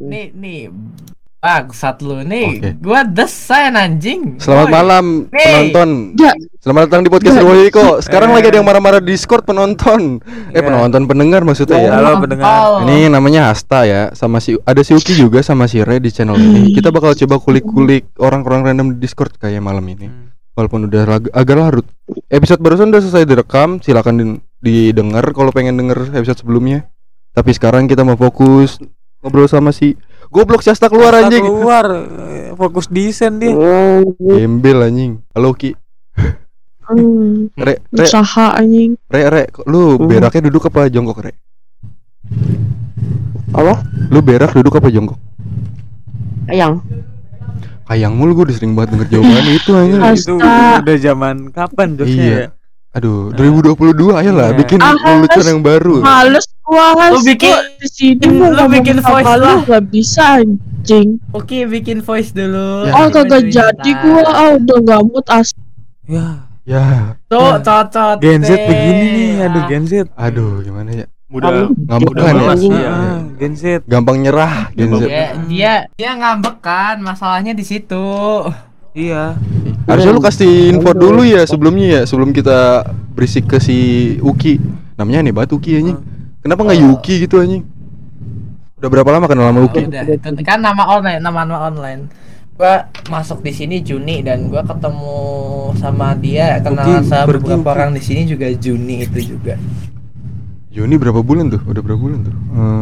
Nih. Bangsat lu nih. Oke. Gua desain anjing. Selamat Boy. malam Nih. penonton. Ya. Selamat datang di podcast Ruwiko. Sekarang lagi ada yang marah-marah di Discord penonton. Ya. Penonton pendengar maksudnya ya. Halo pendengar. Ini namanya Hasta ya, sama ada si Uki juga sama si Re di channel ini. Kita bakal coba kulik-kulik orang-orang random di Discord kayak malam ini. Walaupun udah agak larut. Episode barusan udah selesai direkam, silakan didengar kalau pengen denger episode sebelumnya. Tapi sekarang kita mau fokus ngobrol sama si goblok si Hasta keluar anjing. Keluar, fokus desain dia. Gembel anjing. Halo Ki. Re, Usaha anjing. Re, lu beraknya duduk apa jongkok, Re? Apa? Lu berak duduk apa jongkok? Kayang mulu, gue udah sering banget denger jawaban itu anjing. Itu udah zaman kapan jokesnya Iya. ya? Aduh, 2022 ayolah Iya. bikin lelucon yang baru. Males gua Lu bikin- di sini lu mau bikin ngomong voice apa lah. lu gak bisa anjing. Oke, bikin voice dulu. Ya. Oh kagak jadi gua udah gak mood Ya, Ya, Tuh, cocot. Gen Z deh. begini nih, aduh Gen Z. aduh gimana ya? Mudah Ngambekan ya? malas, iya. Gen Z. Gampang nyerah Gen Z. Dia ngambek kan, masalahnya di situ. Iya. Harusnya lu kasih info dulu ya sebelumnya ya, sebelum kita berisik ke si Uki. Namanya aneh banget Uki anjing. Kenapa nggak Yuki gitu anjing? Udah berapa lama kenal sama Uki? Udah, itu kan nama online. Gua masuk di sini Juni dan gua ketemu sama dia, kenalan Uki, sama pergi, beberapa Uki. orang di sini juga Juni itu juga. Juni berapa bulan tuh? Udah berapa bulan tuh?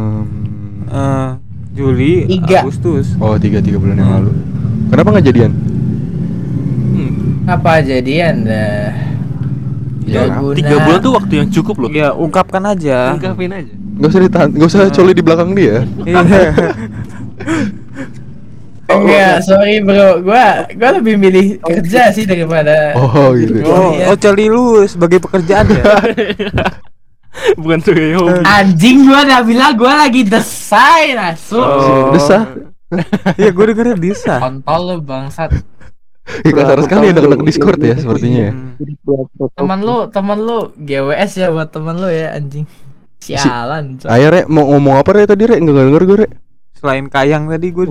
Juli, 3. Agustus. Oh 3 bulan yang lalu. Kenapa nggak jadian? Apa jadian dah? Ya, Gak guna. 3 bulan tuh waktu yang cukup loh. Ya, ungkapkan aja. Ungkapin aja. Nggak usah ditahan, nggak usah coli di belakang dia. Iya. Enggak, sorry bro, gua lebih milih kerja sih daripada. Oh gitu. Oh, coli lu sebagai pekerjaan ya? Bukan tuh ya. Anjing, gua udah bilang gua lagi desain asu. Desah. Iya, gue dengerin bisa. Kontol lu bangsat. Kasar sekali anak-anak Discord ya sepertinya ya. Temen lu GWS ya buat temen lu ya anjing. Sialan. Cok. Ayo Re, mau ngomong apa Re tadi Re? Nggak denger gue Re. Selain kayang tadi gue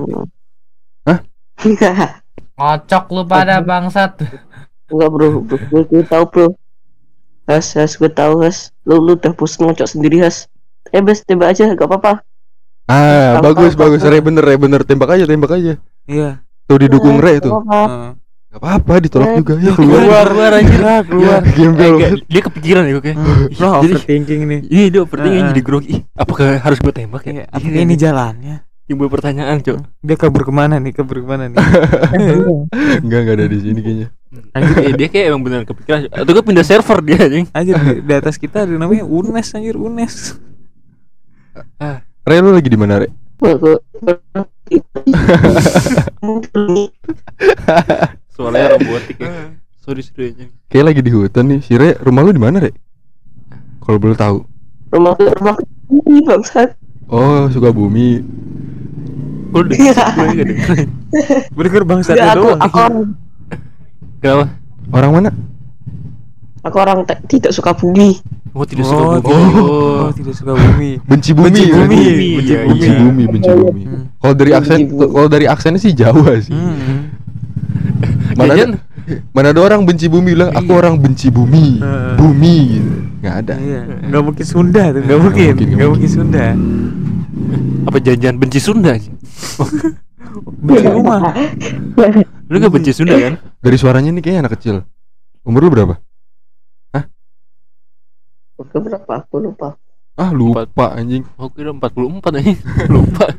Ngocok lu pada bangsat. Enggak bro, gue tahu bro. Has, gue tahu Has. Lu udah bosan ngocok sendiri Has. Bes, tembak aja, gak apa-apa. Ah, Tahu, bagus tahu, bagus tahu. Re bener tembak aja. iya. Tuh didukung Re tuh. Gak apa-apa. Heeh. Gak apa-apa ditolak juga ya keluar. Keluar anjir, keluar. Gembel Enggak, banget. dia kepikiran ya kayak. Bro, Jadi overthinking nih. iya dia overthinking Heeh. jadi grogi. Ih, apakah harus gue tembak ya? Iya, apakah ini jalannya? Timbul pertanyaan, Cok. Dia kabur kemana nih? Enggak ada di sini kayaknya. Anjir, dia kayak emang beneran kepikiran. Atau gue pindah server dia anjing. Anjir, di atas kita ada namanya UNES anjir, UNES. Re lu lagi di mana Re? Suaranya robotik ya. Sorry anjing. Kayak lagi di hutan nih. Si Re, rumah lu di mana Re? Kalau boleh tahu. Rumah ini bangsat. Oh, Sukabumi. Gue udah gue enggak dengerin. Gue denger Enggak, bangsatnya doang. Kenapa? Orang mana? Aku orang tidak suka bumi. Oh, tidak suka Oh, bumi. oh, tidak suka bumi. Benci bumi. Benci bumi. Benci Benci bumi. Benci bumi. bumi. Benci bumi. Hmm. Kalau dari aksennya sih Jawa sih. Mana ada, Jajan? mana ada orang benci bumi bilang aku Iya. orang benci bumi. Bumi gitu. Nggak ada. Iya, enggak mungkin Sunda tuh, enggak mungkin. Enggak mungkin Sunda. Apa janjian benci Sunda anjing? Benci rumah. Lu enggak benci Sunda kan? Dari suaranya nih kayaknya anak kecil. Umur lu berapa? Oke, berapa? Aku lupa. Ah lupa anjing. Oh, kira 44 anjing. Lupa.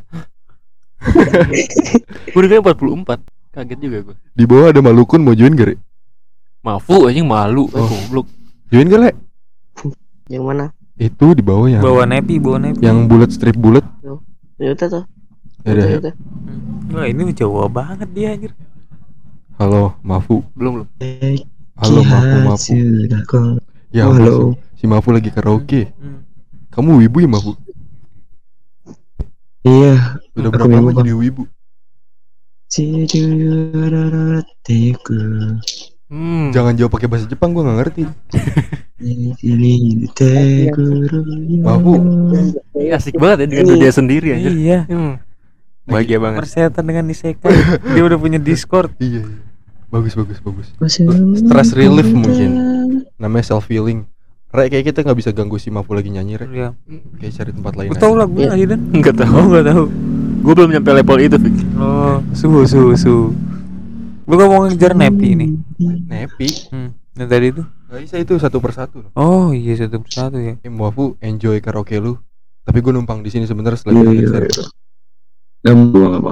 Gue kira 44. Kaget juga gue. Di bawah ada Malukun mau join gak Re? Mafu anjing malu. Oh. Goblok. Join gak Le? Yang mana? Itu di bawah yang Bawa nepi. yang bulat strip bulat. Ya udah tuh. Ya udah, ya. Udah. Wah, ini Jawa banget dia anjir. Halo Mafu. Belum. Halo Mafu. Ya halo. Si Mafu lagi karaoke. Kamu wibu ya Mafu? Iya. Udah berapa lama jadi wibu? Jangan jawab pakai bahasa Jepang, gua nggak ngerti. Iya. Mafu. Asik banget ya dengan dia sendiri anjir. Iya. Bahagia banget. Persetan dengan isekai. Dia udah punya Discord. Iya. Bagus. Stress relief mungkin. Namanya self healing. Kayak kita nggak bisa ganggu si Mafu lagi nyanyi, Rek. Iya. Kayak cari tempat lain. Lu tahu lagunya nggak sih, Dan? Enggak tahu. Oh, nggak tahu. Gue belum nyampe level itu, Fik. Oh, suhu. Lu mau ngejar Nepi ini. Nepi. Yang tadi itu. Gak bisa itu satu persatu. Oh iya, satu persatu ya. Mafu enjoy karaoke lu. Tapi gue numpang di sini sebentar setelah Iya. server. Gampang abang.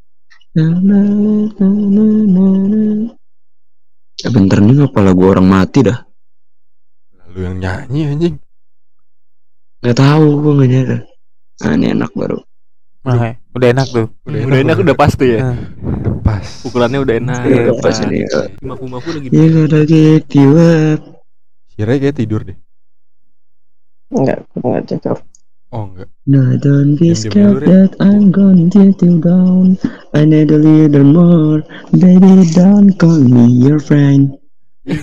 Ya bentar nih apa lagu orang mati dah. Lu yang nyanyi anjing. Gak tahu gue nggak nyadar. Nah ini enak baru. Nah, udah enak tuh. Udah enak, udah pasti ya. Nah. Udah pas. Ukurannya udah enak. Iya, pas ini. Mafu lagi. You gotta get you up. Si Ray kayak tidur deh. Enggak cocok. Oh enggak. No, don't be Diam-diam scared dulu, Ray. that I'm gonna let you down. I need a little more. Baby, don't call me your friend. We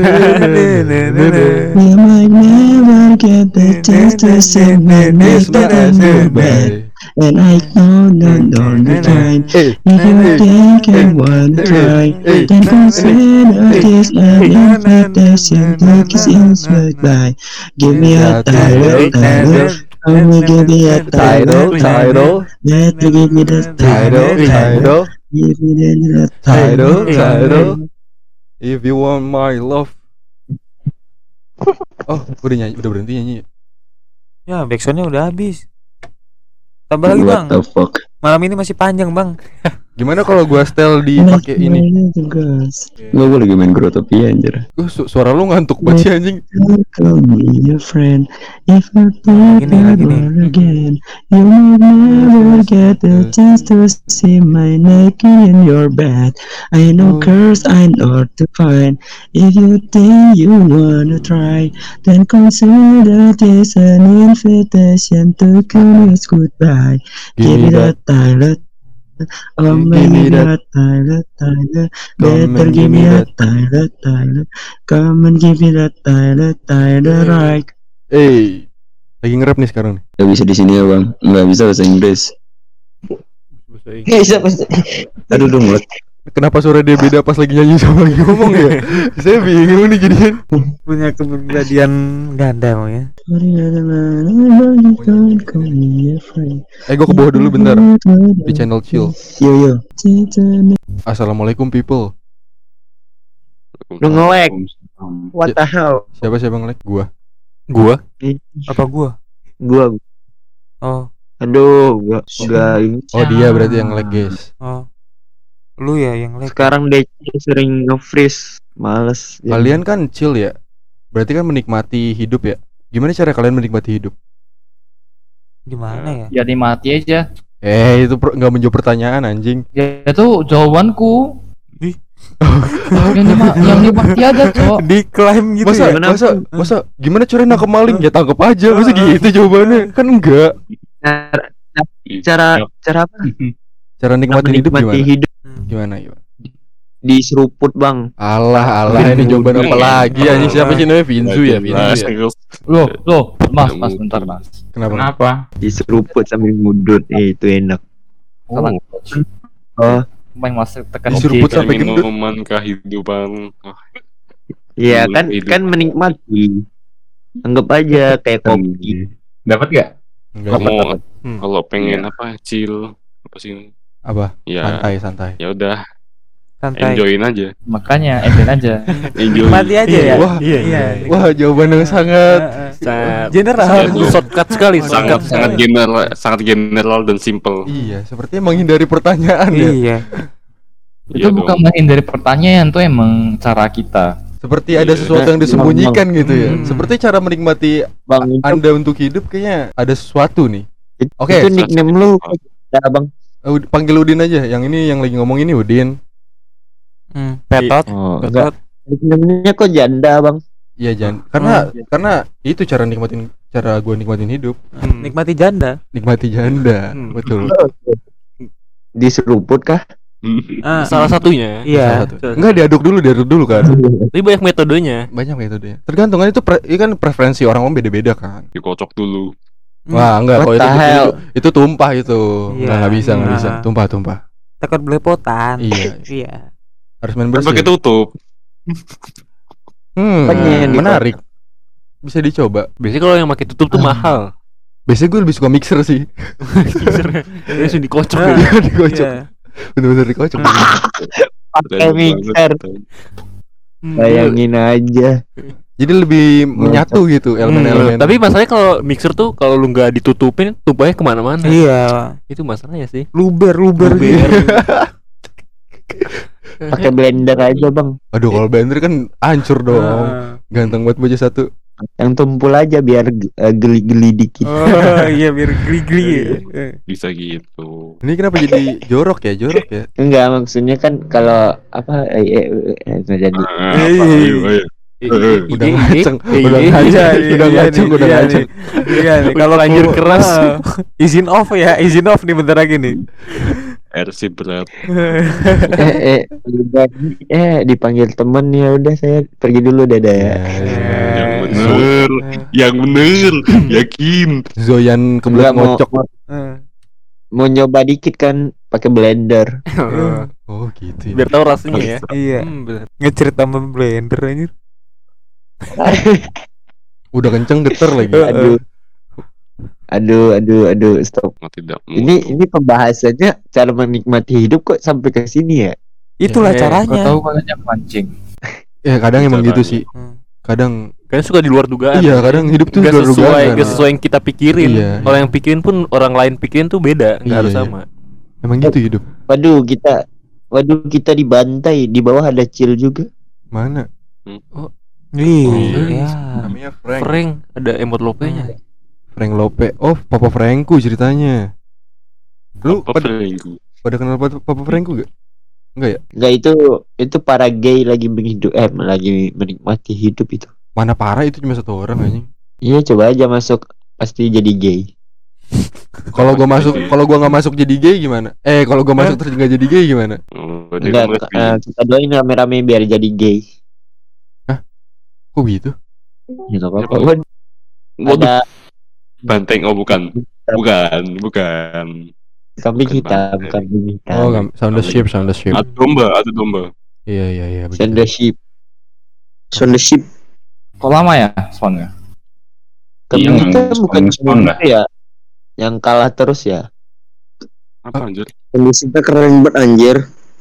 might never get the chance to say my name that I'm bad. And I know that don't be fine. If you think you wanna try, then consider this an invitation to kiss you goodbye. Give me a title. I will give me a title. Let me give me the title. Give me the title. If you want my love. Oh, udah berhenti nyanyi. Ya, backsoundnya udah habis. Tambah lagi, Bang. What the fuck? Malam ini masih panjang, Bang. Gimana kalau gua setel dipakai ini? Gue lagi main Grotopia anjir. Suara lu ngantuk banget sih anjing. Call me your friend. If I Gini. again, you will never get the chance to see my naked in your bed. I know curse, I know to find. If you think you wanna try, then consider this an invitation to kiss goodbye. Give me that Tyler. Oh Give me my God, Tyler. Better give me that Tyler. Come and give me that Tyler, right? Lagi nge-rap nih sekarang nih. Gak bisa di sini ya bang, nggak bisa bahasa Inggris. Bisa. Aduh dong mulut. Kenapa suara dia beda pas lagi nyanyi sama lagi ngomong ya? Saya bingung nih jadian. Punya kepribadian ganda mau ya. Gue ke bawah dulu bentar. Di channel chill. Yo. Assalamualaikum people. Lu nge-lag. What the hell? Siapa nge-lag? Gua. Apa gua? Gua. Oh, Aduh, gua ini. Oh dia berarti yang nge-lag guys. oh. Lu ya yang lag. Sekarang DC sering nge-freeze. Males. Kalian kan chill ya. Berarti kan menikmati hidup ya. Gimana cara kalian menikmati hidup? Gimana ya? Ya dimati aja. Itu nggak menjawab pertanyaan anjing. Ya itu jawabanku. Ih. yang dimati ada, Cok. Diklaim gitu ya. Masa gimana caranya nangkep maling? Ya tangkap aja. Masa gitu jawabannya? Kan enggak. Cara apa? Cara nikmatin hidup Menikmati gimana? hidup Gimana? diseruput, Bang. Alah ini jawaban apa lagi anjing? Siapa sih namanya? Vinzu ya? Loh, Mas, bentar, Mas. Kenapa? Diseruput sambil ngudut. Itu enak. Salah. Oh, Main Mas tekan Diseruput sampai gendut. Minuman kehidupan. iya kan menikmati. Anggap aja kayak kopi. Dapat enggak? Enggak. Kalau pengen apa chill apa sih? Apa? Ya Santai. ya udah Santai. enjoyin aja. Makanya enjoy aja. Enjoy. Mati aja ya. Wah, Iya. Wah, jawaban yang sangat General. Shortcut sekali. Sangat general dan simple. iya, sepertinya menghindari pertanyaan ya. Iya. Itu bukan menghindari pertanyaan, tuh emang cara kita. Seperti ada sesuatu yang disembunyikan gitu ya. Seperti cara menikmati Bang, itu, Anda untuk hidup kayaknya ada sesuatu nih. Oke. itu nickname lu. Ya, Bang. Panggil Udin aja. Yang ini yang lagi ngomong ini Udin. Petot. Oh, enggak. Nickname-nya kok janda, Bang? Iya Jan. Karena itu cara gua nikmatin hidup. Nikmati janda. Nikmati janda. Betul. Diseruput kah? Salah satunya. Iya. Enggak diaduk dulu kan. Tapi banyak metodenya. Banyak metodenya. Tergantung kan itu kan preferensi orang beda-beda kan. Dikocok dulu. Wah, enggak, What kalau the hell? itu tumpah itu. Iya. Enggak bisa, enggak Iya. bisa. Tumpah. Takut belepotan. Iya. Iya. Harus main Kan pakai bersih. tutup. Apanya yang Menarik. Bisa dicoba. Biasanya kalau yang pakai tutup tuh mahal. Biasanya gue lebih suka mixer sih. Dia langsung dikocok Ah, gitu. Dikocok. Iya. Bener-bener dikocok. Pakai mixer. Hmm. Bayangin aja. Jadi lebih menyatu gitu elemen-elemen. Tapi masalahnya kalau mixer tuh kalau lu nggak ditutupin tumpahnya kemana-mana. Iya. Itu masalahnya sih. Luber. Pakai blender aja, Bang. Aduh, kalau blender kan hancur dong. Ganteng buat bocah satu. Yang tumpul aja biar geli-geli dikit. Oh iya biar geli-geli. Bisa gitu. Ini kenapa jadi jorok ya? Enggak, maksudnya kan kalau apa nggak jadi. Ayo. Udah ngaceng, udah Iya, ngaceng. Iya nih kalau lanjut keras. Izin off nih bentar lagi nih. RC berat. Dipanggil temen ya udah saya pergi dulu dadah ya. Yang bener, yakin. Zoyan kebelet Enggak, mau, ngocok. mau nyoba dikit kan pakai blender. Oh gitu ya. Biar tahu rasanya ya. Iya. Bener. Ngecerit tambah blender anjir. Udah kenceng geter lagi. Aduh, stop. Tidak. Ini pembahasannya cara menikmati hidup kok sampai ke sini ya. Itulah Kau caranya. tahu katanya mancing. Ya kadang emang gitu sih. Hmm. Kadang Kadang suka di luar dugaan. iya, kadang hidup tuh Gak luar dugaan. gak sesuai yang kita pikirin. Iya. Orang yang pikirin pun orang lain pikirin tuh beda, nggak Iya, harus iya. sama. Emang gitu hidup. Waduh kita dibantai, di bawah ada chill juga. Mana? Iya. Namanya Frank ada emot lopenya. Frank Lope. Oh, Papa Frankku ceritanya. Lu Apa pada, Franku? pada kenal Papa Frankku gak? Enggak ya? Enggak, itu para gay lagi lagi menikmati hidup itu. Mana parah, itu cuma satu orang anjing. Iya, coba aja masuk pasti jadi gay. Kalau gua nggak masuk jadi gay gimana? Kalau gua masuk terus nggak jadi gay gimana? Oh, dia Enggak, kita doain rame-rame biar jadi gay. Kok gitu? Ya enggak apa-apa. Waduh. Ada Banteng, oh bukan. Bukan. kambing Bukan hitam, banteng. kambing hitam. Oh, sound the ship. Ada domba. Iya. Sound the sheep. Kok lama ya spawnnya? Kambing Iya, hitam bukan spawn cuma nggak? itu ya. Yang kalah terus ya. Apa anjir? Kondisinya keren banget anjir.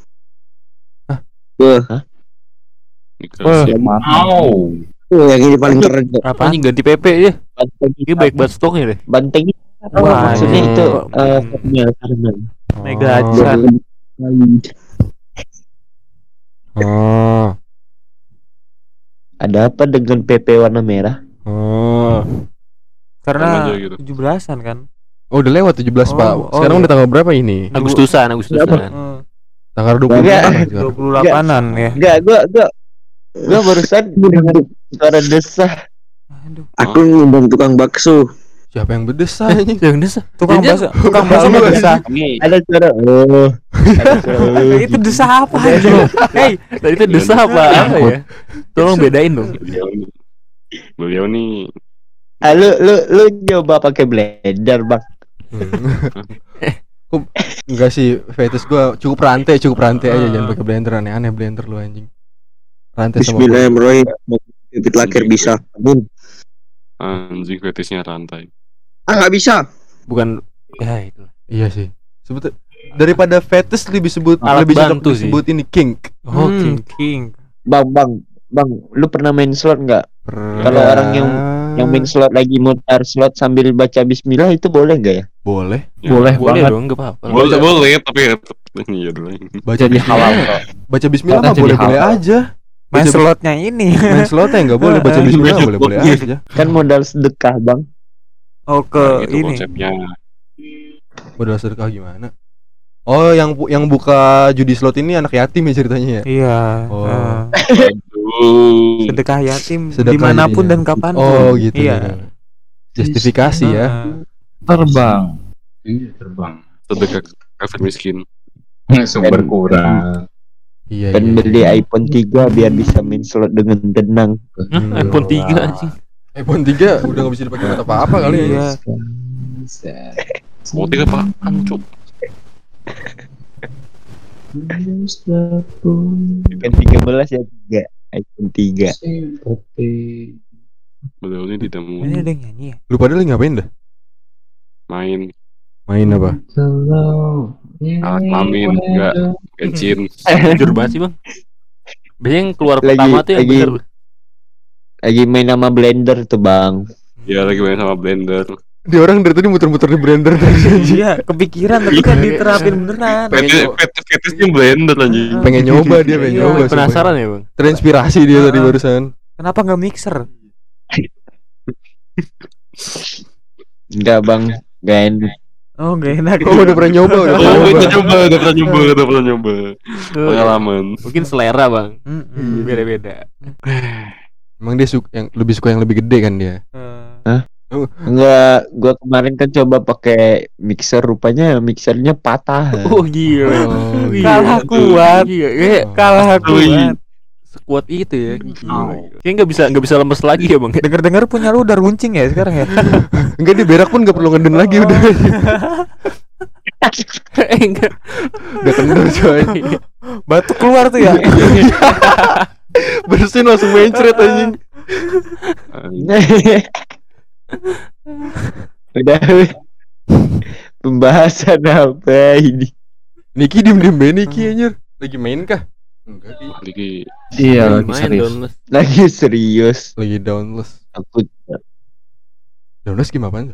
Dikasih. Mau. Yang ini paling keren. Apa anjing ganti PP ya? Ini baik banget stoknya deh. Banteng itu Wah, maksudnya ini- itu karena Mega Oh. Hudson. Oh. ada apa dengan PP warna merah? Oh. Karena Sama aja gitu. 17-an kan. Oh, udah lewat 17, Pak. Oh, Sekarang iya. udah tanggal berapa ini? Agustusan. Tanggal 20. Enggak. 28-an ya. Enggak, gua barusan mendengar suara desah. Aduh. Aku ngundang tukang bakso. Siapa yang bedesa anjing? Yang desa. Tukang Jangan- bakso, tukang bakso nggak bisa. Ada suara Itu desah apa aja? Hey, Tadi itu desa apa ya? Tolong bedain dong. Beliau nih lu coba pakai blender, Bang. Kok enggak sih, fetish gua cukup rantai aja, jangan pakai blender, aneh-aneh blender lu anjing. Rantai sama gua. Bismillahirrahmanirrahim. Pipit lakir bisa. Amin. anjing fetisnya rantai. Nggak bisa. Bukan ya itu. Iya sih. Sebut daripada fetish lebih Alat lebih cocok bantu sih. disebut ini kink. Oh, King. Bang, lu pernah main slot nggak? Kalau orang yang main slot lagi mutar slot sambil baca bismillah itu boleh nggak ya? boleh Boleh Boleh banget. dong, enggak apa-apa. Boleh tapi iya dulu. baca Jadi halal bismillah. kok. Baca bismillah mah Jadi boleh-boleh halal. aja. Main Baca- slotnya ini. Main slotnya enggak boleh, baca bismillah Baca boleh-boleh slotnya. aja. Kan modal sedekah, Bang. Oh ke Itu ini. konsepnya. Modal sedekah gimana? Oh, yang buka judi slot ini anak yatim ya ceritanya ya? Iya. Oh. Aduh. Sedekah yatim Sedekah dimanapun jadinya. dan kapan. Oh, gitu. Iya. ya. Justifikasi ya. Terbang. Iya, terbang. Sedekah kafir miskin. Sumber kurang. Iya. Dan beli iPhone 3 biar bisa main slot dengan tenang. iPhone 3 anjing. iPhone 3 udah enggak bisa dipakai buat apa-apa kali ya. Iya. Motif apaan, Cuk? Bukan 13 ya, 3. iPhone 3. Beliau ini tidak mau Ini ada yang nyanyi ya? Lu pada lagi ngapain dah? main Main apa? alat kelamin, enggak kencin. Jujur banget sih bang. Biasanya yang keluar Lagi- pertama tuh yang lagi- bener. Lagi main sama blender tuh, Bang. Ya lagi main sama blender. Dia orang dari tadi muter-muter di blender tadi. Iya, kepikiran tapi kan diterapin beneran. Fetisnya blender anjing. Pengen nyoba dia, pengen Iya, nyoba. Penasaran ya bang? Terinspirasi dia tadi barusan. Kenapa nggak mixer? Enggak, Bang. Enggak enak. Oh, nggak enak. Oh, udah pernah nyoba, udah pernah nyoba. Udah pernah nyoba. Pengalaman. Mungkin selera bang. Mm-mm. Beda-beda. Emang dia yang lebih gede kan dia. Enggak, gua kemarin kan coba pakai mixer, rupanya mixernya patah. Oh gila. Oh, Gila. Kalah kuat. Iya, Kalah kuat. sekuat itu ya. Gila. Kayaknya nggak bisa lemes lagi ya bang. Dengar-dengar punya lu udah runcing ya sekarang ya? Enggak, dia berak pun enggak perlu ngeden lagi udah. Enggak. Udah kendor coy. Batuk keluar tuh ya. Bersin langsung mencret anjing. Udah. Pembahasan apa ini? Niki diem-diem be Niki anjir. Lagi main kah? Enggak, Ki. Lagi Iya, lagi Main serius. downless. Lagi serius. Lagi downless. Aku Downless gimana apaan tuh?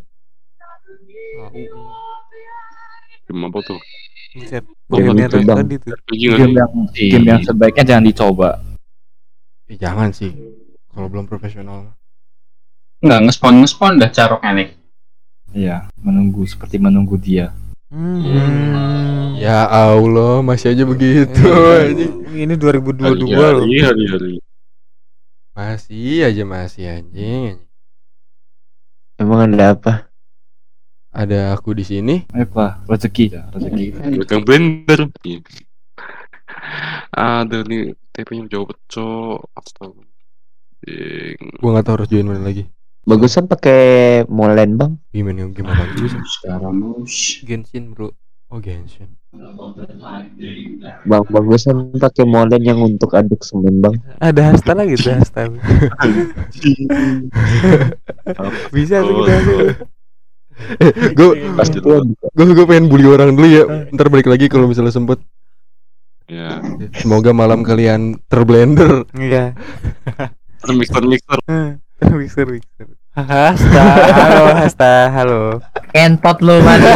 game apa tuh? Buset. Game Pokoknya itu, Bang. tadi tuh. Lagi Game yang sebaiknya jangan dicoba. Jangan sih. Kalau belum profesional. Enggak ngespon dah caroknya nih. Iya, seperti menunggu dia. Ya Allah, masih aja begitu anjing. Ini 2022 loh. Hari-hari. Masih aja anjing. emang ada apa? Ada aku di sini. Apa? Rezeki ya, rezeki. Megang blender. Iya. Ada nih TP-nya jauh betul. Astaga. Gua enggak tahu harus join mana lagi. Bagusan pakai molen, Bang. Gimana game apa tuh? Genshin bro. Oh, Genshin. Bang, bagusan pakai molen yang untuk aduk semen, Bang. Ada hasta lagi tuh hasta. Bisa tuh kita. Gue pengen bully orang dulu ya. Ntar balik lagi kalau misalnya sempet. Ya. Semoga malam kalian terblender. Iya. Mixer. Mixer. Hasta, halo. Kentot lu mana?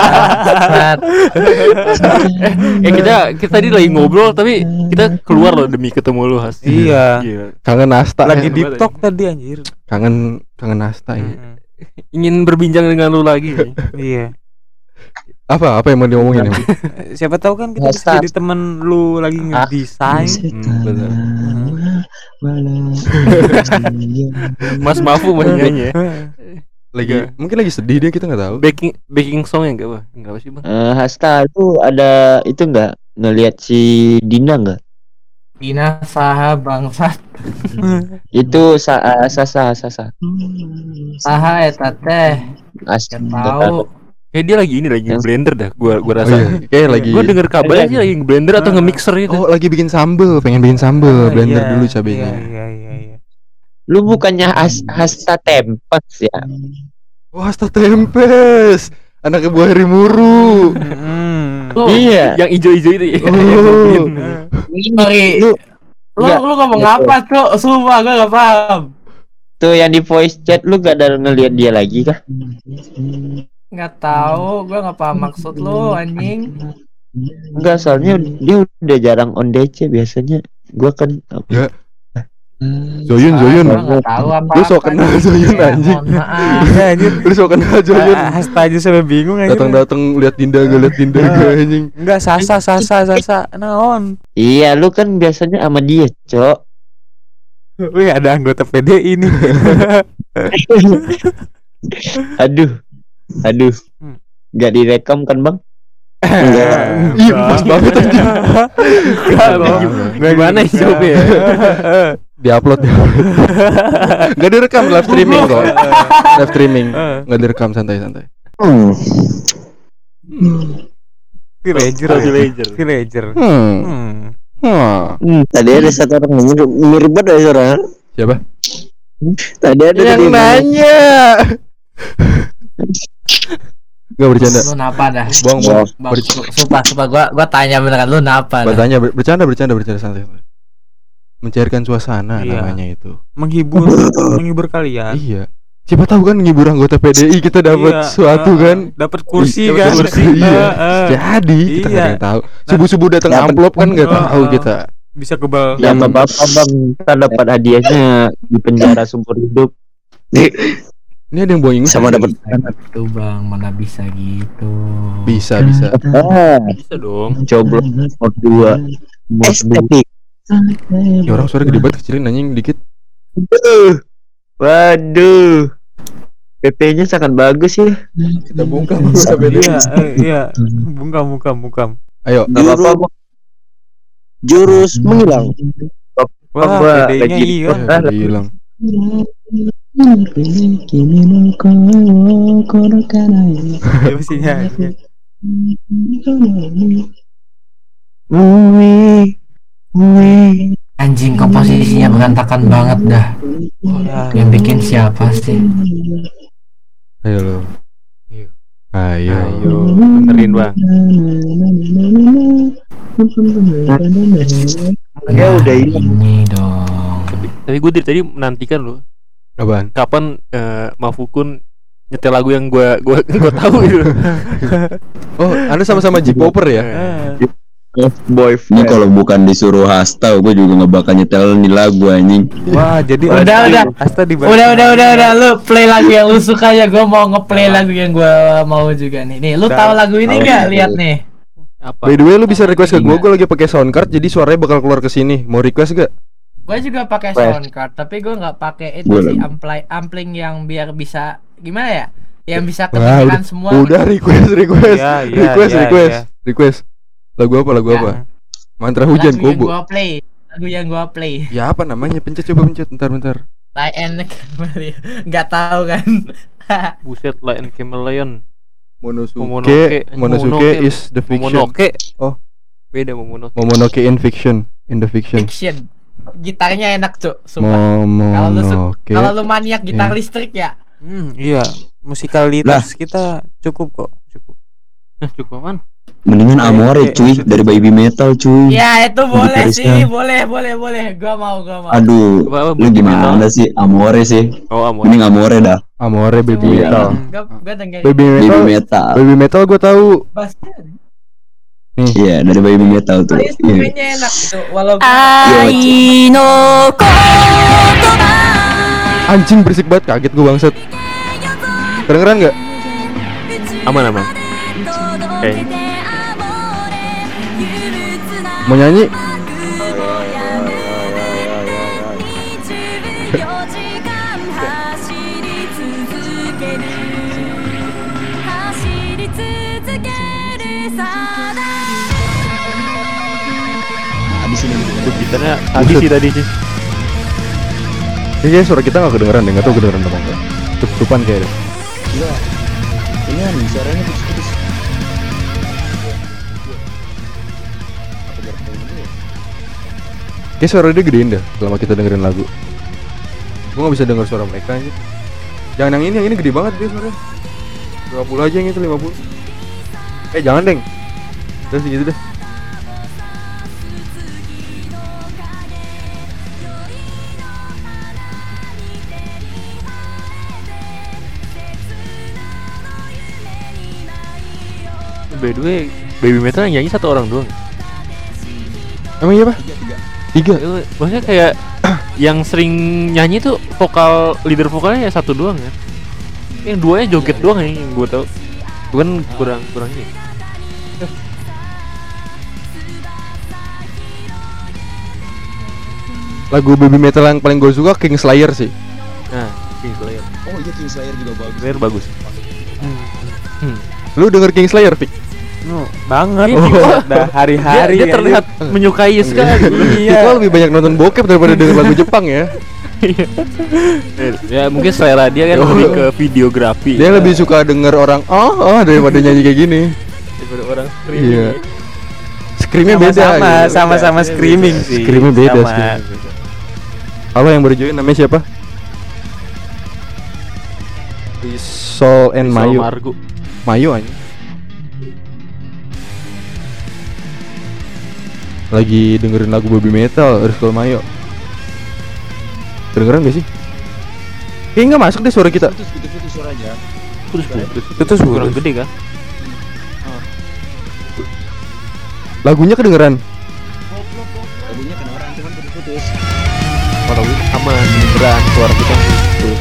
Kita tadi lagi ngobrol tapi kita keluar loh demi ketemu lu Has. Iya. Gila. Kangen Asta. Lagi di talk tadi anjir. Kangen Asta ini. Ingin berbincang dengan lu lagi. Iya. Apa yang mau diomongin? Siapa tahu kan kita bisa jadi temen lu lagi ngedesain. Bener. Mas Mafu masih nyanyi ya. Mungkin lagi sedih dia, kita nggak tahu. Baking song yang enggak apa sih bang? Hasta tuh ada itu enggak ngelihat si Dina enggak? Dina saha bangsat. Itu Sasa. Saha eta teh. Tahu. Kayak dia lagi blender dah. Gua rasa. Oh, iya. Kayak lagi. Gua denger kabarnya sih lagi blender atau nge-mixer gitu. Oh, lagi bikin sambel, pengen bikin sambel, blender dulu cabenya. Iya. Lu bukannya Hasta Tempes ya? Oh, Hasta Tempes. Anaknya buah Rimuru. Oh, iya. Yang ijo-ijo itu ya. Sorry. Lu ngomong apa, Cok? Sumpah gua enggak paham. Tuh yang di voice chat lu gak ada ngelihat dia lagi kah? Nggak tahu, gue nggak paham maksud lo anjing. Enggak, soalnya dia udah jarang on DC biasanya. Gua kan ya. Zoyun. Nggak tahu apa. Lu sok kenal Zoyun anjing. Iya anjir. Lu sok kenal Zoyun. Hasta aja sampai bingung anjir. Datang lihat Dinda anjing. Enggak, Sasa. Naon? iya, lu kan biasanya sama dia, Cok. Wih, ada anggota PDI ini. Aduh. Gak direkam kan, Bang? Iya, pas banget anjing. Gimana jawabnya ya? Diupload. Enggak direkam, live streaming kok. Live streaming. Enggak direkam, santai. Villager. Tadi ada satu orang mirip banget ya suara. Siapa? Tadi ada yang nanya. Gak bercanda. Lu napa dah? Bang. Sumpah gua tanya beneran lu napa dah? Bertanya bercanda santai. Mencairkan suasana namanya itu. Menghibur kalian. Iya. Siapa tahu kan ngibur anggota PDI kita dapat suatu kan, dapat kursi kan. Iya. Jadi kita nggak tahu. Subuh-subuh datang amplop kan nggak tahu kita. Bisa kebal. Ya apa bang, kita dapat hadiahnya di penjara seumur hidup. Ini ada yang buang ingus sama dapat itu bang, mana bisa gitu. Bisa Bisa dong. Coba nomor 2 estetik. Ya orang suara gede banget, kecilin anjing dikit. Waduh. PP-nya sangat bagus ya. Kita bungkam PDI. Iya. Bungkam. Ayo. Jurus menghilang. Wah, PD-nya hilang. Anjing komposisinya berantakan banget dah. Yang bikin siapa sih? Ayo lo. Ayo. Benerin bang. Ya udah ini dong. Tapi gue dari tadi menantikan loh. Apaan? Kapan Mafukun nyetel lagu yang gue tahu gitu. Oh, Anda sama-sama J-popper ya? Boyfriend. Ini kalau bukan disuruh Hasta, gue juga nggak bakal nyetel nih lagu anjing. Wah, jadi udah. Hasta Udah, lu play lagu yang lu suka ya. Gue mau ngeplay lagu yang gue mau juga nih. Nih, lu tahu lagu ini nggak? Lihat nih. Apa? By the way, lu bisa request ke gue lagi pakai sound card, jadi suaranya bakal keluar ke sini. Mau request gak? Gue juga pakai sound card, tapi gue nggak pakai itu sih ampling yang biar bisa gimana ya? Yang bisa kedengeran semua. Udah request. Lagu apa? Mantra hujan Kobo. Lagu yang gua play. Ya apa namanya? Pencet. Bentar. Lion Chameleon. Enggak tahu kan. Buset, Lion Chameleon. Momonosuke is the fiction. Momonoke. Oh, beda Momonoke. Momonoke in fiction. Fiction. Gitarnya enak, Cuk. Sumpah. Kalau lu maniak gitar listrik ya. Iya, musikalitas kita cukup kok. Cukup apaan? Mendingan Amore cuy dari Baby Metal cuy. Ya itu boleh sih, boleh. Gua mau. Aduh, lu gimana sih Amore sih? Oh, Amore. Mending Amore dah. Amore Baby Metal. Baby Metal gue tahu. Nih. Iya, dari Baby Metal tuh. Instrumennya enak tuh, walaupun anjing berisik banget, kaget gue bangsat. Kedengeran nggak? Aman. Mau nyanyi? Gitarnya habis sih tadi sih. Ini suara kita nggak kedengeran deh, nggak tahu kedengeran apa enggak. Tutupan kayaknya. Iya. Ini kan suaranya putus-putus. Kayak suara dia gedein dah selama kita dengerin lagu. Gua nggak bisa denger suara mereka aja. Jangan yang ini gede banget dia suaranya. 20 aja yang itu 50. Jangan deng. Terus gitu deh. By the way, Baby Metal yang nyanyi satu orang doang. Emang iya Pak? 3. Maksudnya kayak yang sering nyanyi tuh leader vokalnya ya satu doang kan. Yang duanya joget doang yang gue tau. Bukan kurang ini. Lagu Baby Metal yang paling gue suka King Slayer sih. Nah, King Slayer. Oh iya, King Slayer juga bagus. Slayer bagus. Lu denger King Slayer, Pik? Banget. Dah hari-hari dia terlihat menyukai sekali. Iya. Kita lebih banyak nonton bokep daripada denger lagu Jepang ya. Ya mungkin selera dia kan lebih ke videografi. Dia lebih suka denger orang daripada nyanyi kayak gini. Daripada orang screaming. Iya. Screamnya beda. Sama-sama screaming sih. Screamnya beda. Sama. Halo yang baru join namanya siapa? Sol and Mayo. Margo. Mayo aja. Lagi dengerin lagu baby metal Rizal Mayo. Kedengeran gak sih? Kayaknya nggak masuk deh suara kita. Putus suaranya. Itu kurang gede kan? Lagunya kedengeran. Lagunya kedengeran cuman putus. Kalau aman beneran suara kita putus.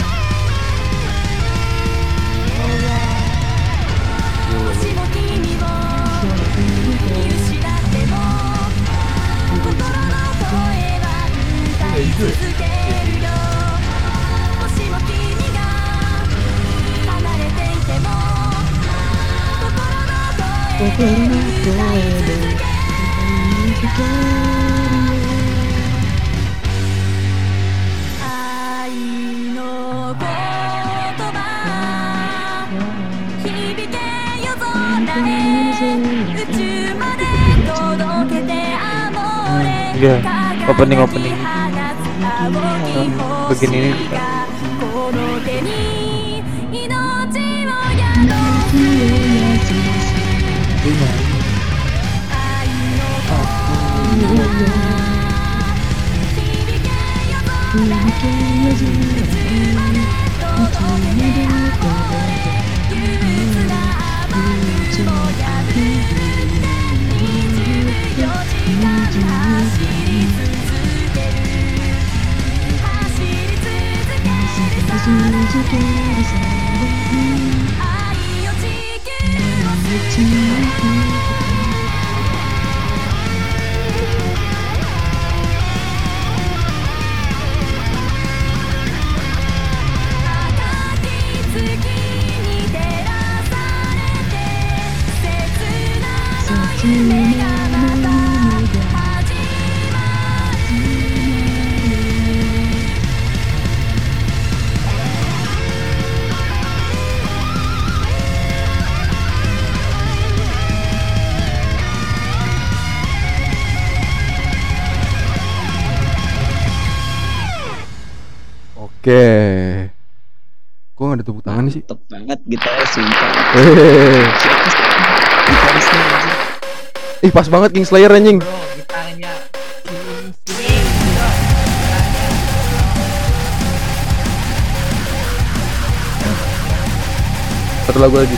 Iya, opening begini nih. Oke. Kok gak ada tepuk tangan sih? Mantep banget gitu sumpah. Ih pas banget Kingslayer anjing. Bro, gitarnya Satu lagu lagi.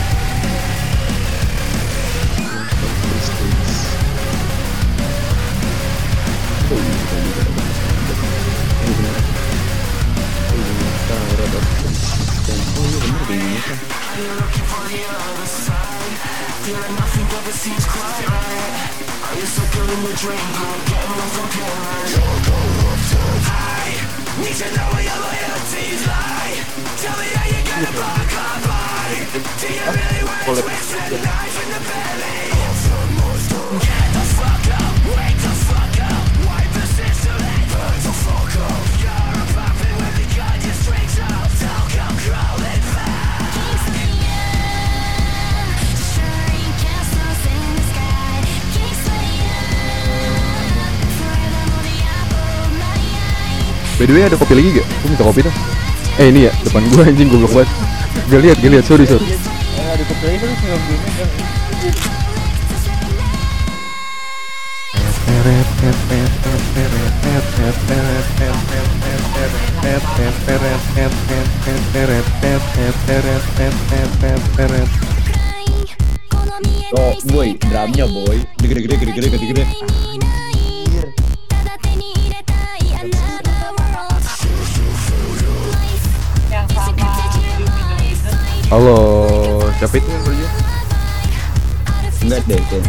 By the way ada kopi lagi gak? Gue minta kopi tuh. Ini ya depan gua anjing goblok banget. Gak lihat, sorry. ada kopi lagi terus nggak begini kan. Oh boy, drumnya boy, gede. Halo, siapa itu yang kerja? Enggak deh, Ken.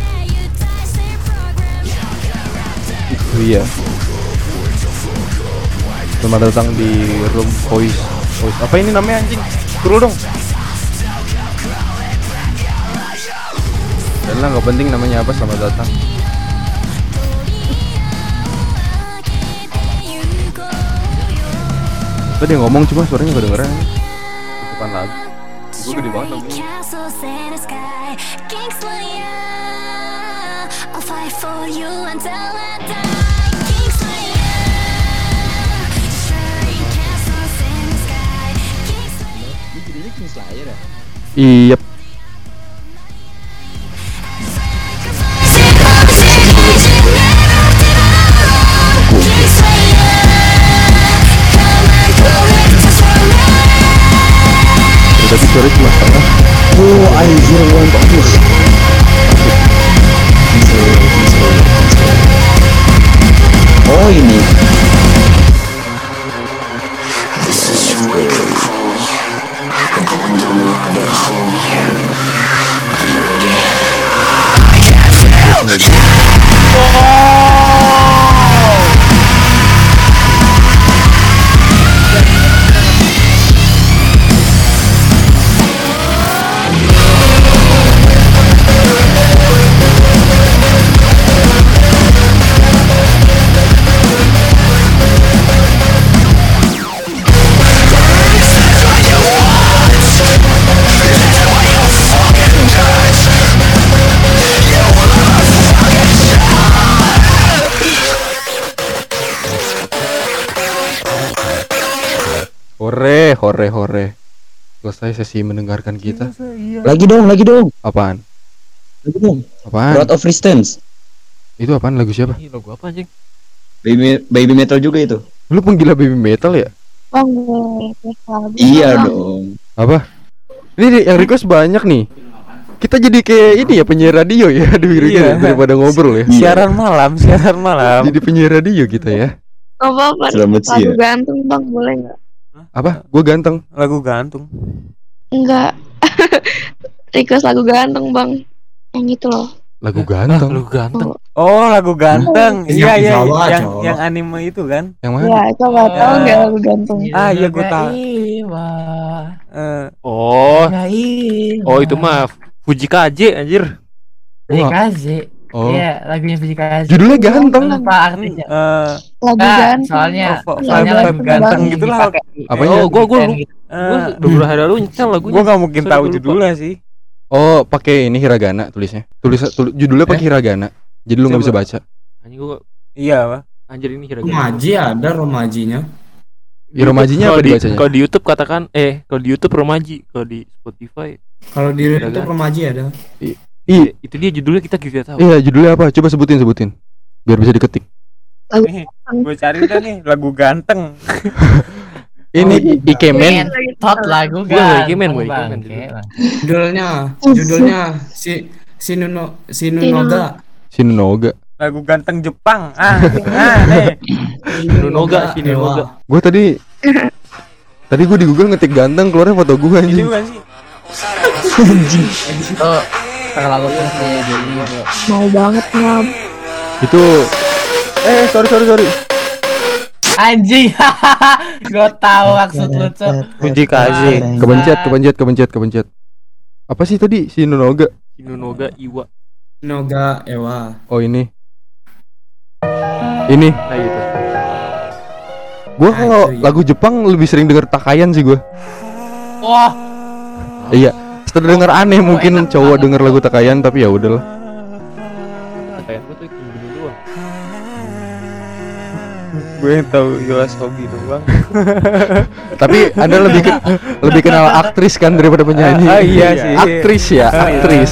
Iya. Selamat datang di room voice. Apa ini namanya anjing? Scroll dong. Dan lah nggak penting namanya apa, selamat datang. Tadi yang ngomong cuma suaranya gak dengeran. Tutupan lagu. Gue gede banget lagu. Iya. Tapi suara cuma setengah. Oh, anjir, bagus. Oh, ini. Hore. Selesai sesi mendengarkan kita. Lagi dong. Apaan? Lagi dong. Apaan? Road of Resistance. Itu apaan, lagu siapa? Ih, lagu apa anjing? Baby metal juga itu. Lu penggila baby metal ya? Bang, Iya dong. Apa? Ini yang request banyak nih. Kita jadi kayak ini ya, penyiar radio ya. Iya. Daripada ngobrol ya. Siaran malam. Jadi penyiar radio kita ya. apa-apa. Selamat Lagu siang. gantung bang, boleh nggak? Apa? Gue ganteng. Lagu gantung. Enggak. Request lagu gantung bang. Yang itu loh. Lagu ganteng. Lagu ganteng. Oh, lagu ganteng. Iya, Iya, Jawa, yang Jawa. yang anime itu kan. Yang mana? Ya, coba tahu nggak lagu gantung? Ah, iya, gua tahu. Oh, Yain. oh itu mah Fuji KJ anjir. Kaze. Oh. Iya, lagunya Fuji Kaze. Judulnya ganteng. Apa artinya? Lagu Nah, gantung. soalnya Lagu vibe ganteng gitu lah. Apanya? Oh, gua gitu. beberapa hari lalu nyetel lagunya. Gua nggak mungkin Sorry, tahu gua lupa. judulnya sih. Oh, pakai ini hiragana tulisnya. Judulnya pakai hiragana. Jadi lu nggak bisa baca. Anjing gua Iya, Pak. anjir ini kira Romaji ada Romajinya. Ya, Romajinya apa dibacanya? Kalau di YouTube katakan kalau di YouTube Romaji, kalau di Spotify Kalau di Ada YouTube kan? Romaji ada. itu dia judulnya kita tahu. Iya, judulnya apa? Coba sebutin. Biar bisa diketik. Gue cari kan nih lagu ganteng. Ini Ikemen. Tot lagu Gua gantung. Ikemen, gua Bang. Ikemen. Judulnya Sinunoga. Shinunoga. Lagu ganteng Jepang. Nih. Shinunoga. Gue tadi gue di Google ngetik ganteng, keluarnya foto gue Ini anjing. bukan sih? Itu terlalu penting jadi bro. Mau banget ngab. Itu sorry. Anjing. Gua tahu maksud lu, Cok. Fuji KJ. Kepencet. Apa sih tadi? Shinunoga. Shinunoga Iwa. Noga Ewa. Oh, ini. Nah gitu. Gue kalau itu iya. lagu Jepang lebih sering denger Takayan sih gue. Wah, Iya, setelah denger aneh mungkin cowok denger lagu Takayan, tapi ya udahlah. Kayak gua tuh gini doang. Gue yang tahu Yoasobi doang. Tapi Anda lebih kenal aktris kan daripada penyanyi. Iya sih. Aktris ya, aktris.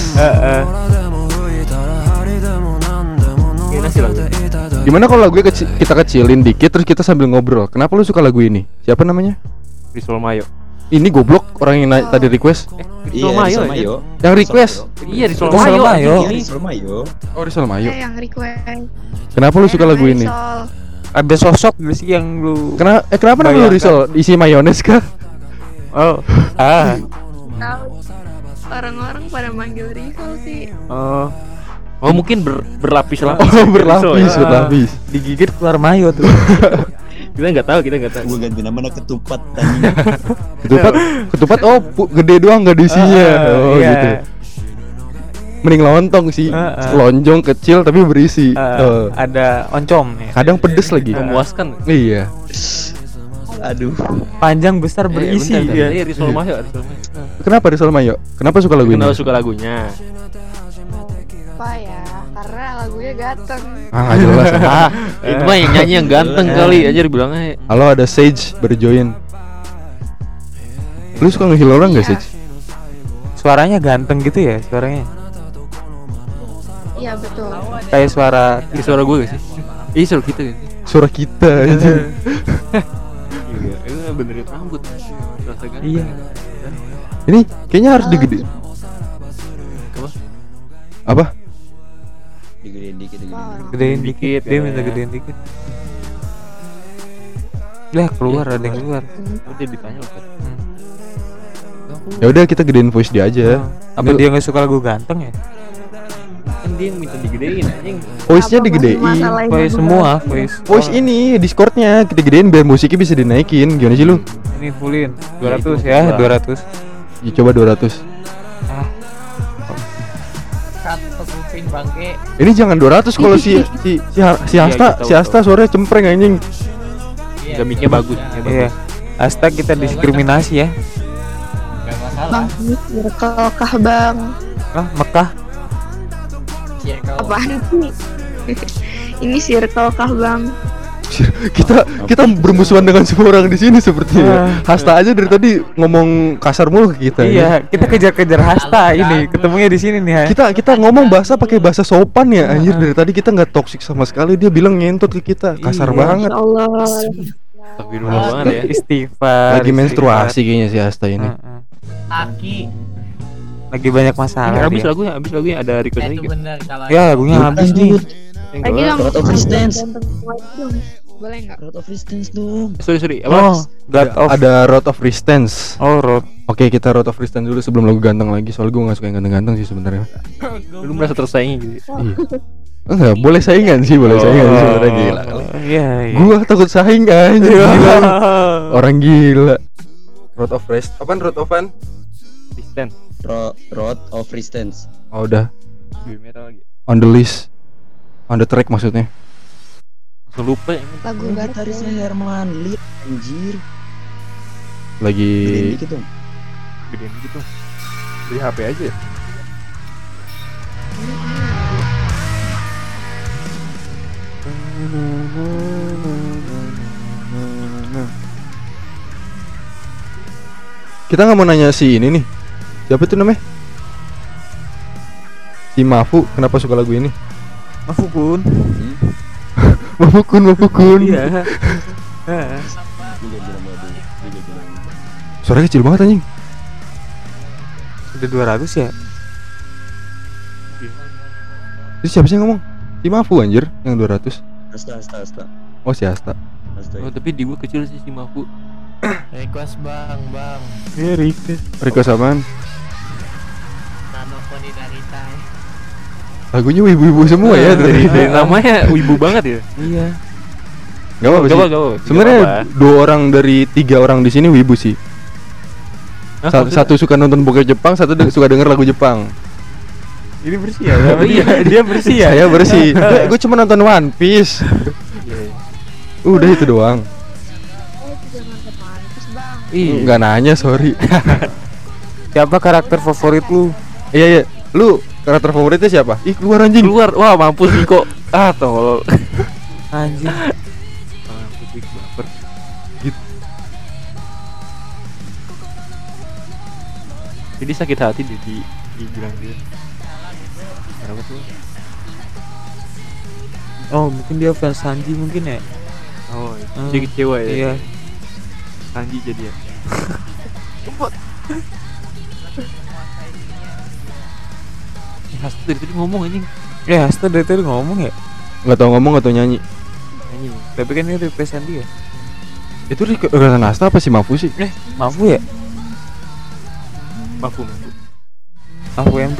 Gimana sih lagu? Gimana kalau lagunya kita kecilin dikit terus kita sambil ngobrol? Kenapa lu suka lagu ini? Siapa namanya? Rizal Mayo. Ini goblok orang yang tadi request. Rizal Mayo. Yang request. Iya Rizal Rizal Mayo. Mayo. Ini Oh, Rizal Mayo. Yang request. Kenapa lu suka lagu ini? Ada sosok gak sih yang lu Kenapa nama lu Rizal? Isi mayones kah? Oh. Tahu. Orang-orang pada manggil Rizal sih. Oh mungkin berlapis-lapis. Oh, berlapis. Digigit keluar mayo tuh. Kita nggak tahu. Gue ganti nama ketupat Ketupat gede doang nggak diisinya. Oh iya. gitu. Mending lontong sih. Lonjong kecil tapi berisi. Ada oncom ya. Kadang pedes lagi. Memuaskan. Iya. Aduh. Panjang besar berisi. Bentar, Ya. bentar. Rizal Mayo, Rizal Mayo. Kenapa Rizal Mayo? Kenapa suka lagu ini? Kenapa suka lagunya? Apa ya? Karena lagunya ganteng. Ah, nggak jelas. Itu mah yang nyanyi yang ganteng kali anjir bilangnya. Halo, ada Sage berjoin. Lu suka ngehil orang gak Sage? Suaranya ganteng gitu ya suaranya. Iya betul. Kayak suara Ini suara gue gak sih? Iya suara kita kan. Suara kita aja. Iya, itu benerin rambut. Rasa ganteng. Iya. Ini kayaknya harus digede. Apa? Apa? Digedein dikit. gedein dikit, dia minta gedein dikit. Lah keluar ada yang keluar. Udah ditanya apa? Ya udah kita gedein voice dia aja. Apa dia nggak suka lagu ganteng ya? Kan dia yang minta digedein anjing. Voice-nya digedein. Voice semua, voice. Voice ini Discord-nya kita gedein biar musiknya bisa dinaikin. Gimana sih lu? Ini fullin 200 ya, 200. Ya, coba 200. Satu kuping bangke. Ini jangan 200 kalau si Hasta, si Hasta suaranya cempreng anjing. Iya, mic-nya bagus. Iya. Hasta kita diskriminasi ya. Gak masalah. Bang, ini circle kah bang? Ah, Mekah. Circle. Apaan sih? Ini circle kah bang? kita bermusuhan dengan semua orang di sini sepertinya. Hasta aja dari tadi ngomong kasar mulu ke kita. Iya, kita kejar-kejar Hasta ini. Ketemunya di sini nih ya. Kita ngomong bahasa pakai bahasa sopan ya anjir. Dari tadi kita nggak toksik sama sekali. Dia bilang ngentot ke kita. Kasar banget. Ya Allah. Astagfirullah banget ya. Istighfar. Lagi menstruasi kayaknya si Hasta ini. Aki. Lagi banyak masalah. Habis dia. lagunya ada request Itu lagi. bener kalau. Ya, lagunya habis nih. Lagi dong. Road of Resistance. Boleh nggak? Road of Resistance dong. Sorry. Oh, Apa? God of. Ada Road of Resistance. Oh, Road. Oke, kita Road of Resistance dulu sebelum lagu ganteng lagi. Soalnya gue gak suka yang ganteng-ganteng sih sebenarnya. Lu merasa tersaingi gitu. Iya. Enggak, boleh saingan sih, boleh saingan sih sebenarnya gila. Iya, iya. Gua takut saingan anjir, gila. Orang gila. Road of Rest. Apaan Road of Fun? Resistance. Road of Resistance. Oh, udah. Heavy metal lagi. On the list. On the track maksudnya. Langsung lupa ya. Lagu baru. Gitarisnya Herman Lee. Anjir. Gedein Lagi dikit dong. Gedein gitu. di HP aja. Kita nggak mau nanya si ini nih. Siapa tuh namanya? Si Mafu, kenapa suka lagu ini? Mafukun. Mafukun. Iya. Suaranya kecil banget anjing. Udah 200 ya? Itu siapa sih yang ngomong? Si Mafu anjir, yang 200. Asta. Oh, si Asta. Oh, tapi di gua kecil sih si Mafu. Request bang. Iya, request. Request apaan? Nano Koni Narita. Lagunya wibu-wibu semua ya Dari namanya wibu banget ya. Iya. Gak apa-apa sih. Gak apa. Sebenarnya 2 orang dari 3 orang di sini wibu sih. Satu suka nonton bokep Jepang, satu suka denger lagu Jepang. Ini bersih ya? Iya, dia bersih ya? Saya bersih. Gue cuma nonton One Piece. Udah itu doang. Nggak nanya, sorry. Siapa karakter favorit lu? Iya. Lu karakter favoritnya siapa? Ih, keluar anjing. Keluar. Wah, mampus Niko. Ah, tolol. Anjing. Mampus Niko baper. Gitu. Jadi sakit hati dibilang dia. Kenapa tuh? Oh, mungkin dia fans Sanji mungkin ya? Oh, dia kecewa ya. Iya. Sanji jadi ya. Hasta dari tadi ngomong anjing. Ya, Hasta dari tadi ngomong ya? Nggak tau ngomong, nggak tau nyanyi. Anjing. Tapi kan ini requestan dia. Itu requestan Asta apa si Mafu sih? Mafu ya? Mafu. Mafu MT.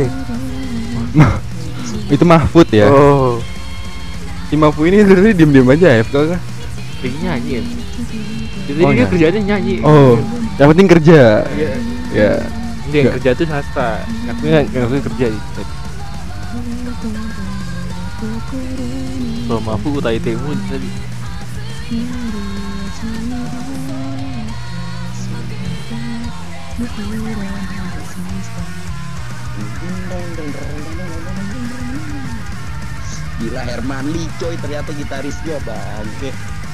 Itu Mahfud ya. Oh. Si Mafu ini dari diem-diem aja AFK kan? Pengen nyanyi ya. Jadi Oh, dia nyanyi. kerjanya nyanyi. Oh, yang penting kerja. Ya. Dia yang kerja tuh Hasta. Ngakuin kerja itu tadi. Kalau Mafu utai temu tadi. Gila Herman Lee coy, ternyata gitarisnya bangke.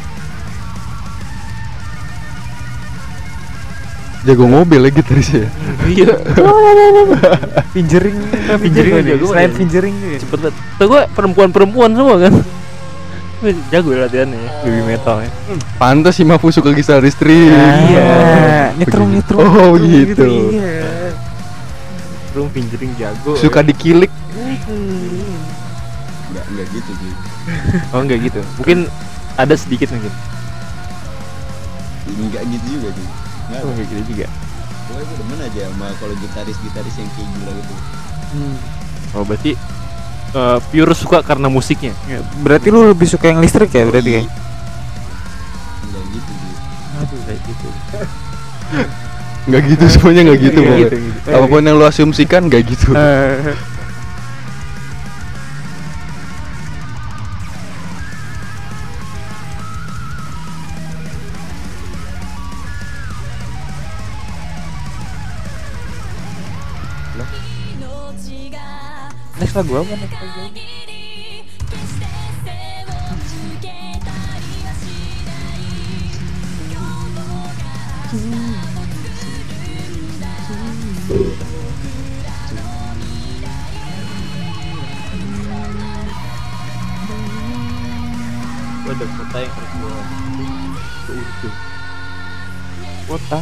Jago mobil ya gitarisnya. Iya. Fingering jago selain ya. fingering juga. Cepet banget. Tuh gue perempuan semua kan. Gue jago latihannya ya. Baby metal ya. Pantas si Mafu suka gitaris string. Iya, nyetrum. Oh gitu. Iya. Rum fingering jago. Suka dikilik. Enggak gitu sih. Oh enggak gitu. Mungkin ada sedikit mungkin. Enggak gitu juga sih. Oh enggak gitu juga. Pokoknya gue demen aja sama kalau gitaris yang kayak gila gitu. Oh berarti pure suka karena musiknya. Ya, berarti lu lebih suka yang listrik ya berarti ya? Enggak gitu sih. Aduh kayak gitu. Nggak gitu, semuanya nggak gitu. Nggak Pokoknya. gitu. Apapun yang lu asumsikan nggak gitu. Next lagu apa? Gue ada kota yang harus gue urus. Kota.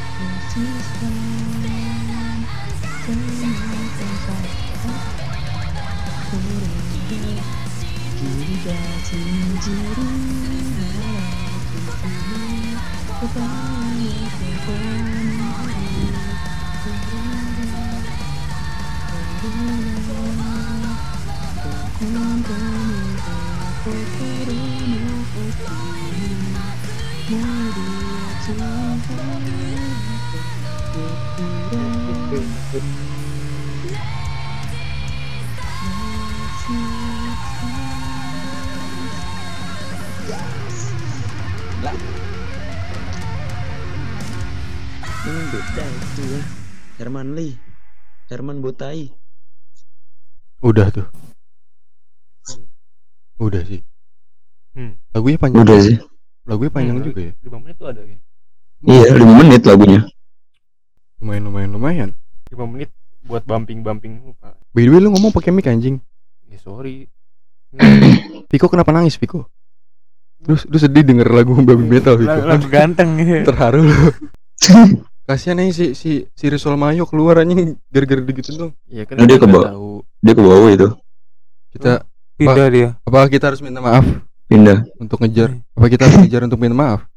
Beda itu ya. Herman Lee, Herman Botai. Udah tuh. Udah sih. Lagunya panjang. Udah sih. Lagunya panjang juga ya. 5 menit tuh ada ya. Iya, 5 menit lagunya. Lumayan. 5 menit buat bumping. By the way lu ngomong pakai mic anjing. Ya sorry. Viko kenapa nangis Viko? Lu sedih denger lagu baby metal Viko. Lagu ganteng gitu. Terharu lu. Kasihan aja si Rizal Mayo keluar anjing gara-gara gitu dong. Iya kan. Nah, dia ke bawah itu. Kita Pindah dia. apa kita harus minta maaf Pindah. untuk ngejar? Apa kita harus ngejar untuk minta maaf?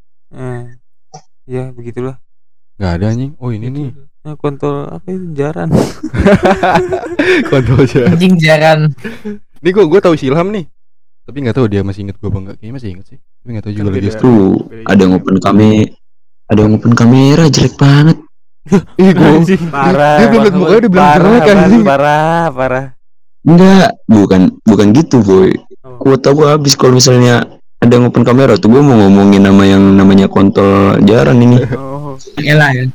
Ya begitulah. Nggak ada anjing. Oh ini nih. Nah, kontol apa itu jaran? Kontrol aja. Anjing jaran. Nih gue tahu si Ilham nih. Tapi nggak tahu dia masih inget gue apa enggak. Kayaknya masih inget sih. Tapi nggak tahu juga lagi. Tuh, ada yang open kamera jelek banget. Ih gue Parah. Dia belum liat mukanya dia bilang jelek anjing. Parah. Enggak, bukan gitu boy. Kuota gua habis kalau misalnya ada yang open kamera tuh gua mau ngomongin nama yang namanya kontol jaran ini. Oh. Elah ya.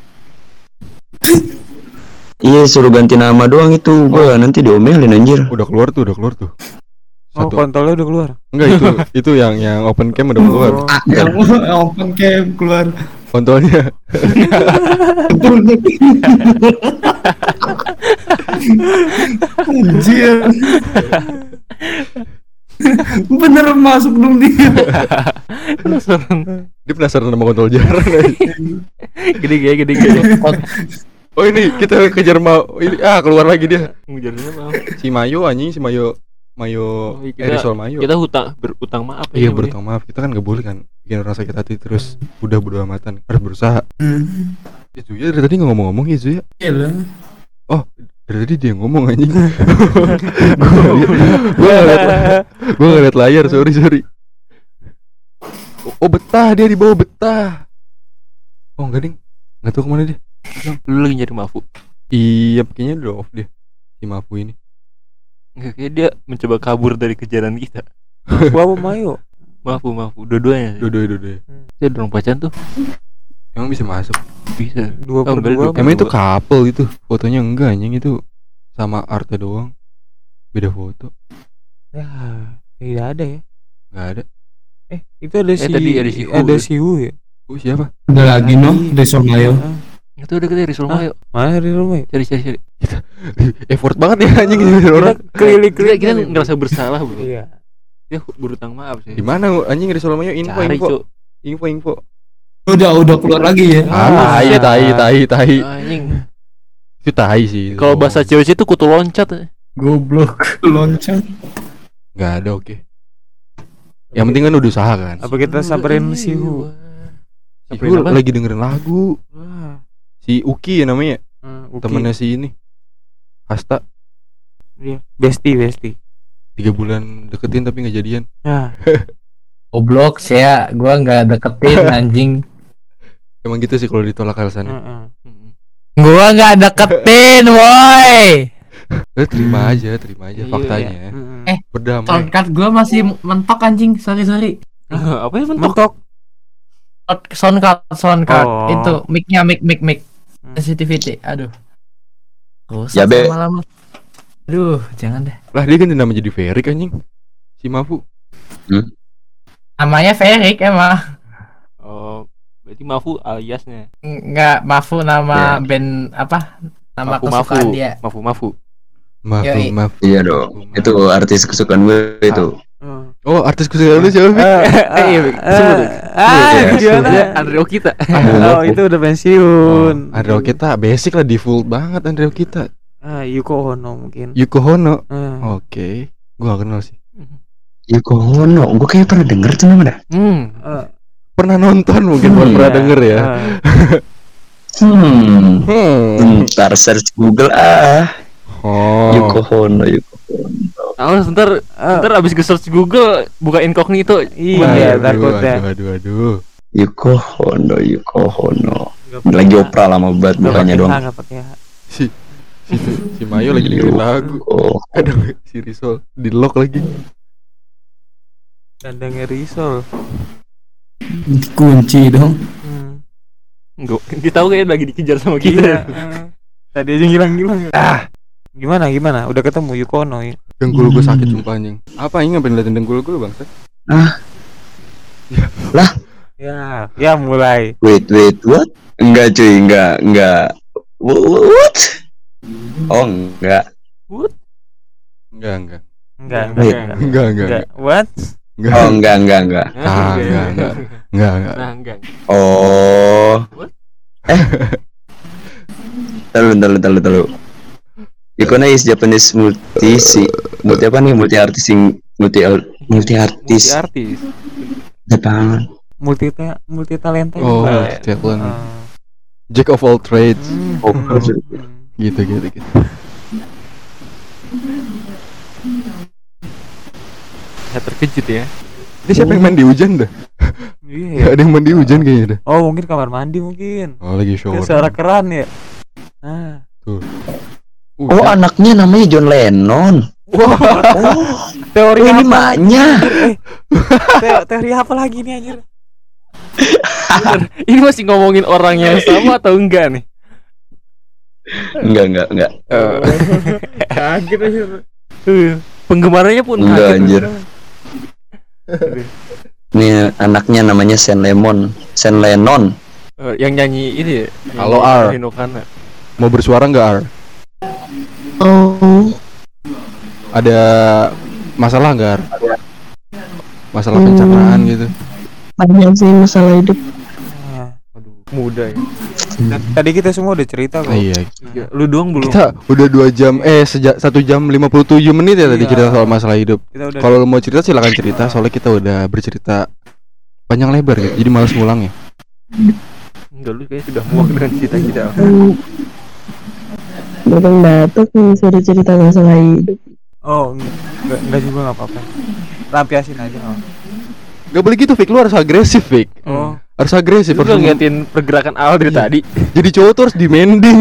Iya suruh ganti nama doang itu gua nanti diomelin anjir. Udah keluar tuh. Oh, kontolnya udah keluar. Enggak itu yang open cam udah keluar. Yang open cam keluar. Kontolnya. Anjir. Bener masuk dong dia. Dia penasaran sama kontol jaran. Gede. Oh ini kita kejar ini keluar lagi dia. Ngejarnya mau. Si Mayo anjing, Rizal Mayo. Kita berutang maaf Iya berutang maaf. Kita kan nggak boleh kan bikin orang sakit hati terus udah bodo amatan. Harus berusaha. Itu ya dari tadi nggak ngomong itu ya. Iya. Oh dari tadi dia ngomong anjing. Gue ngeliat layar sorry. Oh betah dia di bawah betah. Oh enggak ding, nggak tahu kemana dia. Lu lagi nyari Mafu? Iya kayaknya udah off dia si Mafu ini. Enggak, kayak dia mencoba kabur dari kejaran kita. Mafu apa Mayo? Mafu dua-duanya. Dua-duanya. Dia dorong pacan tuh. Emang bisa masuk? Bisa. 2/2. Emang itu couple itu? Fotonya enggak anjing, itu sama artnya doang. Beda foto. Ya, tidak ada ya. Enggak ada. Itu ada si tadi ada si Hu. ada si Hu ya. Siapa? Udah lagi no, Rizal Mayo. Itu udah kita Rizal Mayo. Mana di rumah ya? Cari. Effort banget ya anjing ini orang. Kita ngerasa bersalah, Bro. Iya. Dia berutang maaf sih. Di mana anjing Rizal Mayo? Cari, Cuk. Info. Udah keluar lagi ya. Tai. Anjing. Itu tai sih. Kalau bahasa cewek itu kutu loncat. Goblok. Loncat. Enggak ada, oke. Yang penting kan udah usaha kan. Apa kita samperin si Hu? Si Hu lagi dengerin lagu. Si Uki ya namanya. Temennya si ini. Hasta. Iya. Besti. 3 bulan deketin tapi nggak jadian. Ya. Goblok saya, gua nggak deketin anjing. Emang gitu sih kalau ditolak alasannya. Gua nggak deketin, woi. Terima aja faktanya. Berdamai. Soundcard gua masih mentok anjing, sorry. Apa ya mentok? Soundcard Oh. itu mic-nya mic sensitivity. Aduh. Rusak Ya, Be. lama-lama. Aduh, jangan deh. Lah dia ganti nama jadi Ferik anjing. Si Mafu. Namanya Ferik emang. Oh, berarti Mafu aliasnya. Enggak, Mafu nama band apa? Nama kesukaan dia. Mafu. Yoi. Iya dong. Itu artis kesukaan gue itu. Oh, artis kesukaan lu siapa? Gimana? Andreo kita. Oh, itu udah pensiun. Andreo kita basic lah, default banget Andreo kita. Yuko Hono mungkin. Yuko Hono. Oke. Gua gak kenal sih. Yuko Hono, gue kayaknya pernah denger tuh namanya. Pernah nonton mungkin, pernah denger ya. Ntar search Google Yuko Hono. Ntar abis nge-search Google buka incognito. Iya, takutnya. Aduh. Yuko Hono. Lagi opera lama banget bukannya doang. Si Mayo lagi dengerin lagu. Aduh, si Rizal di lock lagi. Dandangnya Rizal. Kunci dong. Enggak, kita tahu kayak lagi dikejar sama kita. Tadi aja ngilang. Gimana? Udah ketemu Yuko Hono ya? Dengkul gue sakit sumpah anjing. Apa ini ngapain liatin dengkul gue bangsat? Lah. Ya mulai. Wait, what? Enggak cuy, enggak. What? Oh, enggak. What? Enggak. What? Oh, enggak. Enggak. Oh. Tahu. Ikona is Japanese multi artis. Jepang. Multi talenta. Oh, talent. Jack of all trades. Gitu. Saya terkejut ya. Ini siapa yang mandi hujan dah? Iya. Ada yang mandi hujan kayaknya dah. Oh, mungkin kamar mandi mungkin. Oh, lagi shower. Suara keran ya. Tuh. Oh, anaknya namanya John Lennon. Teori ini maknya. Teori apa lagi nih anjir? Ini masih ngomongin orang yang sama atau enggak nih? Enggak. Kaget aja. Penggemarnya pun enggak kaget. Anjir. Nih anaknya namanya Sean Lennon. Yang nyanyi ini ya? Halo R. Mau bersuara enggak R? Oh. Ada masalah enggak R? Masalah pencernaan gitu. Banyak sih masalah hidup. Muda ya. Tadi kita semua udah cerita kok. Iya. Lu doang belum. Kita udah 2 jam 1 jam 57 menit ya tadi cerita soal masalah hidup. Kalau lu mau cerita silakan cerita, soalnya kita udah bercerita panjang lebar gitu. Jadi malas ngulangnya. Enggak, lu kayaknya sudah muak dengan cerita kita. Belum batuk nih sudah cerita masalah hidup. Oh, enggak juga enggak apa-apa. Lampiasin aja. Gak boleh gitu, Fik. Lu harus agresif, Fik. Harus agresif. Lu ngeliatin pergerakan Al dari tadi. Jadi cowok tuh harus demanding.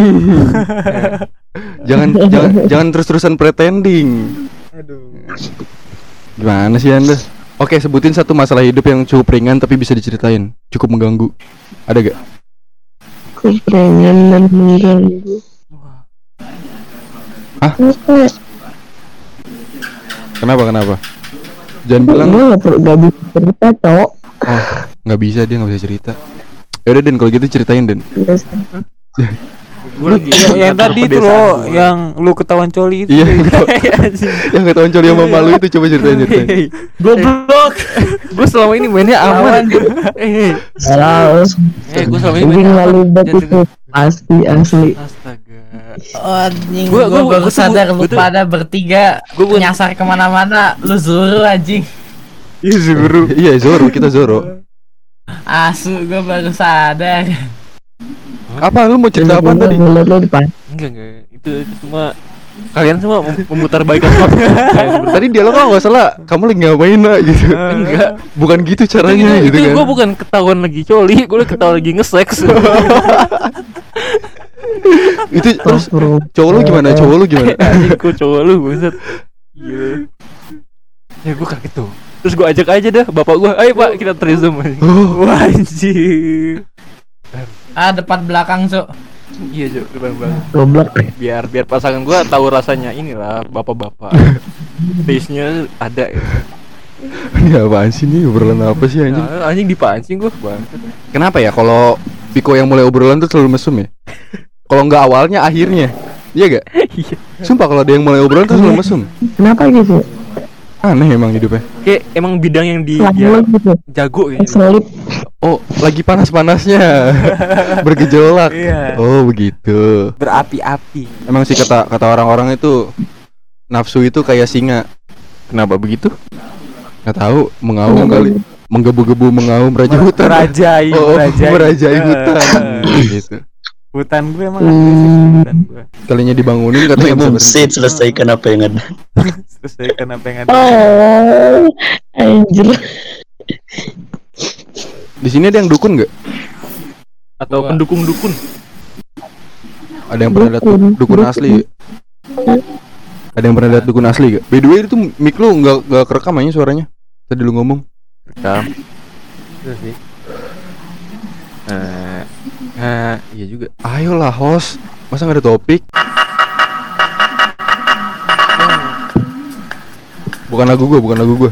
Jangan terus-terusan pretending. Aduh. Gimana sih Anda? Oke, sebutin satu masalah hidup yang cukup ringan tapi bisa diceritain. Cukup mengganggu. Ada gak? Aku pengen dan mengganggu. Hah? Kenapa? Jangan bilang. Gue gak bisa cerita, Cok. Oh, nggak bisa, dia nggak bisa cerita. Yaudah Den, kalau gitu ceritain Den. Gue lagi yang tadi itu loh, yang lu ketahuan coli itu. Iya, yang ketahuan coli sama malu itu, coba ceritain. Goblok. Gue selama ini mainnya aman. Halo. Gue selama ini Ini mainnya malu aman. banget itu. Asli. Astaga. Anjing, Gua baru sadar lu gua tuh- pada bertiga nyasar kemana-mana. Lu Zoro anjing. Iya Zoro. Iya Zoro, kita Zoro. Asu, gue baru sadar. Apa lu mau cerita apa tadi? Enggak. Itu cuma kalian semua memutar balikan waktu. Tadi dialog kalau nggak salah, kamu lagi ngapain nak gitu? Enggak. Bukan gitu caranya itu gitu kan? gue bukan ketahuan lagi coli, gue ketahuan lagi nge-sex. Itu terus cowok lu gimana? Anjing, kok cowok lu buset. Gila. Ya gue kaget tuh. Terus gue ajak aja dah bapak gue, ayo pak kita threesome. Wah anjir. Depan belakang, Cok. Iya Cok, keren banget. Goblok. Biar pasangan gue tahu rasanya inilah bapak-bapak. Taste-nya ada ya. Ini apaan sih nih, obrolan apa sih anjing? Nah, anjing dipancing gue banget. Kenapa ya kalau Piko yang mulai obrolan tuh selalu mesum ya? Kalau nggak awalnya akhirnya, iya gak? Iya. Sumpah kalau ada yang mulai obrolan tuh selalu mesum. Kenapa gitu? Aneh emang hidupnya. Kayak emang bidang yang dia Gitu. jago gitu. Selip. Oh, lagi panas-panasnya. Bergejolak. Iya. Oh, begitu. Berapi-api. Emang sih kata orang-orang itu nafsu itu kayak singa. Kenapa begitu? Nggak tahu, mengaum kali. Menggebu-gebu mengaum raja hutan. Merajai hutan. Gitu. Hutan gue emang hutan gue. Kalinya dibangunin katanya bisa berhenti. Mumsit, selesaikan apa yang ada. Selesaikan apa yang ada. Oh, anjir. Di sini ada yang dukun nggak? Atau pendukung-dukun? Ada yang pernah lihat dukun asli? Ada yang pernah lihat dukun asli gak? By the way itu mic lu nggak kerekam aja suaranya. Tadi lu ngomong. Rekam. Iya sih. Iya juga. Ayolah host, masa nggak ada topik? Bukan lagu gua.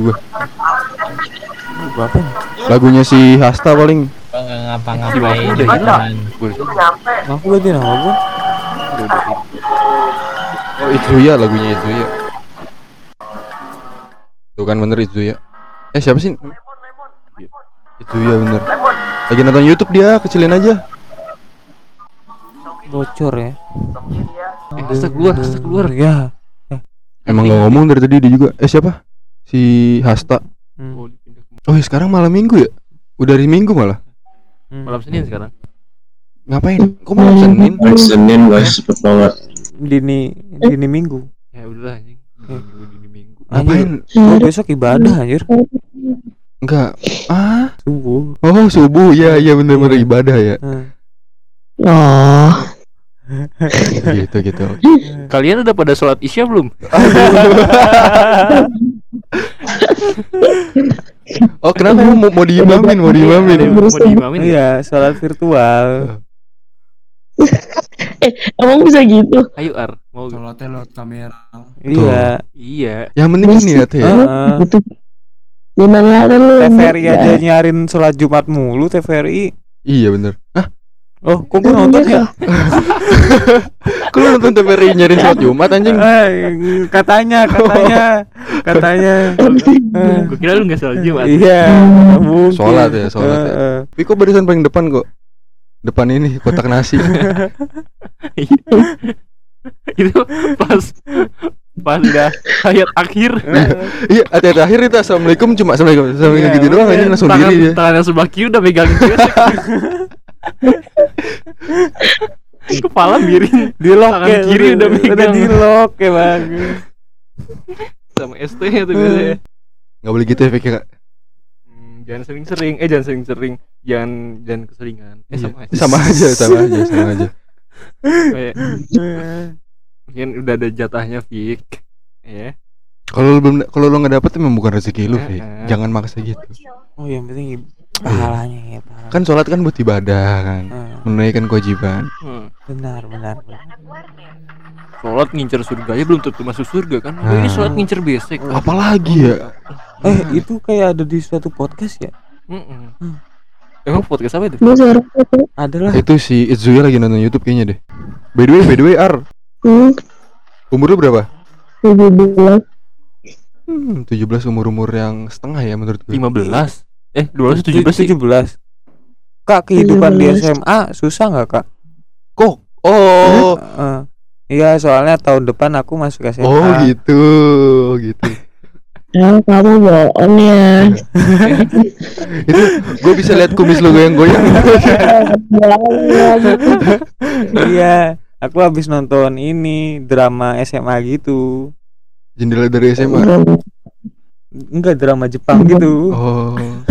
Apa nih? Lagunya si Hasta paling. Nggak ngapa-ngapain. Aku ganti nama gue. Oh Itsuya, lagunya Itsuya. Tuh kan bener Itsuya. Siapa sih? Itsuya bener. Lagi nonton YouTube dia, kecilin aja. Bocor ya. Hashtag keluar. Ya. Emang nggak ngomong dari tadi dia juga. Siapa? Si Hasta. Oh ya sekarang malam minggu ya? Udah hari Minggu malah. Malam Senin sekarang. Ngapain? Kok malam Senin? Senin guys, cepet banget. Dini minggu. Ya udah anjing. Minggu. Ngapain? Anjir, besok ibadah anjir. Enggak. Subuh. Oh subuh ya bener-bener ibadah ya. Oh. Gitu. Kalian udah pada sholat Isya belum? Oh kenapa mau diimamin? Mau diimamin? Iya, sholat virtual. Emang bisa gitu? Ayo Ar, mau Sholatnya lewat kamera. Iya. Yang penting ini ya teh. Gitu. Gimana lu? TVRI aja nyarin sholat Jumat mulu TVRI. Iya bener. Oh, kok gue nonton ya? Kok lu nonton TVRI nyariin sholat Jumat anjing? Katanya. Gue kira lu nggak sholat Jumat. Iya, mungkin. Sholat ya. Tapi kok barisan paling depan kok? Depan ini kotak nasi. Itu pas udah ayat akhir. Iya, ayat akhir itu assalamualaikum cuma assalamualaikum gitu doang aja langsung diri dia. Tangan yang sebelah kiri udah megang gesek. Kepala miring, Di-lock tangan kiri udah megang. di-lock ya bang. Sama ST tuh biasanya. Nggak boleh gitu efeknya kak. Jangan sering-sering. Jangan keseringan. Sama aja. Kayak mungkin udah ada jatahnya Fik. Ya. Kalau lu nggak dapet emang bukan rezeki lu, Fik. Jangan maksa gitu. Oh yang penting pahalanya ya. Kan sholat kan buat ibadah kan. menunaikan kewajiban. Benar. Sholat ngincer surga aja belum tentu masuk surga kan. Nah. Ini sholat ngincer basic. Apalagi ya? Itu kayak ada di suatu podcast ya? Emang podcast apa itu? Adalah. Itu si Itzuya lagi nonton YouTube kayaknya deh. By the way, Ar. Umur lu berapa? 17. 17 umur yang setengah ya menurut gue. 15. 17. Kak, kehidupan di SMA susah nggak, Kak? Kok? Iya, soalnya tahun depan aku masuk SMA. Oh gitu. Ya, kamu bohong ya. Itu gue bisa lihat kumis lu goyang-goyang. Iya, aku habis nonton ini drama SMA gitu. Jendela dari SMA. Enggak, drama Jepang gitu. Oh.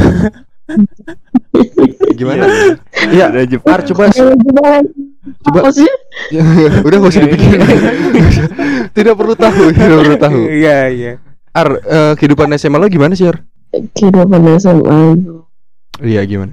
Gimana? Iya, ada Jepang. Coba. Apa sih? Udah gak usah dipikirin. Tidak perlu tahu. Iya. Ar, kehidupan SMA lo gimana sih, Ar? Kehidupan SMA. Iya, gimana?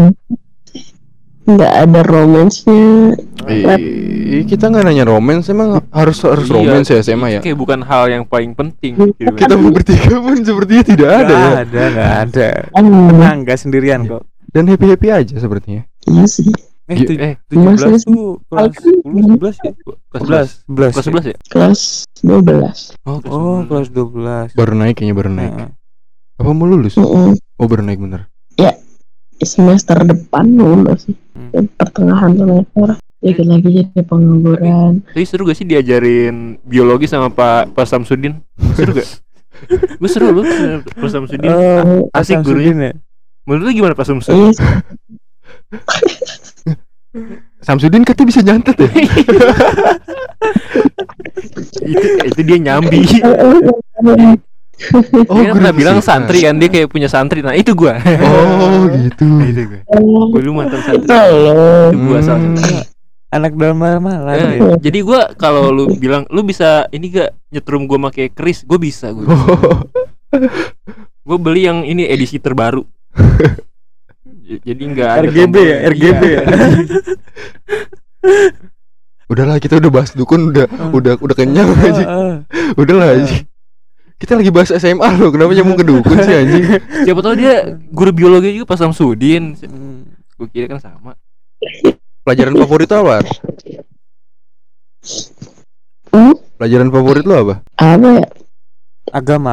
Nggak ada romansnya. Kita nggak nanya romans, emang harus romans ya SMA ya? Kayak bukan hal yang paling penting. Kita bertiga pun sepertinya tidak ada ya. Nggak ada. Tenang, nggak sendirian kok. Dan happy aja sepertinya. Iya sih. 17 tuh kelas 10, 11 ya? Kelas 11 ya? Kelas 12. Oh, kelas 12. Baru naik. Apa mau lulus? Oh, baru naik bener. Ya, semester depan lulus sih. Pertengahan semester. Ikut lagi jadi pengangguran. Tapi seru gak sih diajarin biologi sama Pak Samsudin? Seru gak? Gue seru loh Pak Samsudin. Asik gurunya. Menurut lu gimana Pak Samsudin? Samsudin katanya bisa nyantet ya? itu dia nyambi. Oh, dia pernah bilang santri kan, dia kayak punya santri. Nah itu gua. Oh gitu. Itu gue. Gue lu mantan santri. Itu gua salah satu. Anak dalam malam. Jadi gua kalau lu bilang lu bisa ini gak nyetrum gua pakai keris, gua bisa gua. Gua beli yang ini edisi terbaru. Jadi enggak ada RGB ya, RGB ya. Udahlah, kita udah bahas dukun udah kenyang aja. Udahlah aja. Kita lagi bahas SMA loh, kenapa nyambung ke dukun sih anjing? Siapa tahu dia guru biologi juga Pak Samsudin. Gue kira kan sama. Pelajaran favorit lo apa? Pelajaran favorit lo apa? Apa ya? Agama.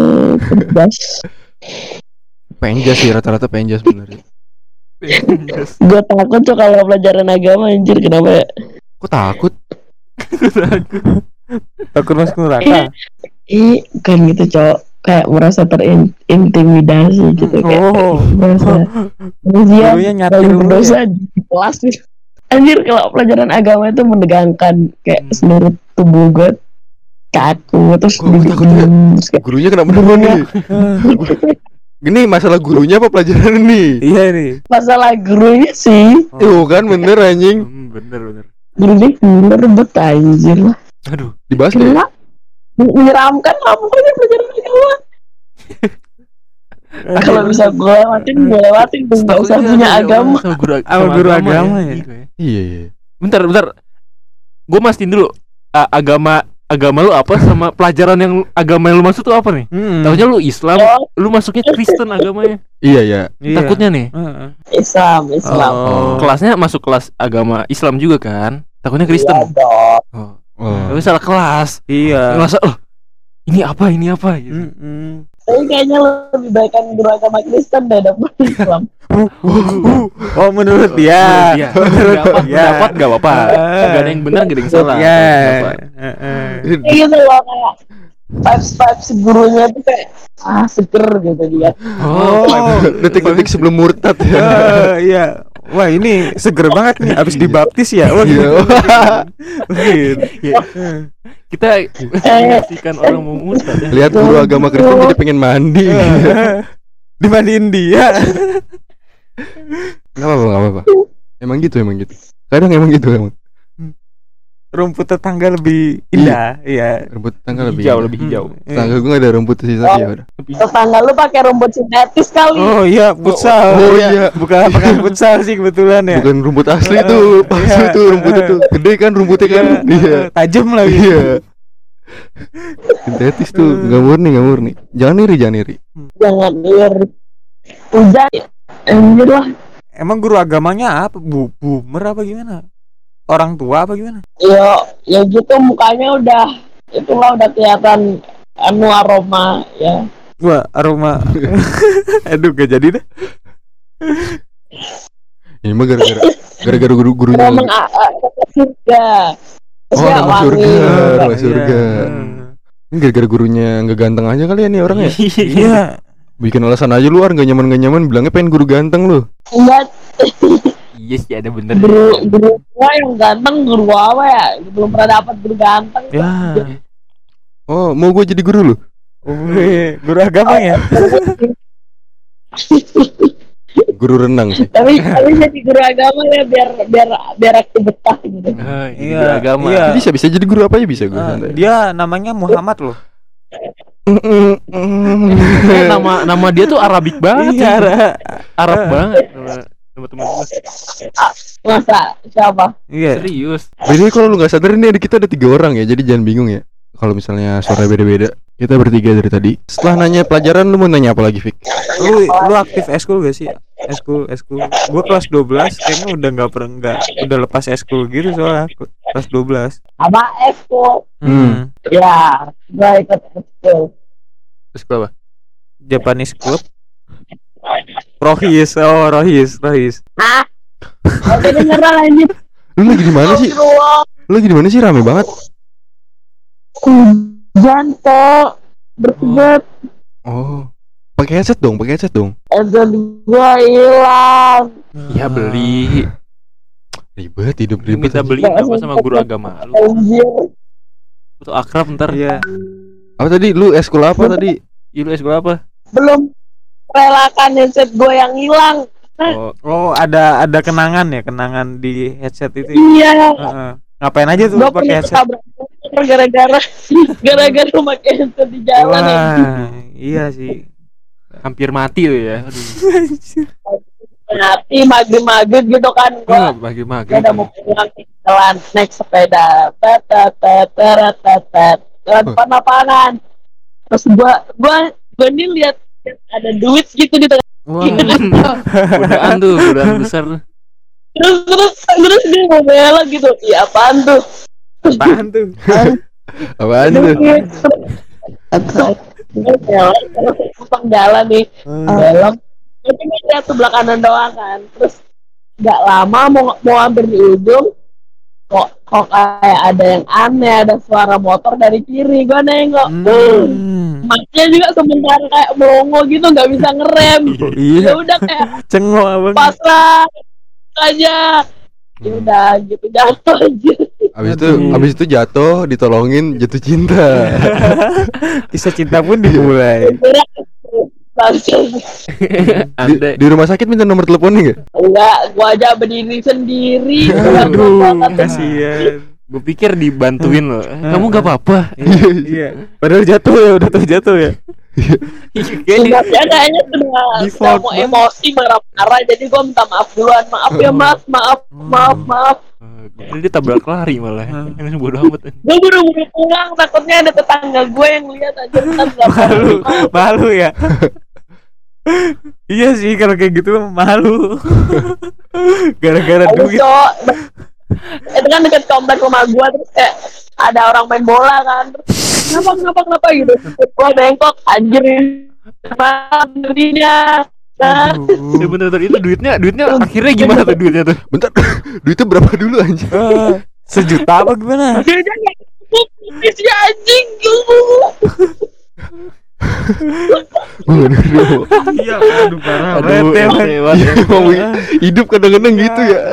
Penjas sih, rata-rata penjas bener ya. Gue takut tuh kalau pelajaran agama, anjir. Kenapa ya? Kok takut? Takut masuk neraka. Kan gitu, cowok. Kayak merasa terintimidasi gitu. Kayak merasa gurunya nyatir berdosa di kelas gitu. Anjir, kalau pelajaran agama itu menegangkan. Kayak seluruh tubuh gue kaku. Terus gurunya kenapa nih? Gini, masalah gurunya apa pelajaran nih? Iya nih. Masalah gurunya sih. Tuh kan bener anjing. Bener. Gurunya ribet anjir lah. Aduh, dibahas deh. Menyeramkan lah pokoknya pelajaran agama. Kalau bisa gue lewatin tuh nggak usah punya agama. Sama guru agama ya. Iya. Bentar. Gue mastiin dulu. Agama lu apa sama pelajaran yang agama yang lu masuk tuh apa nih? Tahunya lu Islam, lu masuknya Kristen agamanya. Iya. Takutnya nih. Islam. Kelasnya masuk kelas agama Islam juga kan? Takutnya Kristen. Tapi salah kelas. Iya. Masa ini apa gitu. Tapi kayaknya lebih baik kan guru agama Kristen daripada Islam. Oh, menurut dia. Pendapat gak apa-apa. Gak ada yang benar, gak ada yang salah. Gitu loh, kayak vibes gurunya tuh kayak seger gitu dia. Detik-detik sebelum murtad ya. Iya. Wah, ini seger banget nih, abis dibaptis ya. Wah, gitu. Kita menyaksikan orang mau murtad ya. Lihat guru agama Kristen jadi pengen mandi. Dimandiin dia. Enggak apa-apa. Emang gitu. Kadang emang gitu emang. rumput tetangga lebih indah. Iya. Rumput tetangga lebih Hijau, indah. lebih hijau. Tetangga gue gak ada rumput sih tapi ya udah. Tetangga lu pakai rumput sintetis kali. Oh iya, futsal. Oh iya. Bukan lapangan futsal sih kebetulan ya. Bukan rumput asli tuh, palsu tuh rumput itu. Gede kan rumputnya kan. Iya. Tajam lagi. Iya. Sintetis tuh, nggak murni. Jangan iri. Jangan iri. Hujan, anjir lah. Emang guru agamanya apa? Boomer apa gimana? Orang tua apa gimana? Ya gitu mukanya udah kelihatan aroma ya. Wah, aroma. Aduh, gak jadi dah. Ini mah gara-gara gurunya. Aroma surga. Oh, aroma wangi. surga. Ini gara-gara gurunya nggak ganteng aja kali ya nih orangnya. Iya. Bikin alasan aja lu nggak nyaman bilangnya pengen guru ganteng lu. Enggak. Iya sih ada bener. Guru gua yang ganteng guru apa ya? Belum pernah dapat guru ganteng. Ya. Oh, mau gue jadi guru lu? Guru agama ya? Guru renang sih. tapi jadi guru agama ya biar aku betah gitu. Guru agama. Iya. Bisa jadi guru apa aja bisa gue. Dia namanya Muhammad loh. Nama dia tuh Arabik banget. Iya, Arab banget. Nama teman gue. Masa siapa? Iya. Serius. Jadi kalau lu nggak sadar ini kita ada 3 orang ya, jadi jangan bingung ya. Kalau misalnya suara beda-beda, kita bertiga dari tadi. Setelah nanya pelajaran, lu mau nanya apa lagi, Fik? Lu aktif eskul gak sih? Eskul. Gua kelas 12 kayaknya udah lepas eskul gitu soalnya kelas 12. Apa eskul? Ya, gua ikut eskul. Eskul apa? Japanese Club. Rohis. Hah? Oke beneran lanjut. Lu lagi di mana sih? Rame banget. Hujan kok bersebat. Oh, pakai headset dong. Headset gua hilang. Ya beli. Ribet hidup. Minta beli apa sama guru agama lu? Anjir. Itu akrab ntar. Iya. Apa tadi? Lu eskul apa tadi? Iya lu eskul apa? Belum relakan headset gua yang hilang. Oh, ada kenangan di headset itu. Iya. Ngapain aja tuh Gua pakai headset? Gara-gara pakai headset di jalan. Iya sih. Hampir mati lu ya. Mati maghrib gitu kan gua. Maghrib. Udah mau pulang jalan naik sepeda. Jalan depan. Terus gua nih lihat ada duit gitu di tengah. Wah. Godaan besar. Terus dia mau belok gitu. Iya apaan tuh? Terus jalan nih. Belok. Tapi lihat tuh belakangan doang kan. Terus nggak lama mau hampir di ujung. Kok kayak ada yang aneh, ada suara motor dari kiri. Gua nengok. Masnya juga sementara kayak melongo gitu, nggak bisa ngerem. Ya udah kayak cengok abang. Pasrah aja. Ya udah gitu jatuh aja. Abis itu jatuh, ditolongin, jatuh cinta. Kisah cinta pun dimulai. Di rumah sakit minta nomor teleponnya nggak? Enggak, gua aja berdiri sendiri. Aduh, kasihan. Gue pikir dibantuin loh. Kamu gak apa-apa. Iya. Padahal udah jatuh ya. Kayaknya sudah mau emosi marah-marah, jadi gua minta maaf duluan. Maaf ya mas, maaf. Jadi dia tabrak lari malah. Ini bodo amat. Gue buru-buru pulang, takutnya ada tetangga gue yang lihat aja. Malu ya. Iya sih kalau kayak gitu malu. Gara-gara duit. Itu kan dekat komplek rumah gue, terus kayak ada orang main bola kan. Kenapa gitu. Gue bengkok, anjir. Kenapa dirinya? Ya bener itu duitnya akhirnya gimana tuh duitnya tuh? Bentar, duitnya berapa dulu anjir? 1 juta apa gimana? Si anjing. Iya, aduh parah. Hidup kadang-kadang gitu ya.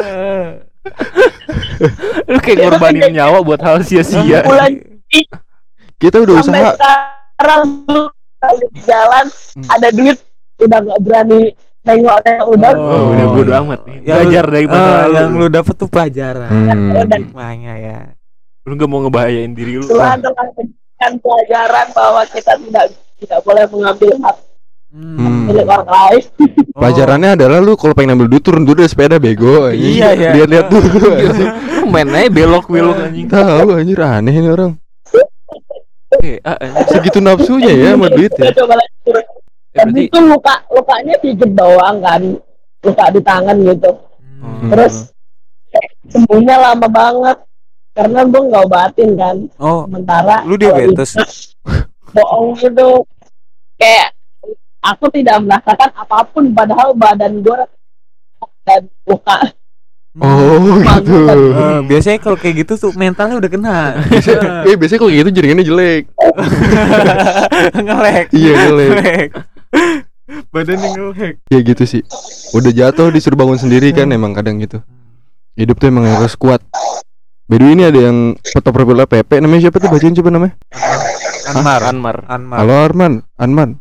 Lu kayak ngorbanin nyawa buat hal sia-sia. Kita udah usaha. Sekarang di jalan ada duit udah nggak berani nengok udah. Udah bodo amat. Belajar dari masalah yang lu dapet tuh pelajaran. Makanya ya. Lu nggak mau ngebahayain diri lu. Tuhan telah memberikan pelajaran bahwa kita tidak boleh mengambil hak milik orang lain. Pelajarannya adalah lu kalau pengen ambil duit turun dulu dari sepeda bego. Iya, iya. Lihat-lihat dulu. Main aja belok anjing. Tahu anjir aneh ini orang. Anjing. Segitu nafsunya ya sama duit ya. Coba lagi turun. Dan itu lukanya pijit doang kan, luka di tangan gitu. Terus sembuhnya lama banget karena gue nggak obatin kan. Sementara lu diabetes. Bohong gitu, kayak aku tidak merasakan apapun padahal badan gue dan luka. Oh gitu. Biasanya kalau kayak gitu tuh mentalnya udah kena. Biasanya kalau kayak gitu jaringannya jelek. Ngelek. Iya ngelek. Badannya ngelek. Ya gitu sih. Udah jatuh disuruh bangun sendiri kan emang kadang gitu. Hidup tuh emang harus kuat. Bedu ini ada yang foto profilnya Pepe, namanya siapa tuh, bacain coba namanya. Anmar. Halo Anmar.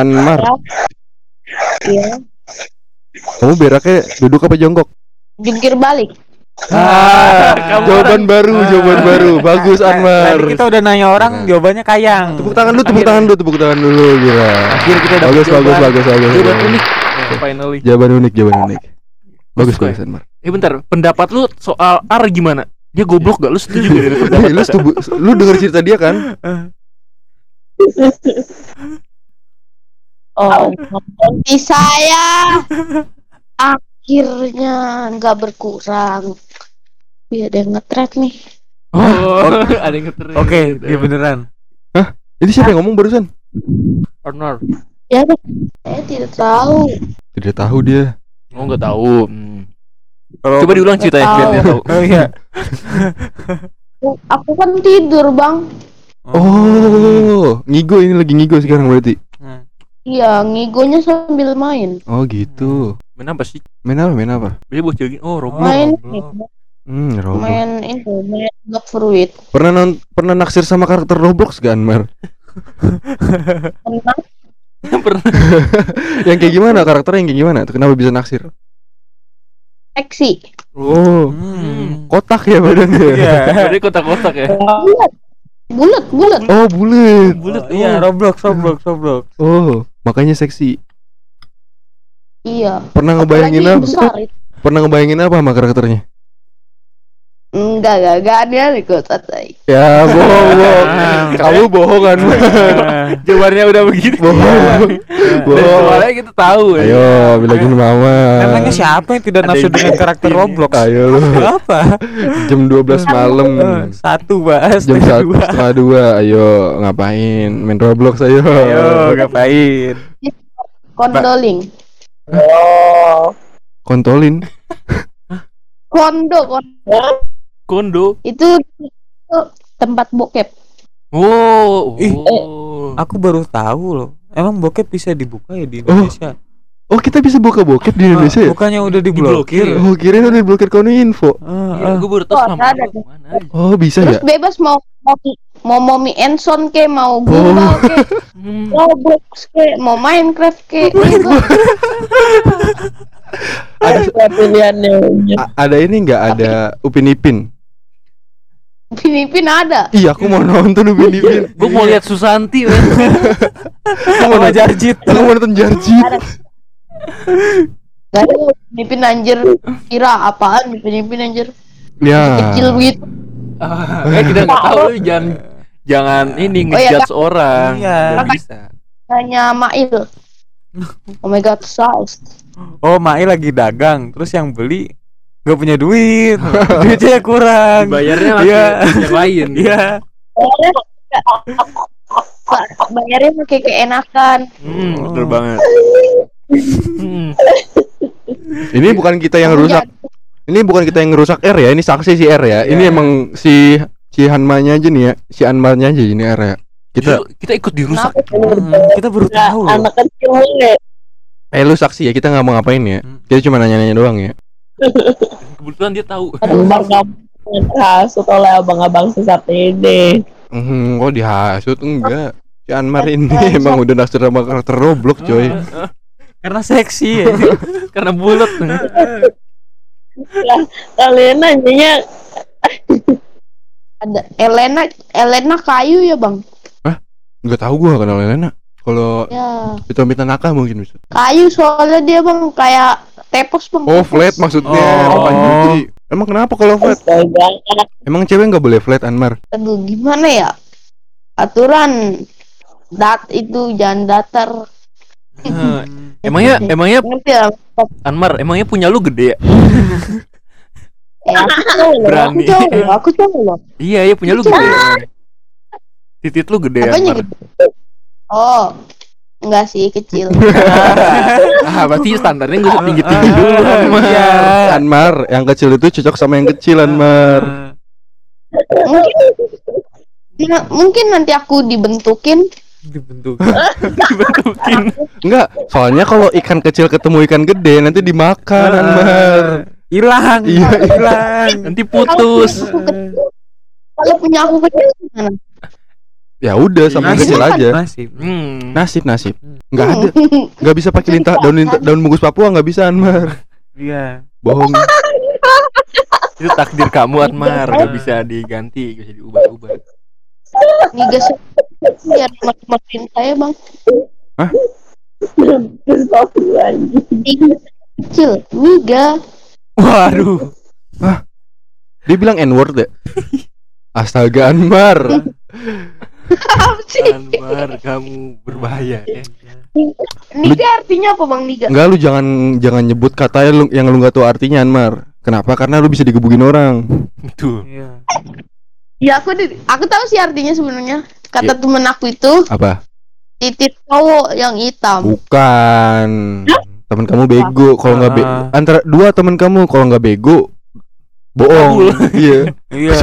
Iya. Kamu beraknya duduk apa jongkok? Jungkir balik. Jawaban baru. Bagus Anmar. Tadi kita udah nanya orang, jawabannya kayang. Tepuk tangan dulu gila. Akhirnya kita dapat bagus. Jawaban unik. Finally. Jawaban unik. Bagus Anmar. Bentar, pendapat lu soal R gimana? Dia goblok gak? Lu setuju gak dengan pendapat? Lu denger cerita dia kan? Nanti saya akhirnya nggak berkurang. Iya, ada yang nge-track nih. Ada yang nge-track. Oke, iya beneran. Hah? Ini siapa yang ngomong barusan? Arnold. Ya, saya tidak tahu. Tidak tahu dia. Oh, nggak tahu. Coba diulang ceritanya biar dia tahu. Oh iya. Aku kan tidur, Bang. Oh, ngigo ini lagi ngigo sekarang berarti. Iya, ngigonya sambil main. Oh gitu. Main apa sih? Main apa? Dia bocil gini. Oh, Roblox. Main Roblox. main Block Fruit. Pernah naksir sama karakter Roblox gak, Anmar? Pernah. Yang kayak gimana karakternya, yang kayak gimana? Kenapa bisa naksir? Seksi. Oh, kotak ya badannya. Iya, badannya kotak-kotak ya. Bulat. Oh, bulat. Iya, Roblox. Oh, makanya seksi. Iya. Pernah ngebayangin Apalagi apa? besar itu. Pernah ngebayangin apa sama karakternya? Enggak ada ikut santai. Ya, bohong. Kamu bohongan. Jawabannya udah begini. Bohong. Soalnya kita tahu. Ayo, bilangin mama. Emangnya siapa yang tidak nafsu dengan karakter Roblox? Ayo lu. Apa? Jam 12 malam. 1 bahas. Jam 1:30. Ayo, ngapain? Main Roblox ayo. Ayo, ngapain? Kondoling. Kontolin. Kondo. Itu tempat bokep. Aku baru tahu loh. Emang bokep bisa dibuka ya di Indonesia? Oh, kita bisa buka bokep di Indonesia ya? Bukannya udah diblokir? Oh, kirain udah diblokir Kominfo. Iya, gue baru tahu sama mana. Oh, bisa Terus ya? bebas mau Momi Enson ke, mau Gumball ke, Roblox ke, mau Minecraft ke. Ada pilihannya. Ada ini nggak, ada Upin Ipin? Upin ada. Iya, aku mau nonton Upin Ipin. Gue mau lihat Susanti. Aku mau nonton Jarjit. Aku mau nonton Jarjit. Gak ada Upin Ipin anjir. Kira apaan Upin Ipin anjir? Ya. Kecil begitu. Kita nggak tahu, lu jangan ini ngejudge orang. Iya. Bisa. Hanya Mail. Oh my god, size. Oh, Mai lagi dagang, terus yang beli gak punya duit, duitnya kurang. Bayarnya yang lain. Iya. Bayarnya pakai keenakan. Betul banget. Ini bukan kita yang rusak. Ini bukan kita yang ngerusak R ya, ini saksi si R ya. Ini emang si Hanmanya aja nih ya, si Anmarnya aja ini R ya. Kita ikut dirusak. Kita baru tahu. Anak kecil nih. Lu saksi ya, kita nggak mau ngapain ya. Kita cuma nanya-nanya doang ya. Kebetulan dia tahu. Abang dihasut oleh abang-abang sesat ini. Kok dihasut? Enggak. Si Anmar ini emang udah naksir sama karakter Roblox coy. Karena seksi ya. Karena bulat. Kalian nanyanya Ada Elena kayu ya bang? Nggak tahu gua kenal Elena. Kalau Ya Vitamin Tanaka mungkin bisa. kayu soalnya dia bang kayak tepos bang. Oh, tepos. flat maksudnya. Oh. Panjang. Emang kenapa kalau flat? Emang cewek nggak boleh flat, Anmar? Aduh gimana ya? Aturan itu jangan datar. Emangnya Ngerti ya? Anmar, emangnya punya lu gede ya? Aku cowok loh, Berani. aku cowok loh. Iya, punya lu gede. Titit lu gede Apanya Anmar. gitu? Oh, enggak sih kecil. Berarti standarnya gue tinggi-tinggi dulu Anmar. Anmar, yang kecil itu cocok sama yang kecil, Anmar. Mungkin nanti aku dibentukin. Dibentukin. Enggak, soalnya kalau ikan kecil ketemu ikan gede nanti dimakan, Anmar. Hilang. Iya, hilang. Nanti putus. Kalau punya aku kecil gimana? Ya udah sama yang kecil aja. Nasib. Enggak ada. Enggak bisa pakai daun bungkus Papua, enggak bisa, Anmar. Iya. Bohong. Itu takdir kamu Anmar, gak bisa diganti, gak bisa diubah-ubah. Nigas biar makin saya bang. Hah? Kecil, niga. Waduh. Hah? Dia bilang N-word ya? Astaga, Anmar. Anmar, kamu berbahaya. Niga artinya apa bang Niga? Enggak, lu jangan nyebut kata yang lu enggak tahu artinya, Anmar. Kenapa? Karena lu bisa digebugin orang. Betul. Ya aku tahu sih artinya sebenarnya. Kata temen aku itu Apa? titik cowok yang hitam. Bukan. Temen kamu bego. Kalau nggak antara dua temen kamu, kalau nggak bego, bohong. Iya. Iya.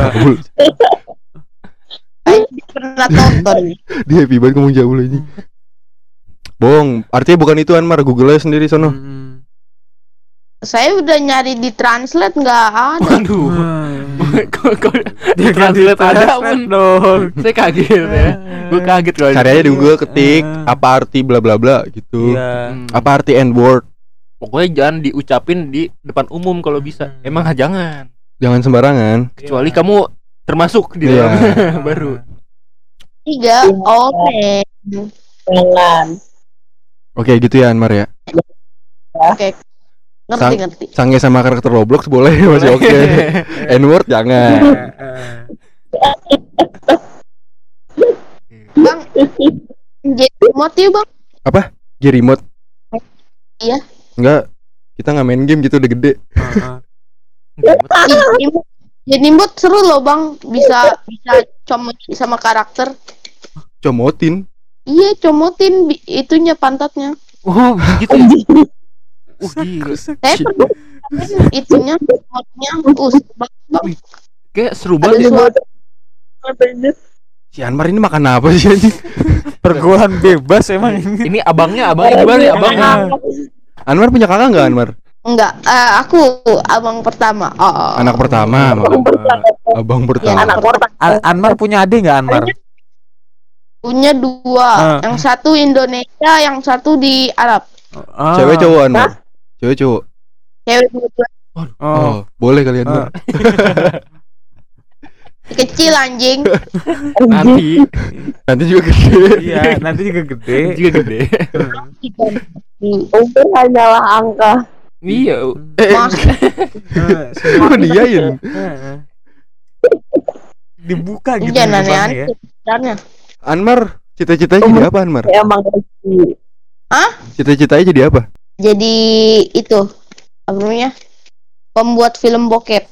Pernah tonton. Dia happy banget ngomong jauh ini. Bohong. Artinya bukan itu, Anmar. Google aja sendiri sono. Saya udah nyari di translate nggak ada. Waduh. Kok di translate ada pun dong. Saya kaget ya. Gue kaget kalau Cari aja di Google, ketik apa arti bla bla bla gitu. Apa arti N-word. Pokoknya jangan diucapin di depan umum kalau bisa. Emang jangan. Jangan sembarangan. Kecuali kamu termasuk di dalam baru. Tiga oke. Jangan. Oke, gitu ya, Anmar ya. Oke. Ngerti. Sange sama karakter Roblox boleh, masih oke. N-word jangan. Bang, jadi remote ya bang? Apa? G-remote? Iya. Enggak. Kita nggak main game gitu, udah gede. Jadi bot seru loh bang, bisa comot sama karakter. Comotin. Iya, comotin itunya pantatnya. Oh, gitu ya. Gila. Saya pernah itunya modnya bang. Kayak seru banget. Si Anmar ini makan apa sih anjing? Pergaulan bebas emang. Ini abangnya gimana nih abangnya? Anmar punya kakak nggak, Anmar? Enggak, aku abang pertama. Anak pertama. Abang pertama. Anmar punya adik nggak, Anmar? Punya dua. Yang satu Indonesia, yang satu di Arab. Cewek cowok, Anmar? Cewek cowok. Cewek dua. Oh, boleh kalian, Anmar. Kecil anjing. Nanti juga gede. Iya, nanti juga gede. Umur hanyalah angka. Iya. Kok diain? Dibuka gitu. Jangan aneh-aneh. Anmar, cita-citanya jadi apa, Anmar? Emang kecil. Hah? Cita-citanya jadi apa? Jadi itu apa namanya? Pembuat film bokep.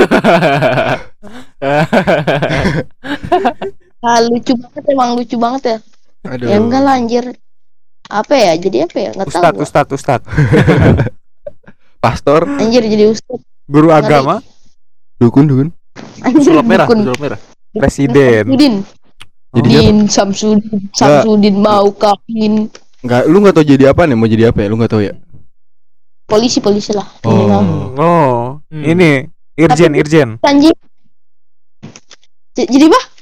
Lucu banget, emang lucu banget ya. Aduh. Ya enggak lah anjir. Apa ya? Jadi apa ya? Enggak tahu. Ustad. Pastor. Anjir jadi ustad. Guru agama. Dukun. Anjir Sulap merah. Presiden. Jadi Samsudin mau kawin. Enggak, lu enggak tahu jadi apa nih? Mau jadi apa ya? Lu enggak tahu ya? Polisi lah. Ini Irjen. Anjir. Jadi apa?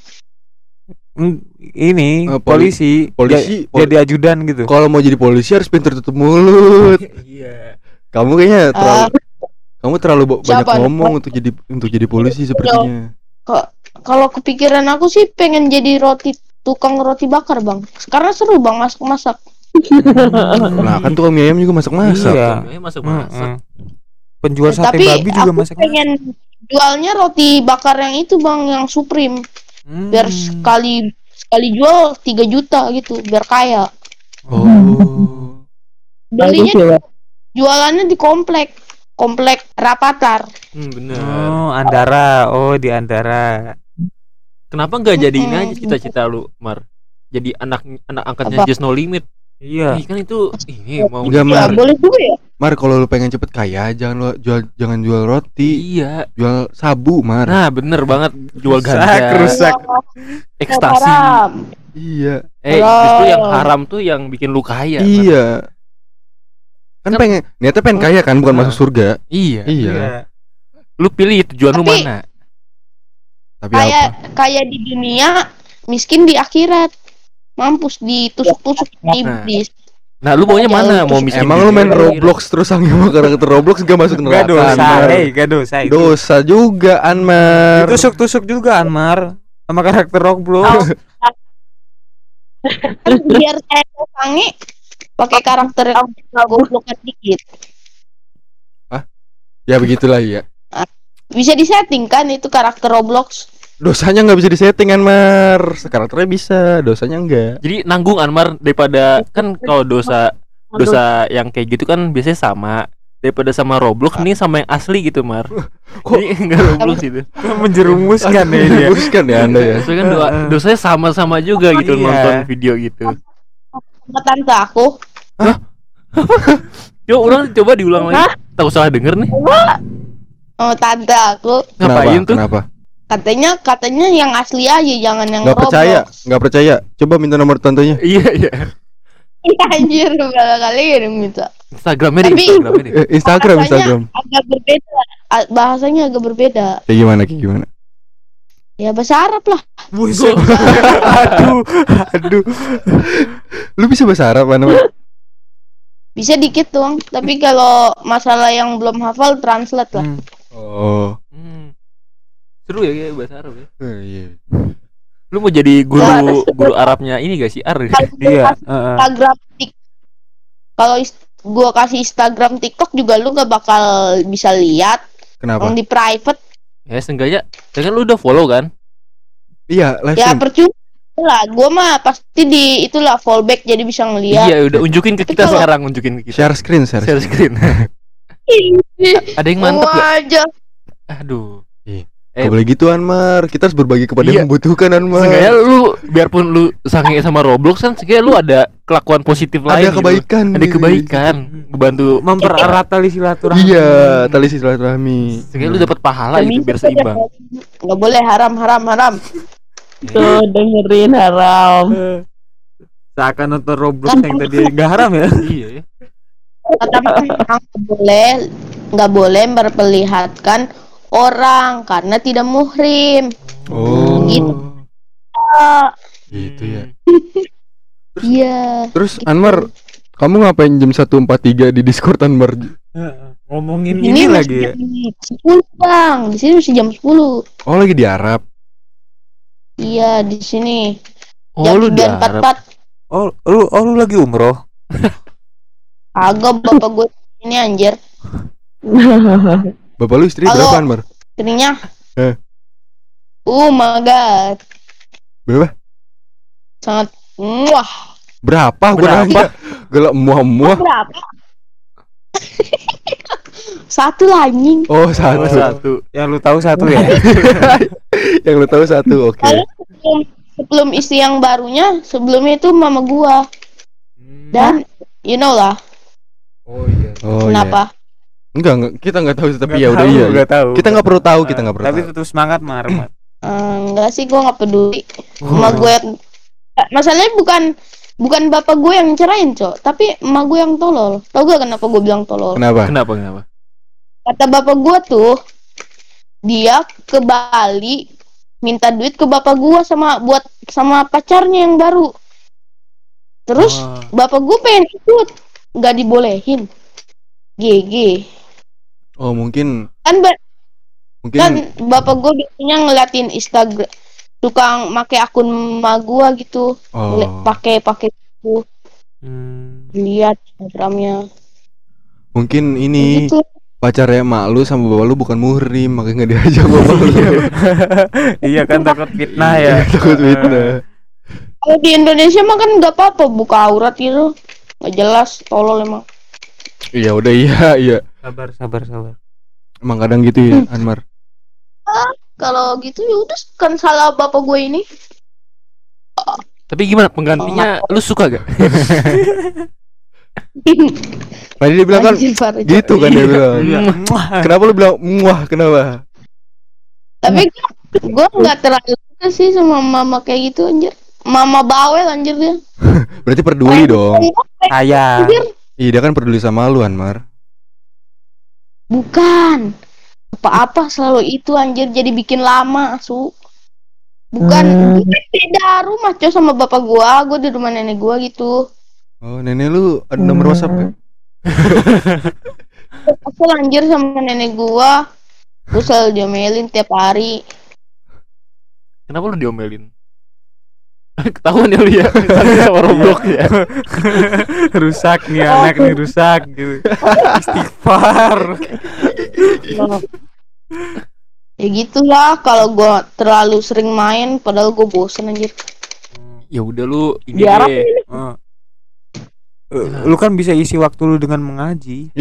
Ini polisi. Jadi ajudan gitu. Kalau mau jadi polisi harus pintar tutup mulut. Iya. Kamu kayaknya terlalu banyak ngomong untuk jadi polisi sepertinya. kalau kepikiran aku sih pengen jadi tukang roti bakar bang. Karena seru bang masak-masak. Nah kan tukang mie ayam juga masak-masak. Iya. Masak-masak. Penjual sate Tapi babi juga aku masak-masak. pengen jualnya roti bakar yang itu bang, yang Supreme. Biar sekali jual 3 juta gitu, biar kaya. Oh. Belinya jualannya di komplek Rapatar. Bener. Oh, Andara. Oh, di Andara. Kenapa nggak jadi ini aja cita-cita lu, Mar? Jadi anak angkatnya Apa? Just No Limit. Iya. Kan itu ini mau Enggak, Ya Mar. boleh juga ya. Mar, kalau lu pengen cepet kaya, jangan jual roti. Iya. Jual sabu, Mar. Nah, bener banget, jual Rusak, ganja. rusak. Ekstasi. Haram. Iya. Justru yang haram tuh yang bikin lu kaya. Mar. Iya. Kan niatnya pengen kaya kan, bukan masuk surga. Iya. Iya. Lu pilih tujuan lu Tapi- mana? Tapi apa? Kaya di dunia, miskin di akhirat. Mampus ditusuk-tusuk iblis. Nah, lu maunya mana? Mau miskin? Emang lu main Roblox terus sange sama karakter Roblox gak masuk Gak neraka? dosa, Anmar? gak dosa itu. Dosa juga, Anmar. Tusuk-tusuk juga Anmar sama karakter Roblox. Biar saya sange pakai karakter yang goblokan dikit. Ya begitulah ya. Bisa disetting kan itu karakter Roblox. Dosanya nggak bisa disetting, Anmar. Karakternya bisa, dosanya enggak. Jadi nanggung Anmar daripada kan kalau dosa yang kayak gitu kan biasanya sama. Daripada sama Roblox nih sama yang asli gitu, Mar. Kok enggak Roblox itu. Menjerumuskan ya dia. Menjerumuskan ya Anda ya. Soalnya kan dosanya sama-sama juga gitu nonton video gitu. Sama tante aku. Coba diulang lagi. Tahu salah denger nih. Oh, tante aku. Ngapain tuh? Kenapa? Katanya yang asli aja, jangan yang Nggak Roblox. nggak percaya. Coba minta nomor tantenya. Iya. Iya anjir, berapa kali minta. Instagramnya Tapi Instagram. Agak berbeda. Bahasanya agak berbeda. Kayak gimana? Ya bahasa Arab lah. Buset. Aduh. Lu bisa bahasa Arab, Anmar? Bisa dikit doang, tapi kalau masalah yang belum hafal translate lah. Oh. Seru ya kayak bahasa Arab ya. Iya. Lu mau jadi guru Arabnya ini gak sih? Iya. Instagram kalau gua kasih Instagram TikTok juga lu gak bakal bisa lihat. Kenapa? Yang di private. Ya seenggaknya kan lu udah follow kan? Iya, live Ya stream. percuma lah, gua mah pasti di itulah fallback jadi bisa ngeliat. Iya, udah unjukin ke kita sekarang, unjukin ke kita. Share screen. Ada yang mantep gak? aja. Aduh. Gak boleh gitu, Anmar. Kita harus berbagi kepada yang membutuhkan, Anmar. Seenggaknya lu biarpun lu sange sama Roblox kan seenggaknya lu ada kelakuan positif lain. Ada kebaikan. Ada kebaikan. Ngebantu mempererat tali silaturahmi. Iya, tali silaturahmi. Seenggaknya lu dapat pahala gitu biar seimbang. Nggak boleh haram. Tuh dengerin haram. Seakan nonton Roblox yang tadi nggak haram ya? Iya ya. Tapi nggak boleh memperlihatkan orang karena tidak muhrim. Oh. Gitu. Gitu ya. Iya. Terus Anmar, kamu ngapain jam 1.43 di Discord, Anmar? Ngomongin Ini ini masih lagi ya. jam 10 bang. Di sini masih jam 10. Oh, lagi di Arab. Iya di sini. Oh, Jam lu di Arab. 9.44. Lu lagi umroh. Agak bapak gue ini anjir. Bapak lu istri Halo. berapa, Anmar? Istrinya. My god. Berapa? Sangat muah. Berapa? Gue nanya. Gelap muah. Berapa? Satu lah anjing. Oh, satu. Yang lu tahu satu ya. Yang lu tahu satu, oke. Lalu sebelum istri yang barunya, sebelumnya itu mama gua. Dan you know lah. Oh iya. Kenapa? Enggak, kita nggak tahu tapi Nggak ya udah tahu, iya. nggak tahu. Kita nggak perlu tahu, kita nggak perlu Tapi tahu. tetap semangat Mar. Enggak sih, gua nggak peduli. Emak gue masalahnya bukan bapak gue yang cerain, Cok, tapi emak gue yang tolol. Tahu gak kenapa gue bilang tolol? Kenapa? Kata bapak gue tuh, dia ke Bali minta duit ke bapak gue sama pacarnya yang baru. Terus bapak gue pengen ikut, nggak dibolehin. GG. Oh, mungkin Kan Mungkin Kan bapak gue biasanya ngeliatin Instagram, suka make akun emak gua gitu, Oh. pakai gitu, lihat Instagramnya. mungkin ini Gitu. pacarnya emak lu sama bapak lu bukan muhrim, makanya nggak diajak bapak lu. Iya kan takut fitnah ya. Takut fitnah. Kalau di Indonesia mah kan nggak apa-apa buka aurat gitu, nggak jelas, tolol emang. Iya udah iya. Sabar. Emang kadang gitu ya, Anmar. Kalau gitu ya udah kan salah bapak gue ini. Tapi gimana penggantinya? Lu suka gak? Tadi dia bilang kan Anjir, parah, gitu kan dia bilang. Iya. Kenapa lu bilang muah? Kenapa? Tapi gue nggak terlalu suka sih sama mama kayak gitu anjir. Mama bawel anjir dia. Berarti peduli dong. Sayang. Iya dia kan peduli sama lu, Anmar. Bukan. Apa-apa selalu itu anjir, jadi bikin lama asu. Bukan beda rumah cowok sama bapak gua di rumah nenek gua gitu. Oh, nenek lu ada nomor WhatsApp ya? Aku anjir sama nenek gua. Gua selalu diomelin tiap hari. Kenapa lu diomelin? Ketahuan ya lu ya, sama Roblox ya. Rusak nih anak nih, rusak gitu. Istighfar. Ya gitulah, kalau gua terlalu sering main padahal gua bosen anjir. Ya udah lu ini Biar deh. Lu kan bisa isi waktu lu dengan mengaji.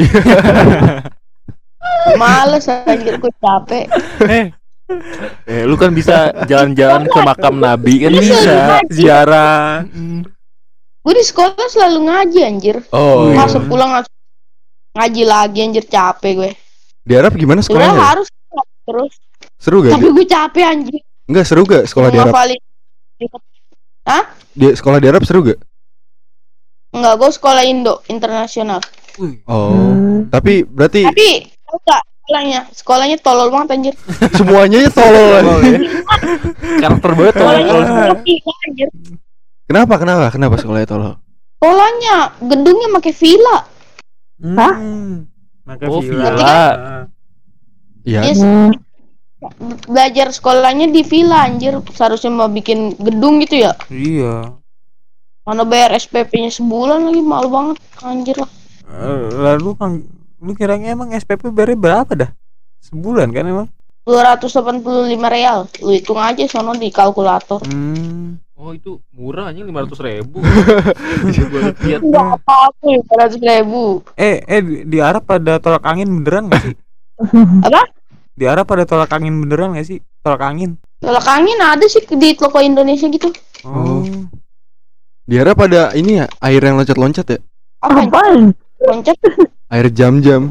Males anjir, gua capek. Lu kan bisa jalan-jalan ke makam Nabi kan Bisa bisa. ngaji. Ziarah. Gua di sekolah selalu ngaji anjir. Oh. Masuk pulang langsung ngaji lagi anjir, capek gue. Di Arab gimana Sebenarnya sekolahnya? harus terus. Seru gak? Tapi gue capek anjir. Enggak seru gak sekolah di Arab? Ngafalin. Hah? Di sekolah di Arab seru gak? Enggak, gue sekolah Indo internasional. Oh. Tapi berarti Tapi tau gak sekolahnya tolol banget anjir. semuanya ya tolol ya. Karakter banget Sekolahnya tolol. sekolah villa, anjir. Kenapa sekolahnya tolol? Sekolahnya gedungnya pakai villa. Hah? Maka Oh, villa. villa. Iya. Yes. Belajar sekolahnya di villa anjir. Seharusnya mau bikin gedung gitu ya. Iya. Mana bayar SPP-nya sebulan lagi, malu banget anjir lah. Lalu kan lu kiranya emang SPP bayarnya berapa dah? Sebulan kan emang? 285 real. Lu hitung aja sono di kalkulator. Oh itu murah aja 500.000. Gua lihat. Enggak apa-apa ya, 400.000. Di Arab pada tolak angin beneran gak sih? Apa? Di Arab pada tolak angin beneran gak sih? Tolak angin. Tolak angin ada sih di toko Indonesia gitu. Oh. Di Arab ada ini ya, air yang loncat-loncat ya? Apaan? Loncat. Air jam-jam.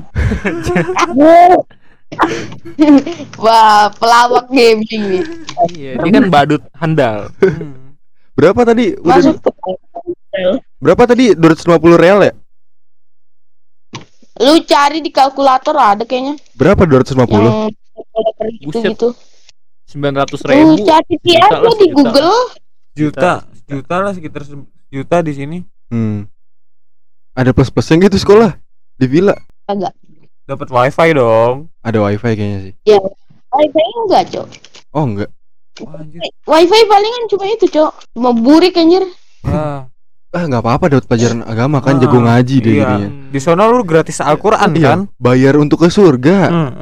Wah, pelawak gaming nih. Iya, dia kan badut handal. Berapa tadi? Masuk ke Berapa tadi? 250 real ya? lu cari di kalkulator ada kayaknya Berapa 250? yang gitu Buset. gitu. 900.000. Lu cari Juta aja lah, di sejuta. Google. Juta lah, sekitar juta di sini. Ada plus-plusnya gitu sekolah di villa. Agak. Dapat wifi dong. Ada wifi kayaknya sih. Ya, wifi enggak, Cok. Oh enggak. Wifi palingan cuma itu, Cok. Cuma burik anjir. Nggak apa-apa dapat pelajaran agama kan, jago ngaji deh Iya. jadinya. Di sana lu gratis Al-Qur'an Iya, kan? bayar untuk ke surga.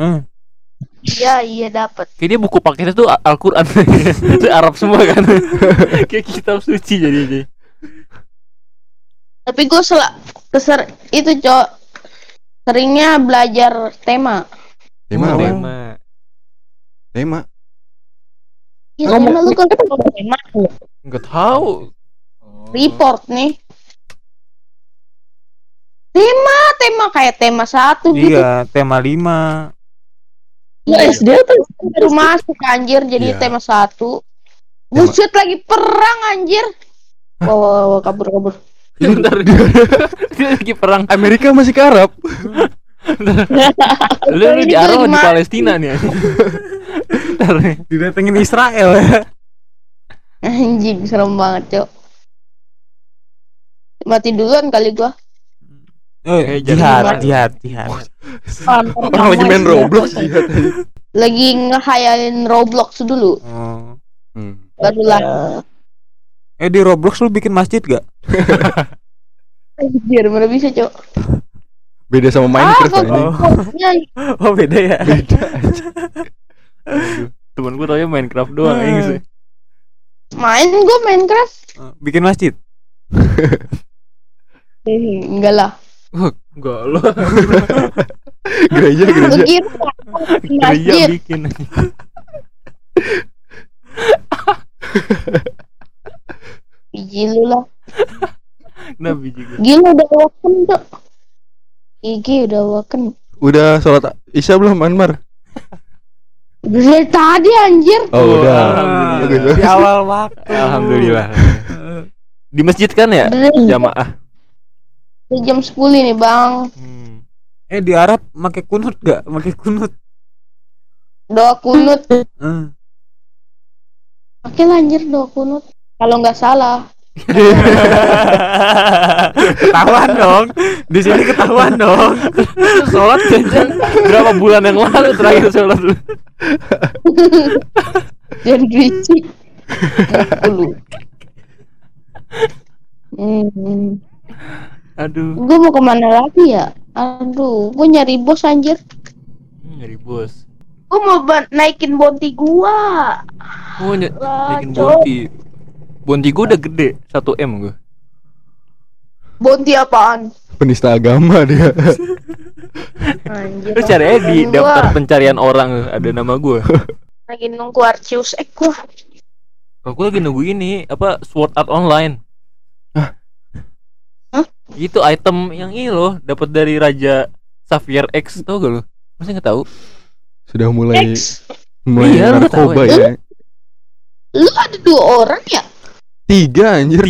Iya, dapat. Kayak dia buku paketnya tuh Al-Qur'an. Itu Arab semua kan. Kayak kitab suci jadi. Tapi gue itu, Cok. Seringnya belajar tema. Tema apa? Tema. Ya, tema lu kan tema. Enggak tahu. Report nih. Tema kayak tema 1 gitu. Iya, tema 5. Lu SD tuh baru masuk anjir, jadi Iya. tema 1. Buset lagi perang anjir. Wah, kabur. Bentar. Dia lagi perang. Amerika masih ke Arab. Lu di Arab di Palestina nih. Bentar nih. Didatengin Israel ya. Anjing, serem banget, Cok. Mati duluan kali gua. Jihad. Orang lagi main Roblox jihad. lagi ngehayalin Roblox dulu. Oh. Barulah. Di Roblox lu bikin masjid gak? Anjir, mana bisa, Cok? Beda sama Minecraft ini. Oh, beda ya. Beda. Temen gue taunya Minecraft doang sih. Main gue Minecraft. Bikin masjid. Enggak lah. Enggak lah. Gereja. Gereja bikin. Biji lu lah. Nah biji gue. Gila udah waken, Cok. IG udah waken. Udah sholat Isya belum, Anmar? Dari tadi anjir. Oh, udah. Di awal waktu. Alhamdulillah. Di masjid kan ya? Jamaah. Jam 10 nih, Bang. Di Arab pakai kunut gak? Pakai kunut. Doa kunut. Oke lah anjir, doa kunut. Kalau nggak salah. Ketahuan dong. Di sini ketahuan dong. Sholat jajan berapa bulan yang lalu terakhir sholat lu? Jangan berisik. 10. Aduh. Gue mau kemana lagi ya? Aduh, gue nyari bos anjir. Nyari bos. Gue mau naikin bonti gua. Oh, naikin bonti. Bonti gue udah gede, 1M gue. Bonti apaan? Penista agama dia. Anjir. Lu cari aja di daftar pencarian orang ada nama gue. Lagi nunggu Arceus gua. Aku lagi nunggu ini apa Sword Art Online. Hah? Itu item yang ini loh, dapat dari Raja Xavier X, tau gak lu? Masa nggak tahu? Sudah mulai Iya, narkoba ya. Lu ada 2 orang ya? 3 anjir.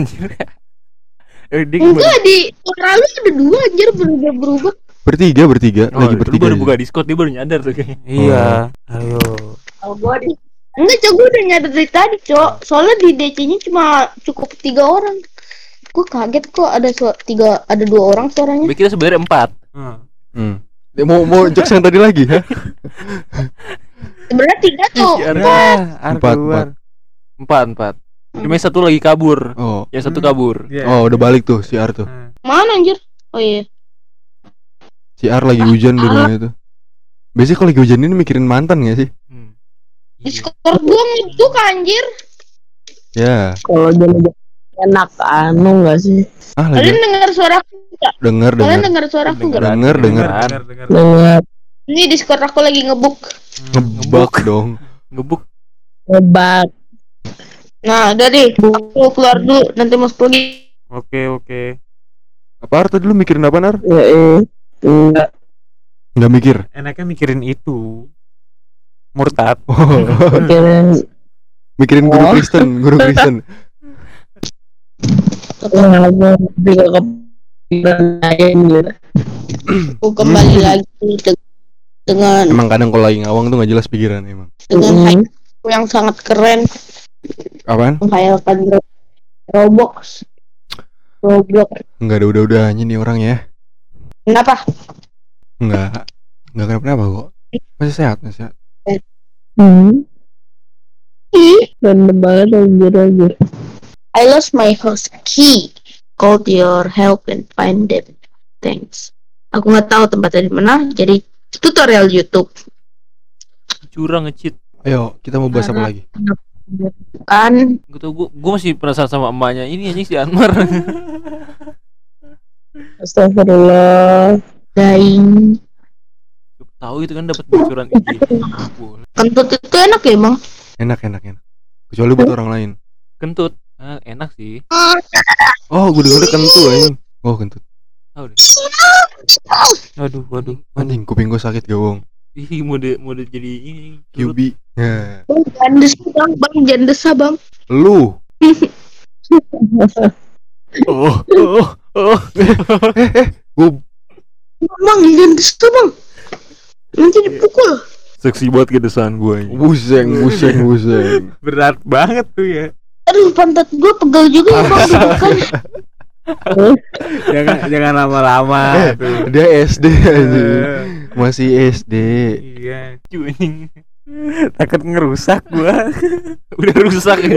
Enggak, di orang lu ada 2 anjir, berubah. Bertiga lagi bertiga. Baru buka Discord dia baru nyadar tuh kayaknya. Iya. Ayo. Kalau gua enggak, Cok, gua udah nyadar dari tadi, Cok. Soalnya di DC-nya cuma cukup 3 orang. Gua kaget kok ada 2 orang suaranya. Kita sebenarnya 4. Dia mau jokes yang tadi lagi, ha? Sebenarnya 3 tuh. 4. Cuma satu lagi kabur. Oh. Yang satu kabur. Oh, udah balik tuh si Ar tuh. Mana anjir? Oh iya. Si Ar lagi hujan di rumah itu. Biasanya kalau lagi hujan ini mikirin mantan gak sih? Discord gua ngeduk anjir. Ya. Kalau jalan enak enggak sih? Kalian dengar suaraku enggak? Kalian dengar suaraku enggak? Dengar. Ini Discord aku lagi ngebuk. Ngebak dong. Ngebuk. Nah, udah deh. Aku keluar dulu, nanti mau pergi. Oke. Apa Ar tadi lu mikirin apa, Nar? Enggak mikir. Enaknya mikirin itu. Murtad. Mikirin guru Kristen. Aku kembali lagi dengan Emang kadang kalau lagi ngawang tuh nggak jelas pikiran emang. Dengan yang sangat keren. Apaan? Menghayalkan Roblox. Enggak ada udah-udahnya nih orang ya. Kenapa? Enggak kenapa-napa kok. Masih sehat. Random banget anjir. I lost my host key. Called your help and find them. Thanks. Aku nggak tahu tempatnya di mana. Jadi tutorial YouTube. Curang nge-cheat. Ayo kita mau bahas apa lagi? Kan gue masih penasaran sama emaknya ini anjing si Anmar. Astagfirullah. Daing. Tahu itu kan dapat bocoran IG. Kentut itu enak ya, Bang? Enak. Kecuali buat orang lain. Kentut. Enak sih. Oh, gue denger kentut anjing. Oh, kentut. Tahu deh. Waduh. Anjing, kuping gue sakit gawang. Ih, mode jadi ini. QB. Ya. Jangan desa, Bang. Lu. Oh. Bang, jangan desa, Bang. Nanti dipukul. Seksi banget kedesan gue ini. Buseng. Berat banget tuh ya. Aduh, pantat gue pegel juga ya, Bang. Jangan lama-lama tuh. Dia SD aja. Masih SD. Iya. Cuning. Takut ngerusak gua. Udah rusak ya.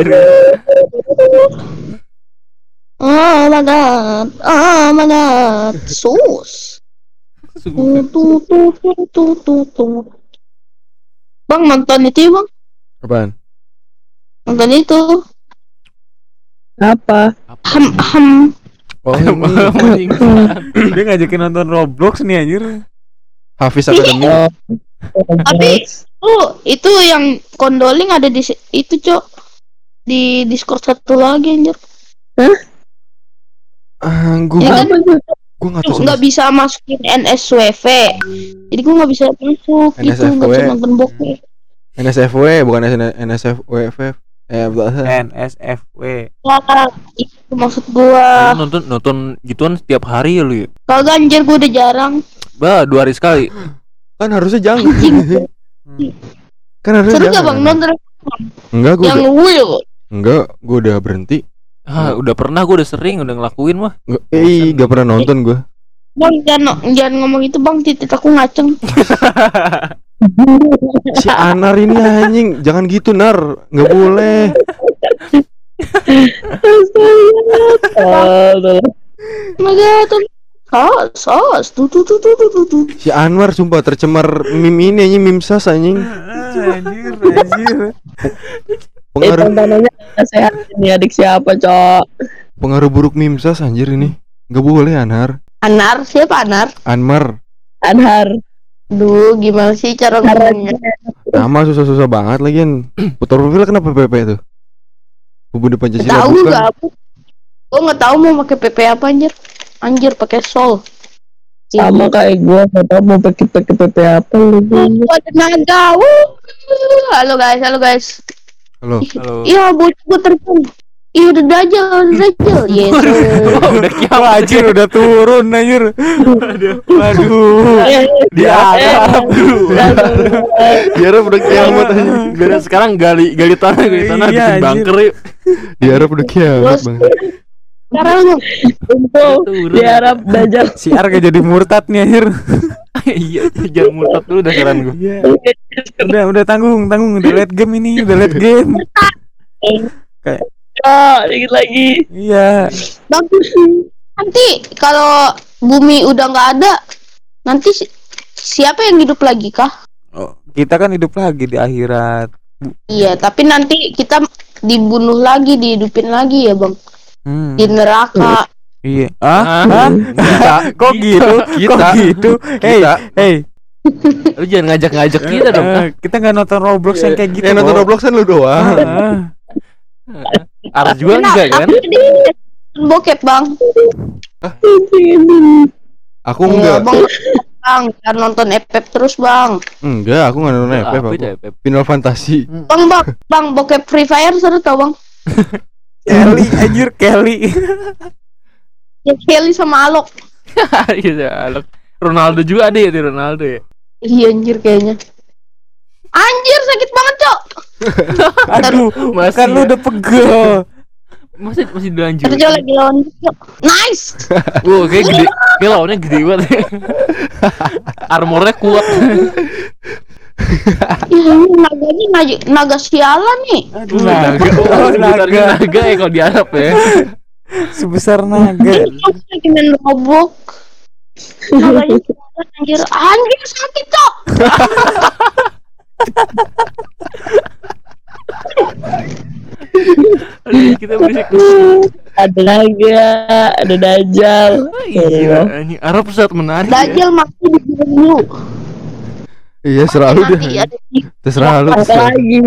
Oh my god, sus. Tuh. Bang nonton itu ya, Bang? Apaan? Nonton itu. Apa? Oh, ini Dia ngajakin nonton Roblox nih anjir. Hafiz Academy. Tapi itu yang kondoling ada di itu, Cok. Di Discord satu lagi anjir. Gue Ya kan? nggak tahu. Nggak bisa masukin NSWV. Jadi gue nggak bisa masuk gitu, NSFW. nggak bisa nonton bokep. NSFW bukan NSFWF. NSFW. Wah, itu maksud gua. Nonton gituan setiap hari ya lu ya? Kagak anjir, gua udah jarang. Bah, 2 hari sekali. Kan harusnya jangan. Kan harusnya Seru gak jangan. Bang nonton Enggak, gue yang udah, Will? enggak, gue udah berhenti. Udah pernah, gue udah sering, udah ngelakuin mah. Gak pernah nonton gue. Bang jangan ngomong itu Bang, titik aku ngaceng. Si Anar ini anjing, jangan gitu Nar, nggak boleh. Sos, tuh. Si Anwar sumpah tercemar meme ini anjing, meme sas anjing. Anjir. Pengaruh Tontonannya sehat ini adik siapa, Cok? pengaruh buruk meme sas anjir ini. Nggak boleh Anar. Anar, siapa Anar? Anmar. Anhar. Duh, gimana sih cara ngomongnya? Nama susah-susah banget lagian. Putar profil kenapa PP itu? Pemuda Pancasila Tahu bukan? gak aku? Gua nggak tahu mau pakai PP apa anjir. Anjir pakai sol. Sama kayak gue, gak tau mau pakai PP apa lu. Ada naga. Halo guys. Halo. Iya, gue terbang. Iya udah dajal. Yes. Udah kiamat. Anjir udah turun anjir. Waduh. Dia atap dulu. Diharap udah kiamat anjing. Biar sekarang gali tanah Iya, bikin anjir. bunker yuk. Diharap udah kiamat bang. Sekarang Diharap dajal. Si Ar kayak jadi murtad nih anjir. Iya, jangan murtad dulu dah saran gue. Udah tanggung, udah late game ini, udah late game. Kayak Dikit lagi. iya. bagus. Nanti kalau bumi udah nggak ada, nanti siapa yang hidup lagi kah? Oh, kita kan hidup lagi di akhirat. Iya, tapi nanti kita dibunuh lagi, dihidupin lagi ya bang, di neraka. Iya. Kita. Kok gitu? Kok gitu? Hey. Lu jangan ngajak kita dong. Kita nggak nonton Roblox yang kayak gitu. Yang nonton Roblox kan lu doang. Arah juga enggak kan? Bokep bang. Aku enggak. Bang, jangan nonton FF terus bang. Enggak, aku enggak nonton FF Apa aku. itu FF? Final Fantasy. Bang, bokep Free Fire seru tau bang? Kelly, anjir Kelly. Ya Kelly sama Alok. Iya, Alok. Ronaldo juga ada ya, di Ronaldo ya. Iya anjir kayaknya. Anjir sakit banget cok. Aduh, Masih kan lu ya? udah pegel. Masih dilanjut. Terus lagi lawan Cok. Nice. Wow, kayak gede. Kayak lawannya gede banget. Armornya kuat. Ini naganya naga sialan nih. Aduh, Naga. Oh, naga ya kalau di Arab ya. sebesar naga. Lagi main Roblox. Naganya sialan anjir. Anjir sakit cok. Aduh, kita berisik. Ada naga, ada dajal. Iya, ini Arab saat menarik. Dajal mati di dulu. Iya, selalu Nanti deh. ada di Terserah lu. Apa lagi?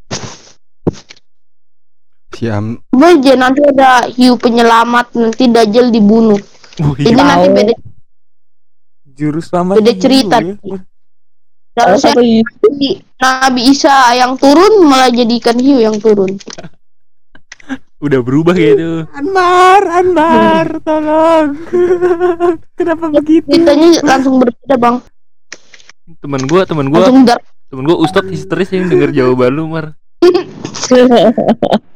Siam. Baja nanti ada hiu penyelamat, nanti Dajjal dibunuh. Jadi nanti beda Juru selamat. cerita. Harusnya Nabi Isa yang turun malah jadikan hiu yang turun. Udah berubah gitu. Anmar, tolong. Kenapa begitu? Ceritanya langsung berbeda bang. Temen gua Langsung dark. Ustadz histeris yang denger jawaban lu, Mar.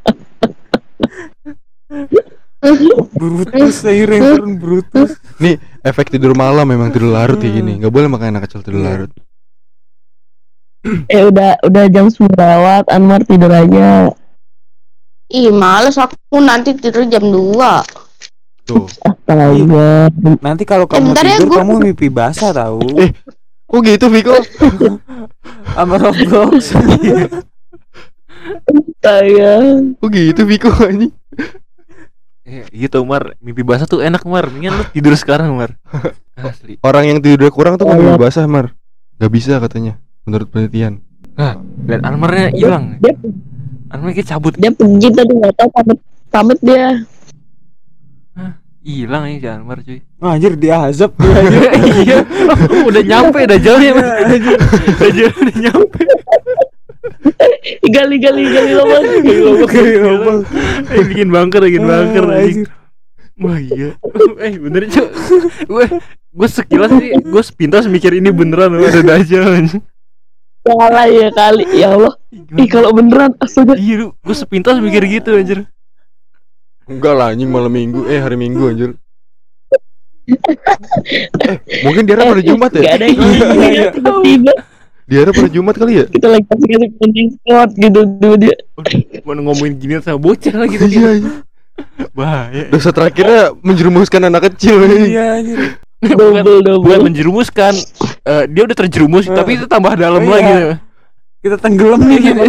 Brutus, akhirnya turun Brutus. Nih, efek tidur malam memang tidur larut kayak gini. Nggak boleh makan anak kecil tidur larut. Udah jam 9 lewat, Anwar tidur aja. Ih, males aku nanti tidur jam 2. Tuh. Astaga. Nanti kalau kamu bentar ya, tidur gua- kamu mimpi basah tahu. Kok gitu Viko? Sama Roblox. Astaga. Kok gitu Viko anjing? Gitu Mar, mimpi basah tuh enak Mar. Mendingan lu tidur sekarang Mar. Asli. Orang yang tidurnya kurang tuh nggak mimpi basah Mar. Gak bisa katanya menurut penelitian. Nah, dan Almarnya hilang. Almar kayak cabut. Dia pergi tadi nggak tahu pamit dia. Hilang ini si Almar cuy. Anjir dia azab. Iya. Udah nyampe dah jalannya Mas. Udah nyampe. Gali lubang. Bikin bunker anjing. Wah iya. Bener cuy. Gue sekilas sih, gue sepintas mikir ini beneran ada Dajjal anjing. Salah ya kali, ya Allah. Kalau beneran astaga. Iya, gue sepintas mikir gitu anjir. Enggak lah anjing malam minggu, hari Minggu anjir. Mungkin dia pada Jumat ya? Gak ada yang tiba-tiba. Dia pada Jumat kali ya? Kita lagi kasih penting spot gitu tuh dia. Mau ngomongin gini sama bocah lagi tadi. Iya. Bahaya. Dosa terakhirnya menjerumuskan anak kecil. Iya anjir. Bukan menjerumuskan. Dia udah terjerumus tapi itu tambah dalam lagi. Kita tenggelam nih gitu.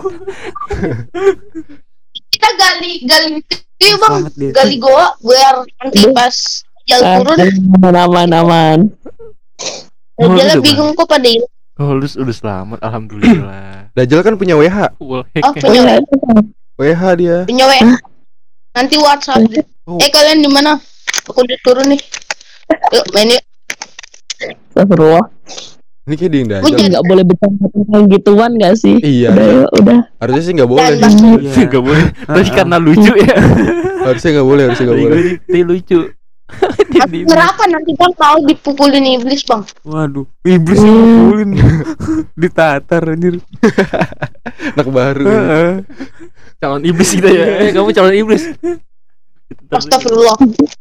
Kita gali yuk bang, gali goa biar nanti pas jalan turun aman. Dajjal bingung kok pada ini. Oh lu udah selamat, alhamdulillah. Dajjal kan punya WH. Punya WH dia. punya WA. Nanti WhatsApp. Kalian di mana? Aku udah turun nih. Yuk main yuk. Astagfirullah. Ini kayak ding Dajjal. Nggak boleh bercanda tentang gituan nggak sih? Iya. Udah. Harusnya sih nggak boleh. Nggak boleh. Tapi karena lucu ya. Harusnya nggak boleh. Ini lucu. Kenapa nanti bang mau dipukulin iblis bang? Waduh, iblis dipukulin. Ditatar anjir. Anak baru. Calon iblis kita ya. Kamu calon iblis. Astagfirullah.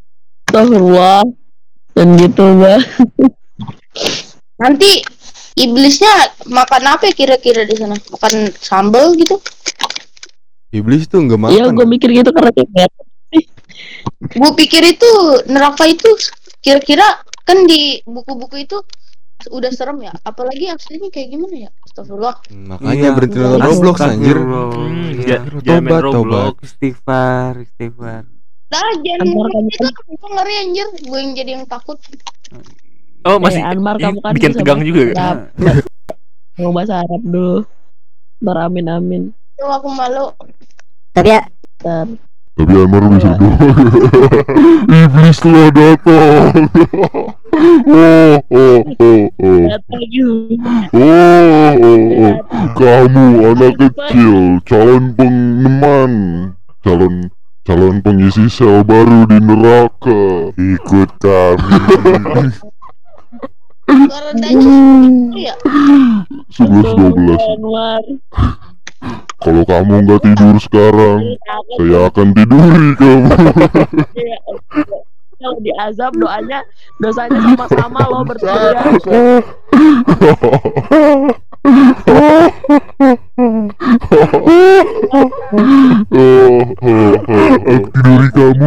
Dan gitu bang. Nanti iblisnya makan apa ya kira-kira di sana? Makan sambal gitu? Iblis tuh nggak makan. Iya, gue mikir gitu karena kayak Gue pikir itu neraka itu kira-kira kan di buku-buku itu udah serem ya. Apalagi aslinya kayak gimana ya? Astagfirullah. Makanya berhenti nonton Roblox anjir. Tobat. Istighfar. Nah, jangan itu ngeri anjir. Gue yang jadi yang takut. Oh masih Anwar kamu kan bikin tegang juga ya? Mau bahasa Arab dulu. Ntar amin. Tuh aku malu. Tapi ya Tapi Anwar bisa doang. Iblis telah datang. Kamu anak kecil, calon pengeman, calon pengisi sel baru di neraka. Ikut kami. Suara Dajjal ya? 11-12. Kalau kamu nggak tidur sekarang, saya akan tiduri kamu. Kalau diazab dosanya sama-sama lo bertiga. Aku tiduri kamu.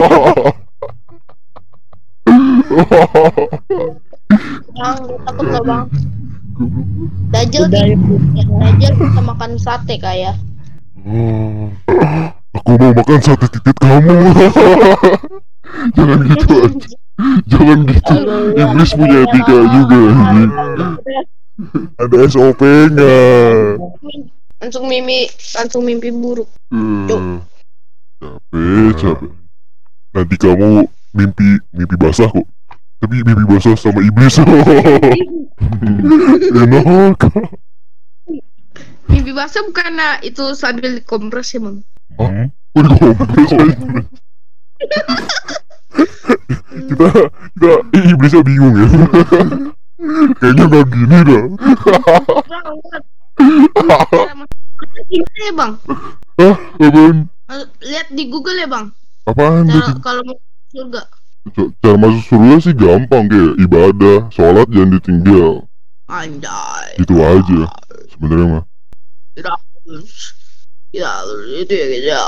Bang, takut gak bang? Dajjal bisa makan sate kayak. Aku mau makan sate titik kamu. Jangan gitu aja. Jangan gitu. Iblis punya etika juga ini. Ada SOP-nya. Langsung mimpi buruk. Capek. Nanti kamu mimpi basah kok. Tapi mimpi basah sama iblis. Enak. Mimpi basah bukan itu sambil dikompres ya bang? Dikompres aja. kita iblisnya bingung ya. Kayaknya nggak gini dah. Gimana ya bang? Apaan? Lihat di Google ya bang. Apaan? Kalau mau surga. Cara masuk surga sih gampang, kayak ibadah, sholat jangan ditinggal. Anjay. Itu aja sebenarnya mah. Tidak harus itu ya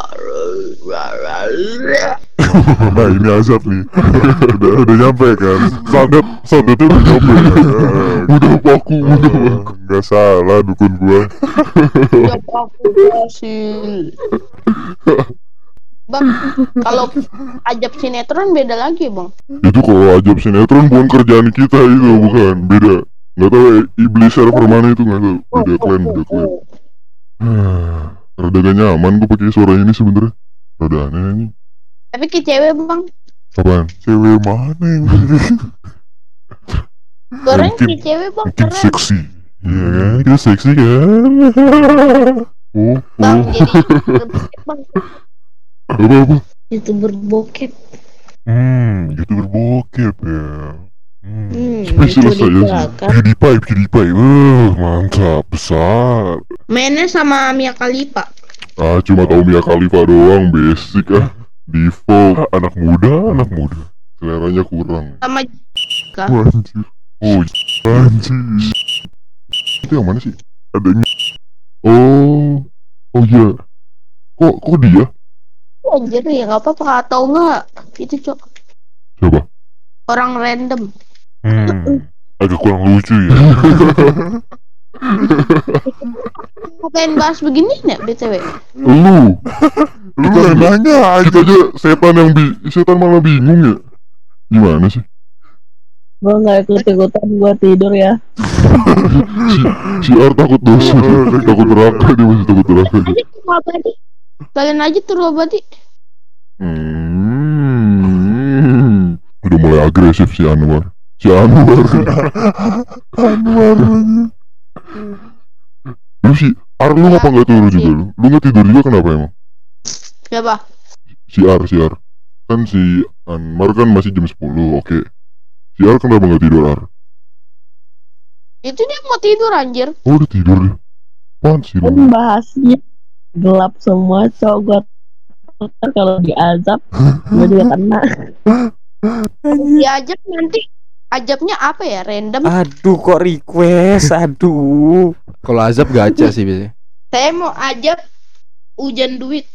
Nah ini azab nih. udah nyampe kan. Sandatnya udah nyampe. Udah paku. Nggak salah dukun gua. Udah paku hasil. Bang, kalau ajab sinetron beda lagi bang. Itu kalau ajab sinetron bukan kerjaan kita itu, bukan, beda. Nggak tahu iblis server mana itu, nggak tahu. Beda klan. Rada gak nyaman gue pakai suara ini sebenernya. Rada aneh ini. Tapi ke cewek bang. Apaan? Cewek mana yang Goreng ke cewek bang mungkin keren. seksi. Iya kan? Kita seksi kan? Bang jadi bang. Apa? YouTuber bokep. YouTuber bokep ya. Itu Spesialis saya sih. dikirakan. PewDiePie. Mantap, besar. Mainnya sama Mia Khalifa. Cuma tahu Mia Khalifa doang, basic default. Anak muda. Seleranya kurang. Sama Kak. Anjir. Anjir. Itu yang mana sih? Adanya. Oh iya. Kok dia? Anjir ya nggak apa-apa atau enggak itu cok. Siapa? Orang random. Agak kurang lucu ya. Ngapain bahas begini nih BTW? Lu yang nanya aja. Kita aja setan malah bingung ya. Gimana sih? Gua nggak ikut-ikutan, gua tidur ya. Si Ar takut dosa. Takut neraka, dia masih takut neraka. Kalian aja turun abadi. Udah mulai agresif si Anwar. Lu si Ar, lu ngapa gak tidur juga lu? Lu gak tidur juga kenapa emang? Siapa? Si Ar. Kan si Anwar kan masih jam 10, oke. Si Ar kenapa gak tidur, Ar? Itu dia mau tidur anjir. Oh udah tidur deh. Apaan sih lu? Kan bahasnya gelap semua, cowok gua ntar kalau diazab gua juga kena. Diajak nanti ajabnya apa ya? Random. Aduh kok request. Aduh. Kalau azab gacha sih biasanya. Saya mau ajab hujan duit.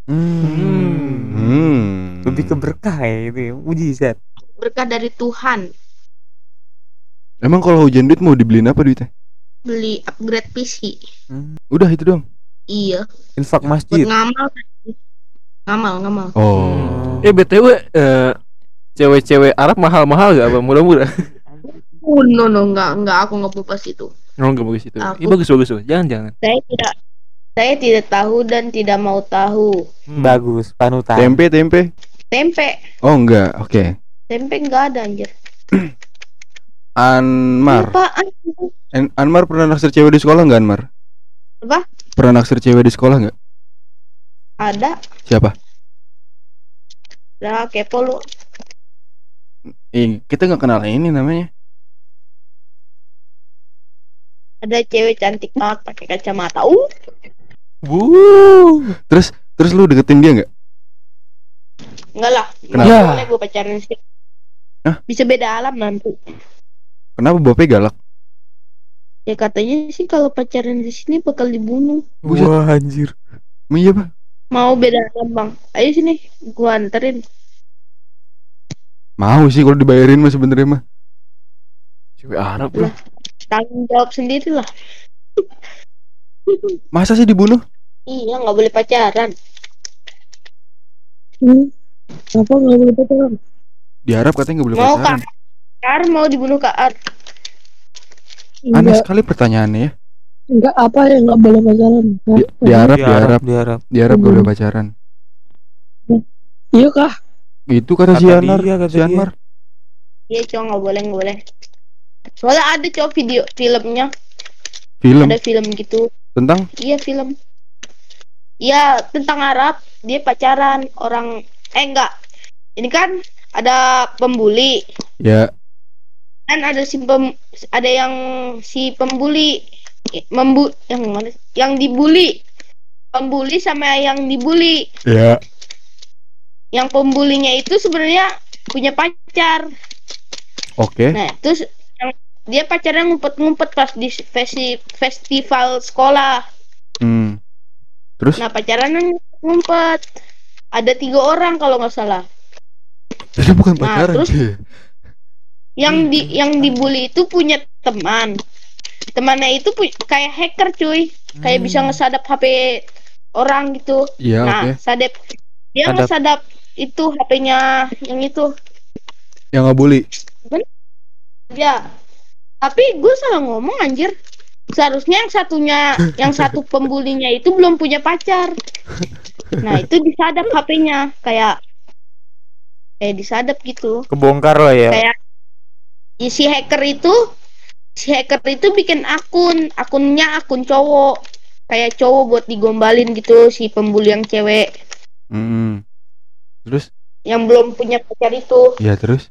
Lebih ke berkah ya itu, mujizat. Berkah dari Tuhan. Emang kalau hujan duit mau dibeliin apa duitnya? Beli upgrade PC. Udah itu doang. Iya. Infak Buat masjid. ngamal. Oh. BTW cewek-cewek Arab mahal-mahal gak apa? Murah-murah. No, enggak, aku nggak mau pas itu. Nggak bagus itu. Aku- Ini bagus. Jangan. Saya tidak tahu dan tidak mau tahu. Bagus, panutan. Tempe. Tempe Oh enggak, oke. enggak ada anjir. Anmar. Apaan? Anmar pernah naksir cewek di sekolah nggak, Anmar? Apa? Pernah naksir cewek di sekolah nggak? Ada. Siapa? Lah kepo lu. Kita nggak kenal ini namanya. Ada cewek cantik banget pakai kacamata. Terus lu deketin dia nggak? Enggak lah. Kenapa? Nggak boleh gue pacaran sih. Hah? Bisa beda alam nanti. Kenapa bapaknya galak? Ya katanya sih kalau pacaran di sini bakal dibunuh. Buset. Wah anjir. Iya bang. Mau beda alam bang. Ayo sini, gua anterin. Mau sih kalau dibayarin mah sebenarnya mah. Cewek Arab bro. Tanggung jawab sendiri lah. Masa sih dibunuh? Iya nggak boleh pacaran. Apa nggak boleh pacaran? Di Arab katanya nggak boleh Mau pacaran. Kak mau dibunuh Kak. Aneh sekali pertanyaannya ya. Enggak apa ya nggak boleh pacaran? Di Arab, Di Arab. Gak boleh pacaran. Iya kah? Itu kata si Kata Anar, dia, kata si dia. Anmar. Iya cowok nggak boleh. Soalnya ada cowok filmnya. Film Ada film gitu. tentang Iya film. Iya tentang Arab. Dia pacaran orang. Enggak. Ini kan ada pembuli. ya Kan ada yang si pembuli yang mana? Yang dibully. Pembuli sama yang dibully. ya Yang pembulinya itu sebenarnya punya pacar. Oke. Nah, terus dia pacarnya ngumpet-ngumpet pas di festival sekolah. Terus? Nah, pacarannya ngumpet. Ada 3 orang kalau nggak salah. Jadi bukan Nah, pacaran. terus yang dibully itu punya teman. Temannya itu kayak hacker cuy, kayak bisa ngesadap HP orang gitu. Iya, nah, oke. dia ngesadap itu HP-nya yang itu. Yang ngebully. Ya. Tapi gue salah ngomong anjir. Seharusnya yang satu pembulinya itu belum punya pacar. Nah, itu disadap HP-nya kayak disadap gitu. Kebongkar lah ya. Kayak si hacker itu bikin akunnya akun cowok, kayak cowok buat digombalin gitu si pembuli yang cewek. Terus? Yang belum punya pacar itu. Iya, terus?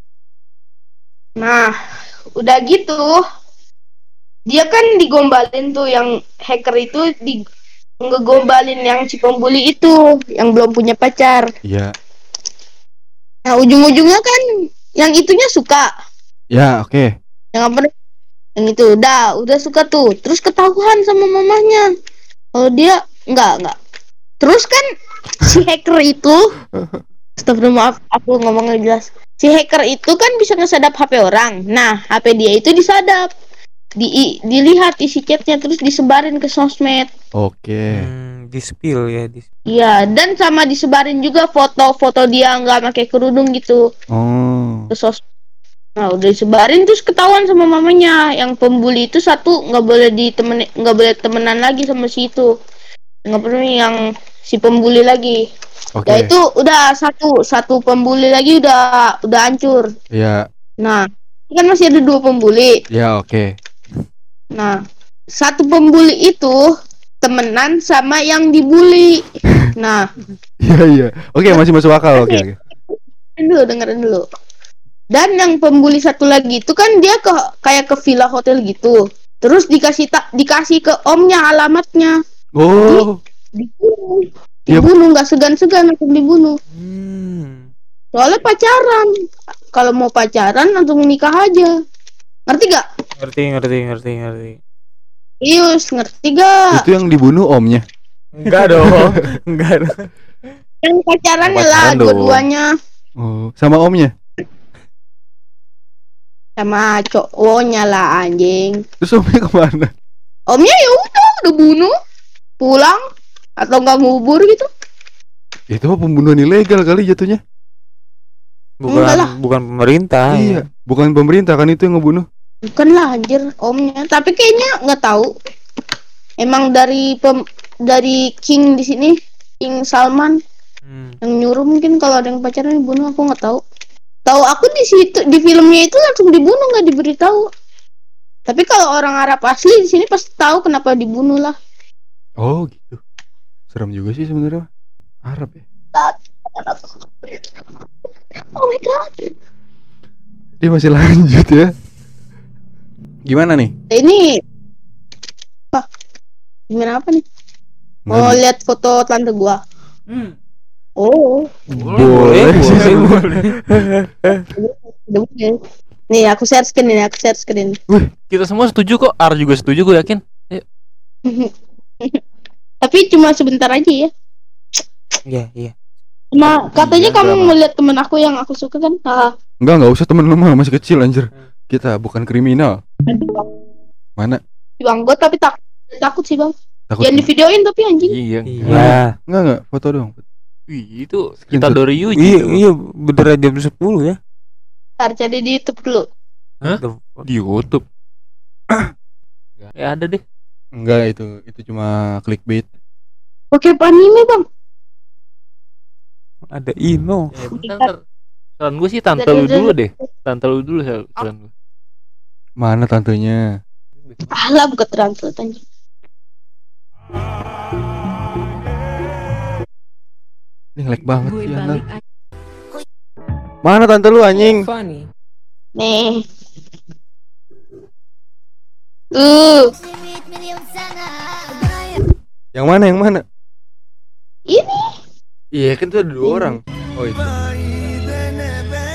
Nah, udah gitu dia kan digombalin tuh, yang hacker itu ngegombalin yang si pembuli itu yang belum punya pacar. Iya. Nah, ujung-ujungnya kan yang itunya suka. Ya, oke. Yang apa? Yang itu udah suka tuh. Terus ketahuan sama mamanya. Kalau dia enggak. Terus kan si hacker itu maaf, aku ngomongnya jelas. Si hacker itu kan bisa ngesadap HP orang. Nah, HP dia itu disadap. Dilihat isi chatnya, terus disebarin ke sosmed. Oke. Di-spill ya. Iya, dan sama disebarin juga foto-foto dia nggak pakai kerudung gitu. Ke sosmed. Nah, udah disebarin terus ketahuan sama mamanya. Yang pembuli itu satu nggak boleh temenan lagi sama si itu. Nggak perlu yang si pembuli lagi. Ya itu udah satu pembuli lagi udah hancur. Iya. Nah, kan masih ada 2 pembuli. Ya, oke. Nah, satu pembuli itu temenan sama yang dibully. Nah, Iya. Oke, masih masuk akal. Oke. Dengerin dulu. Dan yang pembuli satu lagi itu kan dia kayak ke villa hotel gitu. Terus dikasih ke omnya alamatnya. Oh. Dibunuh nggak segan-segan langsung dibunuh. Soalnya pacaran. Kalau mau pacaran langsung nikah aja. Ngerti gak? Ngerti. Ius, ngerti gak? Itu yang dibunuh omnya? Enggak dong. Yang pacarannya lah dua-duanya. Oh, sama omnya? Sama cowoknya lah anjing. Terus omnya kemana? Omnya ya udah bunuh, pulang atau nggak ngubur gitu. Itu mah pembunuhan ilegal kali jatuhnya. Bukan pemerintah. Iya, bukan pemerintah kan itu yang ngebunuh. Bukan lah anjir omnya, tapi kayaknya nggak tahu. Emang dari King di sini, King Salman yang nyuruh mungkin kalau ada yang pacaran dibunuh, aku nggak tahu. Tahu aku di situ di filmnya itu langsung dibunuh, nggak diberitahu. Tapi kalau orang Arab asli di sini pasti tahu kenapa dibunuh lah. Oh gitu. Serem juga sih sebenarnya. Arab ya. Oh my god. Dia masih lanjut ya. Gimana nih? Ini apa? Gimana apa nih? Mau lihat foto tante gua. Oh. Boleh. Nih aku share screen. Kita semua setuju kok. Ar juga setuju, gue yakin. Ayo. Tapi cuma sebentar aja ya. Iya. Nah, katanya kamu melihat temen aku yang aku suka kan? Enggak usah, temen lu mah masih kecil anjir. Kita bukan kriminal. Mana? Bang, gue tapi takut sih bang. Takut. Jangan divideoin tapi anjing. Iya. Enggak, foto doang. Wih, itu kita dari Yuji. Iya, beneran jam 10 ya. Ntar cari di YouTube dulu. Hah? Di YouTube. Ya ada deh. Enggak, itu cuma clickbait. Oke, anime bang. Ada Ino. Ya, bentar. Saran gue sih tante lu dulu deh. Tante lu dulu saran gue. Mana tantenya? Alah, bukan translate anjing. Ini nge-lag banget sih anak. Mana tante lu anjing? Nih. Yang mana? Ini. Iya kan tuh ada 2 orang. Oh itu.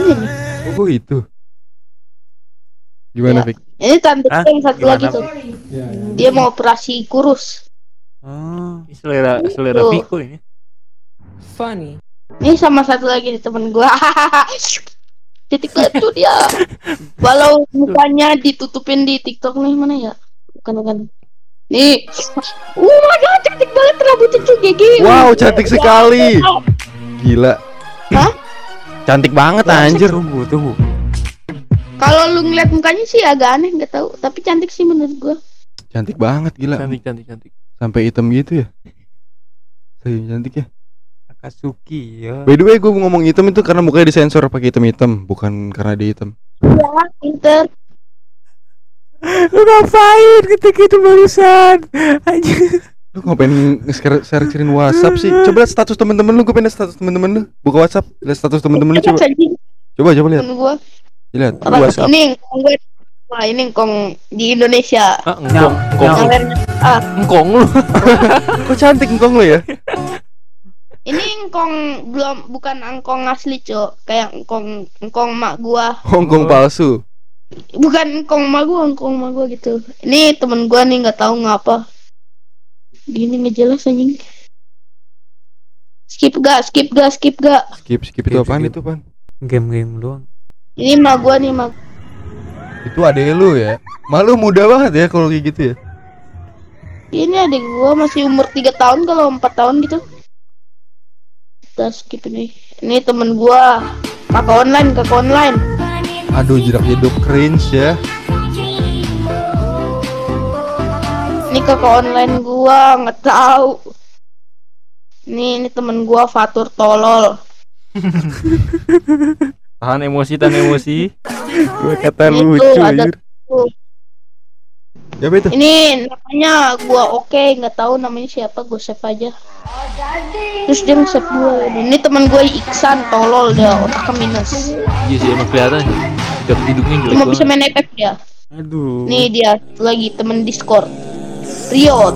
ini. Oh itu. Gimana, Fik? Ini tante yang satu Gimana, lagi tuh. Fik? Dia mau operasi kurus. Oh, selera Tuh. Viko ini. Funny. Ini sama satu lagi nih temen gua. Titik batu dia. Walau mukanya ditutupin di TikTok nih, mana ya? Bukan. Nih. My god, cantik banget rambutnya tuh gigi. Wow, cantik sekali. Gila. Hah? Cantik banget anjir. Tunggu. Kalau lu ngeliat mukanya sih agak aneh, nggak tahu. Tapi cantik sih menurut gua. Cantik banget gila. Cantik. Sampai hitam gitu ya. Cantik ya. Akatsuki ya. By the way, gue ngomong hitam itu karena mukanya disensor pakai hitam-hitam, bukan karena dia hitam. Ya, pinter. Lu ngapain ketika itu barusan? Anjir. Lu ngapain share-sharein WhatsApp sih? Coba lihat status temen-temen lu, gue pengen status temen-temen lu. Buka WhatsApp, lihat status temen-temen lu coba. Coba lihat. Temen gua. Lihat. Apa? Ini ngkong gue. Wah, ini ngkong di Indonesia. Ngkong lu. Kok cantik ngkong lu ya? Ini ngkong bukan ngkong asli, Cok. Kayak ngkong mak gua. Ngkong palsu. Bukan ngkong mak gua gitu. Ini temen gua nih nggak tahu ngapa. Gini nggak jelas anjing. Skip gak? Skip itu apaan itu, Pan? Game doang. Ini mak gua nih, mak. Itu adek lu ya. Malu muda banget ya kalau kayak gitu ya. Ini adik gua masih umur 3 tahun kalau 4 tahun gitu. Kita skip ini. Ini temen gua. Kakak online. Aduh, jerak jeduk cringe ya. Ini kakak online gua, nggak tahu. Ini temen gua Fatur tolol. Tahan emosi. Gue kata Ini lucu tuh ada anjir. tuh. Ya itu. Ini namanya gua nggak tahu namanya siapa, gua save aja. Terus dia nge-save gua. Ini teman gua Iksan tolol dia, otaknya minus. Iya sih emang kelihatan. Gak hidupnya jelek Cuma banget. bisa main Apex dia. Aduh. Nih dia lagi temen Discord. Riot.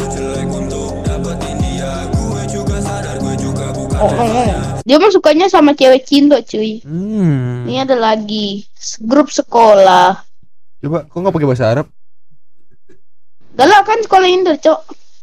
Dia mah sukanya sama cewek Cindo, cuy. Ini ada lagi grup sekolah. Coba, kok nggak pakai bahasa Arab? Galak kan sekolah Indo, Cok.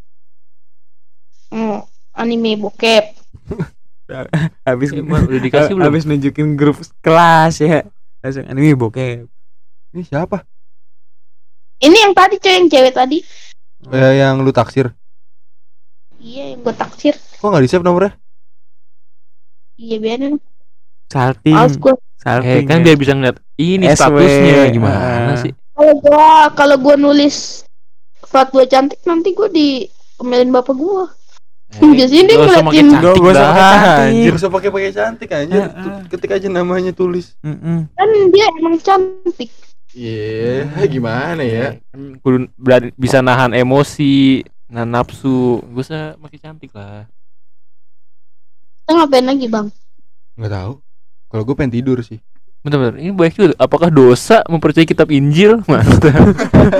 Anime bokep. Habis Udah dikasih belum? Habis nunjukin grup kelas ya. Langsung anime bokep. Ini siapa? Ini yang tadi, coy, yang cewek tadi. Yang lu taksir. Iya, yang gua taksir. Kok nggak di-save nomornya? Iya, biarin. Salting. Males gua. Salting. Kan biar bisa ngeliat ini SW. statusnya gimana sih? Kalau gua nulis Fatwa cantik nanti gua diomelin bapak gua. Biasanya dia ngeliatin Gak usah pakai cantik aja. Ketik aja namanya, tulis. kan dia emang cantik. Iya, gimana ya? Kudu berarti bisa nahan emosi, nahan nafsu. Gue usah makin cantik lah. Kita ngapain lagi, Bang? Nggak tahu. Kalau gue pengen tidur sih. Bentar, ini banyak juga. Apakah dosa mempercayai kitab Injil? Mantap.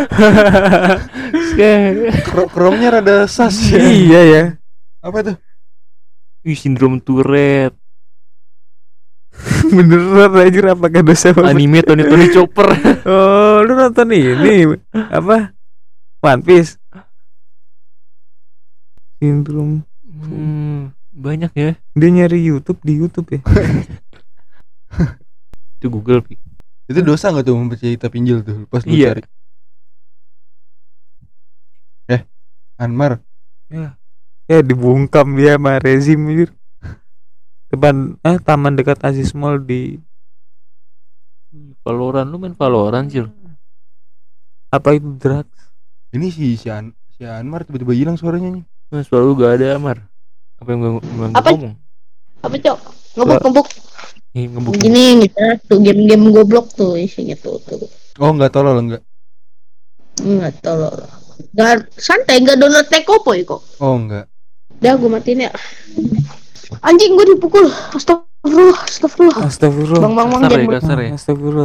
Kromnya rada sas ya. Iya ya. Apa tuh? Sindrom Tourette. Beneran anjir, apakah dosa Anime Tony Chopper. Oh, lu nonton ini apa? One Piece. Sindrom. Banyak ya. Dia nyari di YouTube ya. Itu Google. Itu dosa nggak tuh mempercayai kitab Injil tuh pas lu Iya. cari? Anmar. Ya dibungkam dia sama rezim anjir. Depan taman dekat Aziz Mall di Valorant. Lu main Valorant, Cil? apa itu drugs? Ini si Anmar tiba-tiba hilang suaranya nih. Mas, suara lu gak ada, Amar. Apa yang gue ngomong? Apa, Cok? Ngebuk-ngebuk. Ngebuk. Gini gitu tuh game-game goblok tuh isinya tuh. Oh, enggak tolol enggak. Enggak tolol. Enggak santai, enggak download Tekopoy kok. Oh, enggak. Udah gue matiin ya. Anjing gue dipukul. Astagfirullah. Bang Kasar ya. Astagfirullah.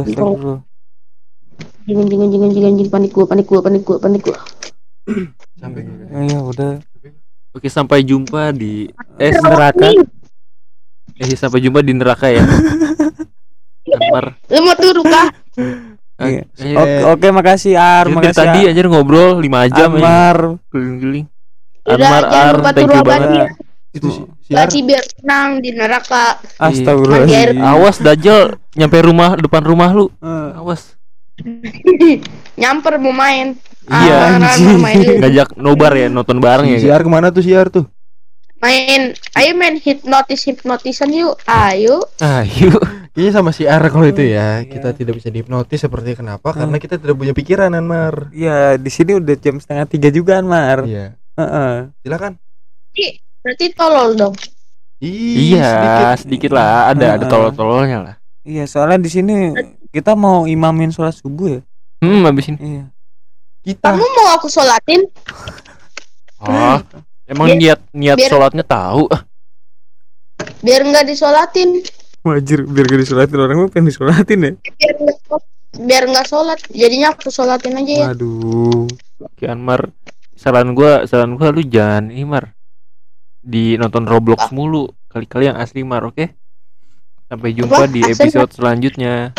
Jangan panik gue. Sampai Ya udah. Oke, sampai jumpa di neraka. Sampai jumpa di neraka ya. Anmar. Lu mau turu kah? Iya. Oke, makasih Ar, Dari makasih tadi Ar. aja ngobrol 5 jam ya. Anmar. Keliling-keliling. Udah, Anmar jangan Ar, lupa thank turu you abadi banget. ya. Itu Baci biar tenang di neraka. Astagfirullahaladzim. Awas Dajjal nyampe depan rumah lu. Awas. Nyamper mau main. Iya, Anjing. Main dulu. ngajak nobar ya, nonton bareng ya. Si Ar kemana tuh si Ar tuh? Ayo main hipnotisan yuk. Ayo. Ayo. Kayaknya sama si Ar kalau itu ya. Kita tidak bisa dihipnotis seperti kenapa? Karena kita tidak punya pikiran Anmar. Iya, di sini udah jam 2:30 juga Anmar. Iya. Silakan. Berarti tolol dong. Iya, sedikit lah, ada tolol-tololnya lah. Iya, soalnya di sini kita mau imamin sholat subuh ya. Habis ini. Iya. Kamu mau aku sholatin? Oh, emang niat biar- sholatnya tahu. Biar nggak disolatin. Wajir, biar gak disolatin orang mah pengen disolatin ya. Biar nggak sholat. Jadinya aku sholatin aja ya. Waduh. Oke, Anmar. Saran gua lu jangan ini Mar. Di nonton Roblox mulu. Kali-kali yang asli Mar, oke? Sampai jumpa di episode selanjutnya.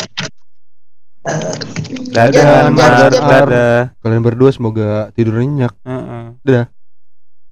Dadah, Jangan- Kalian berdua semoga tidur nyenyak. Heeh. Dadah.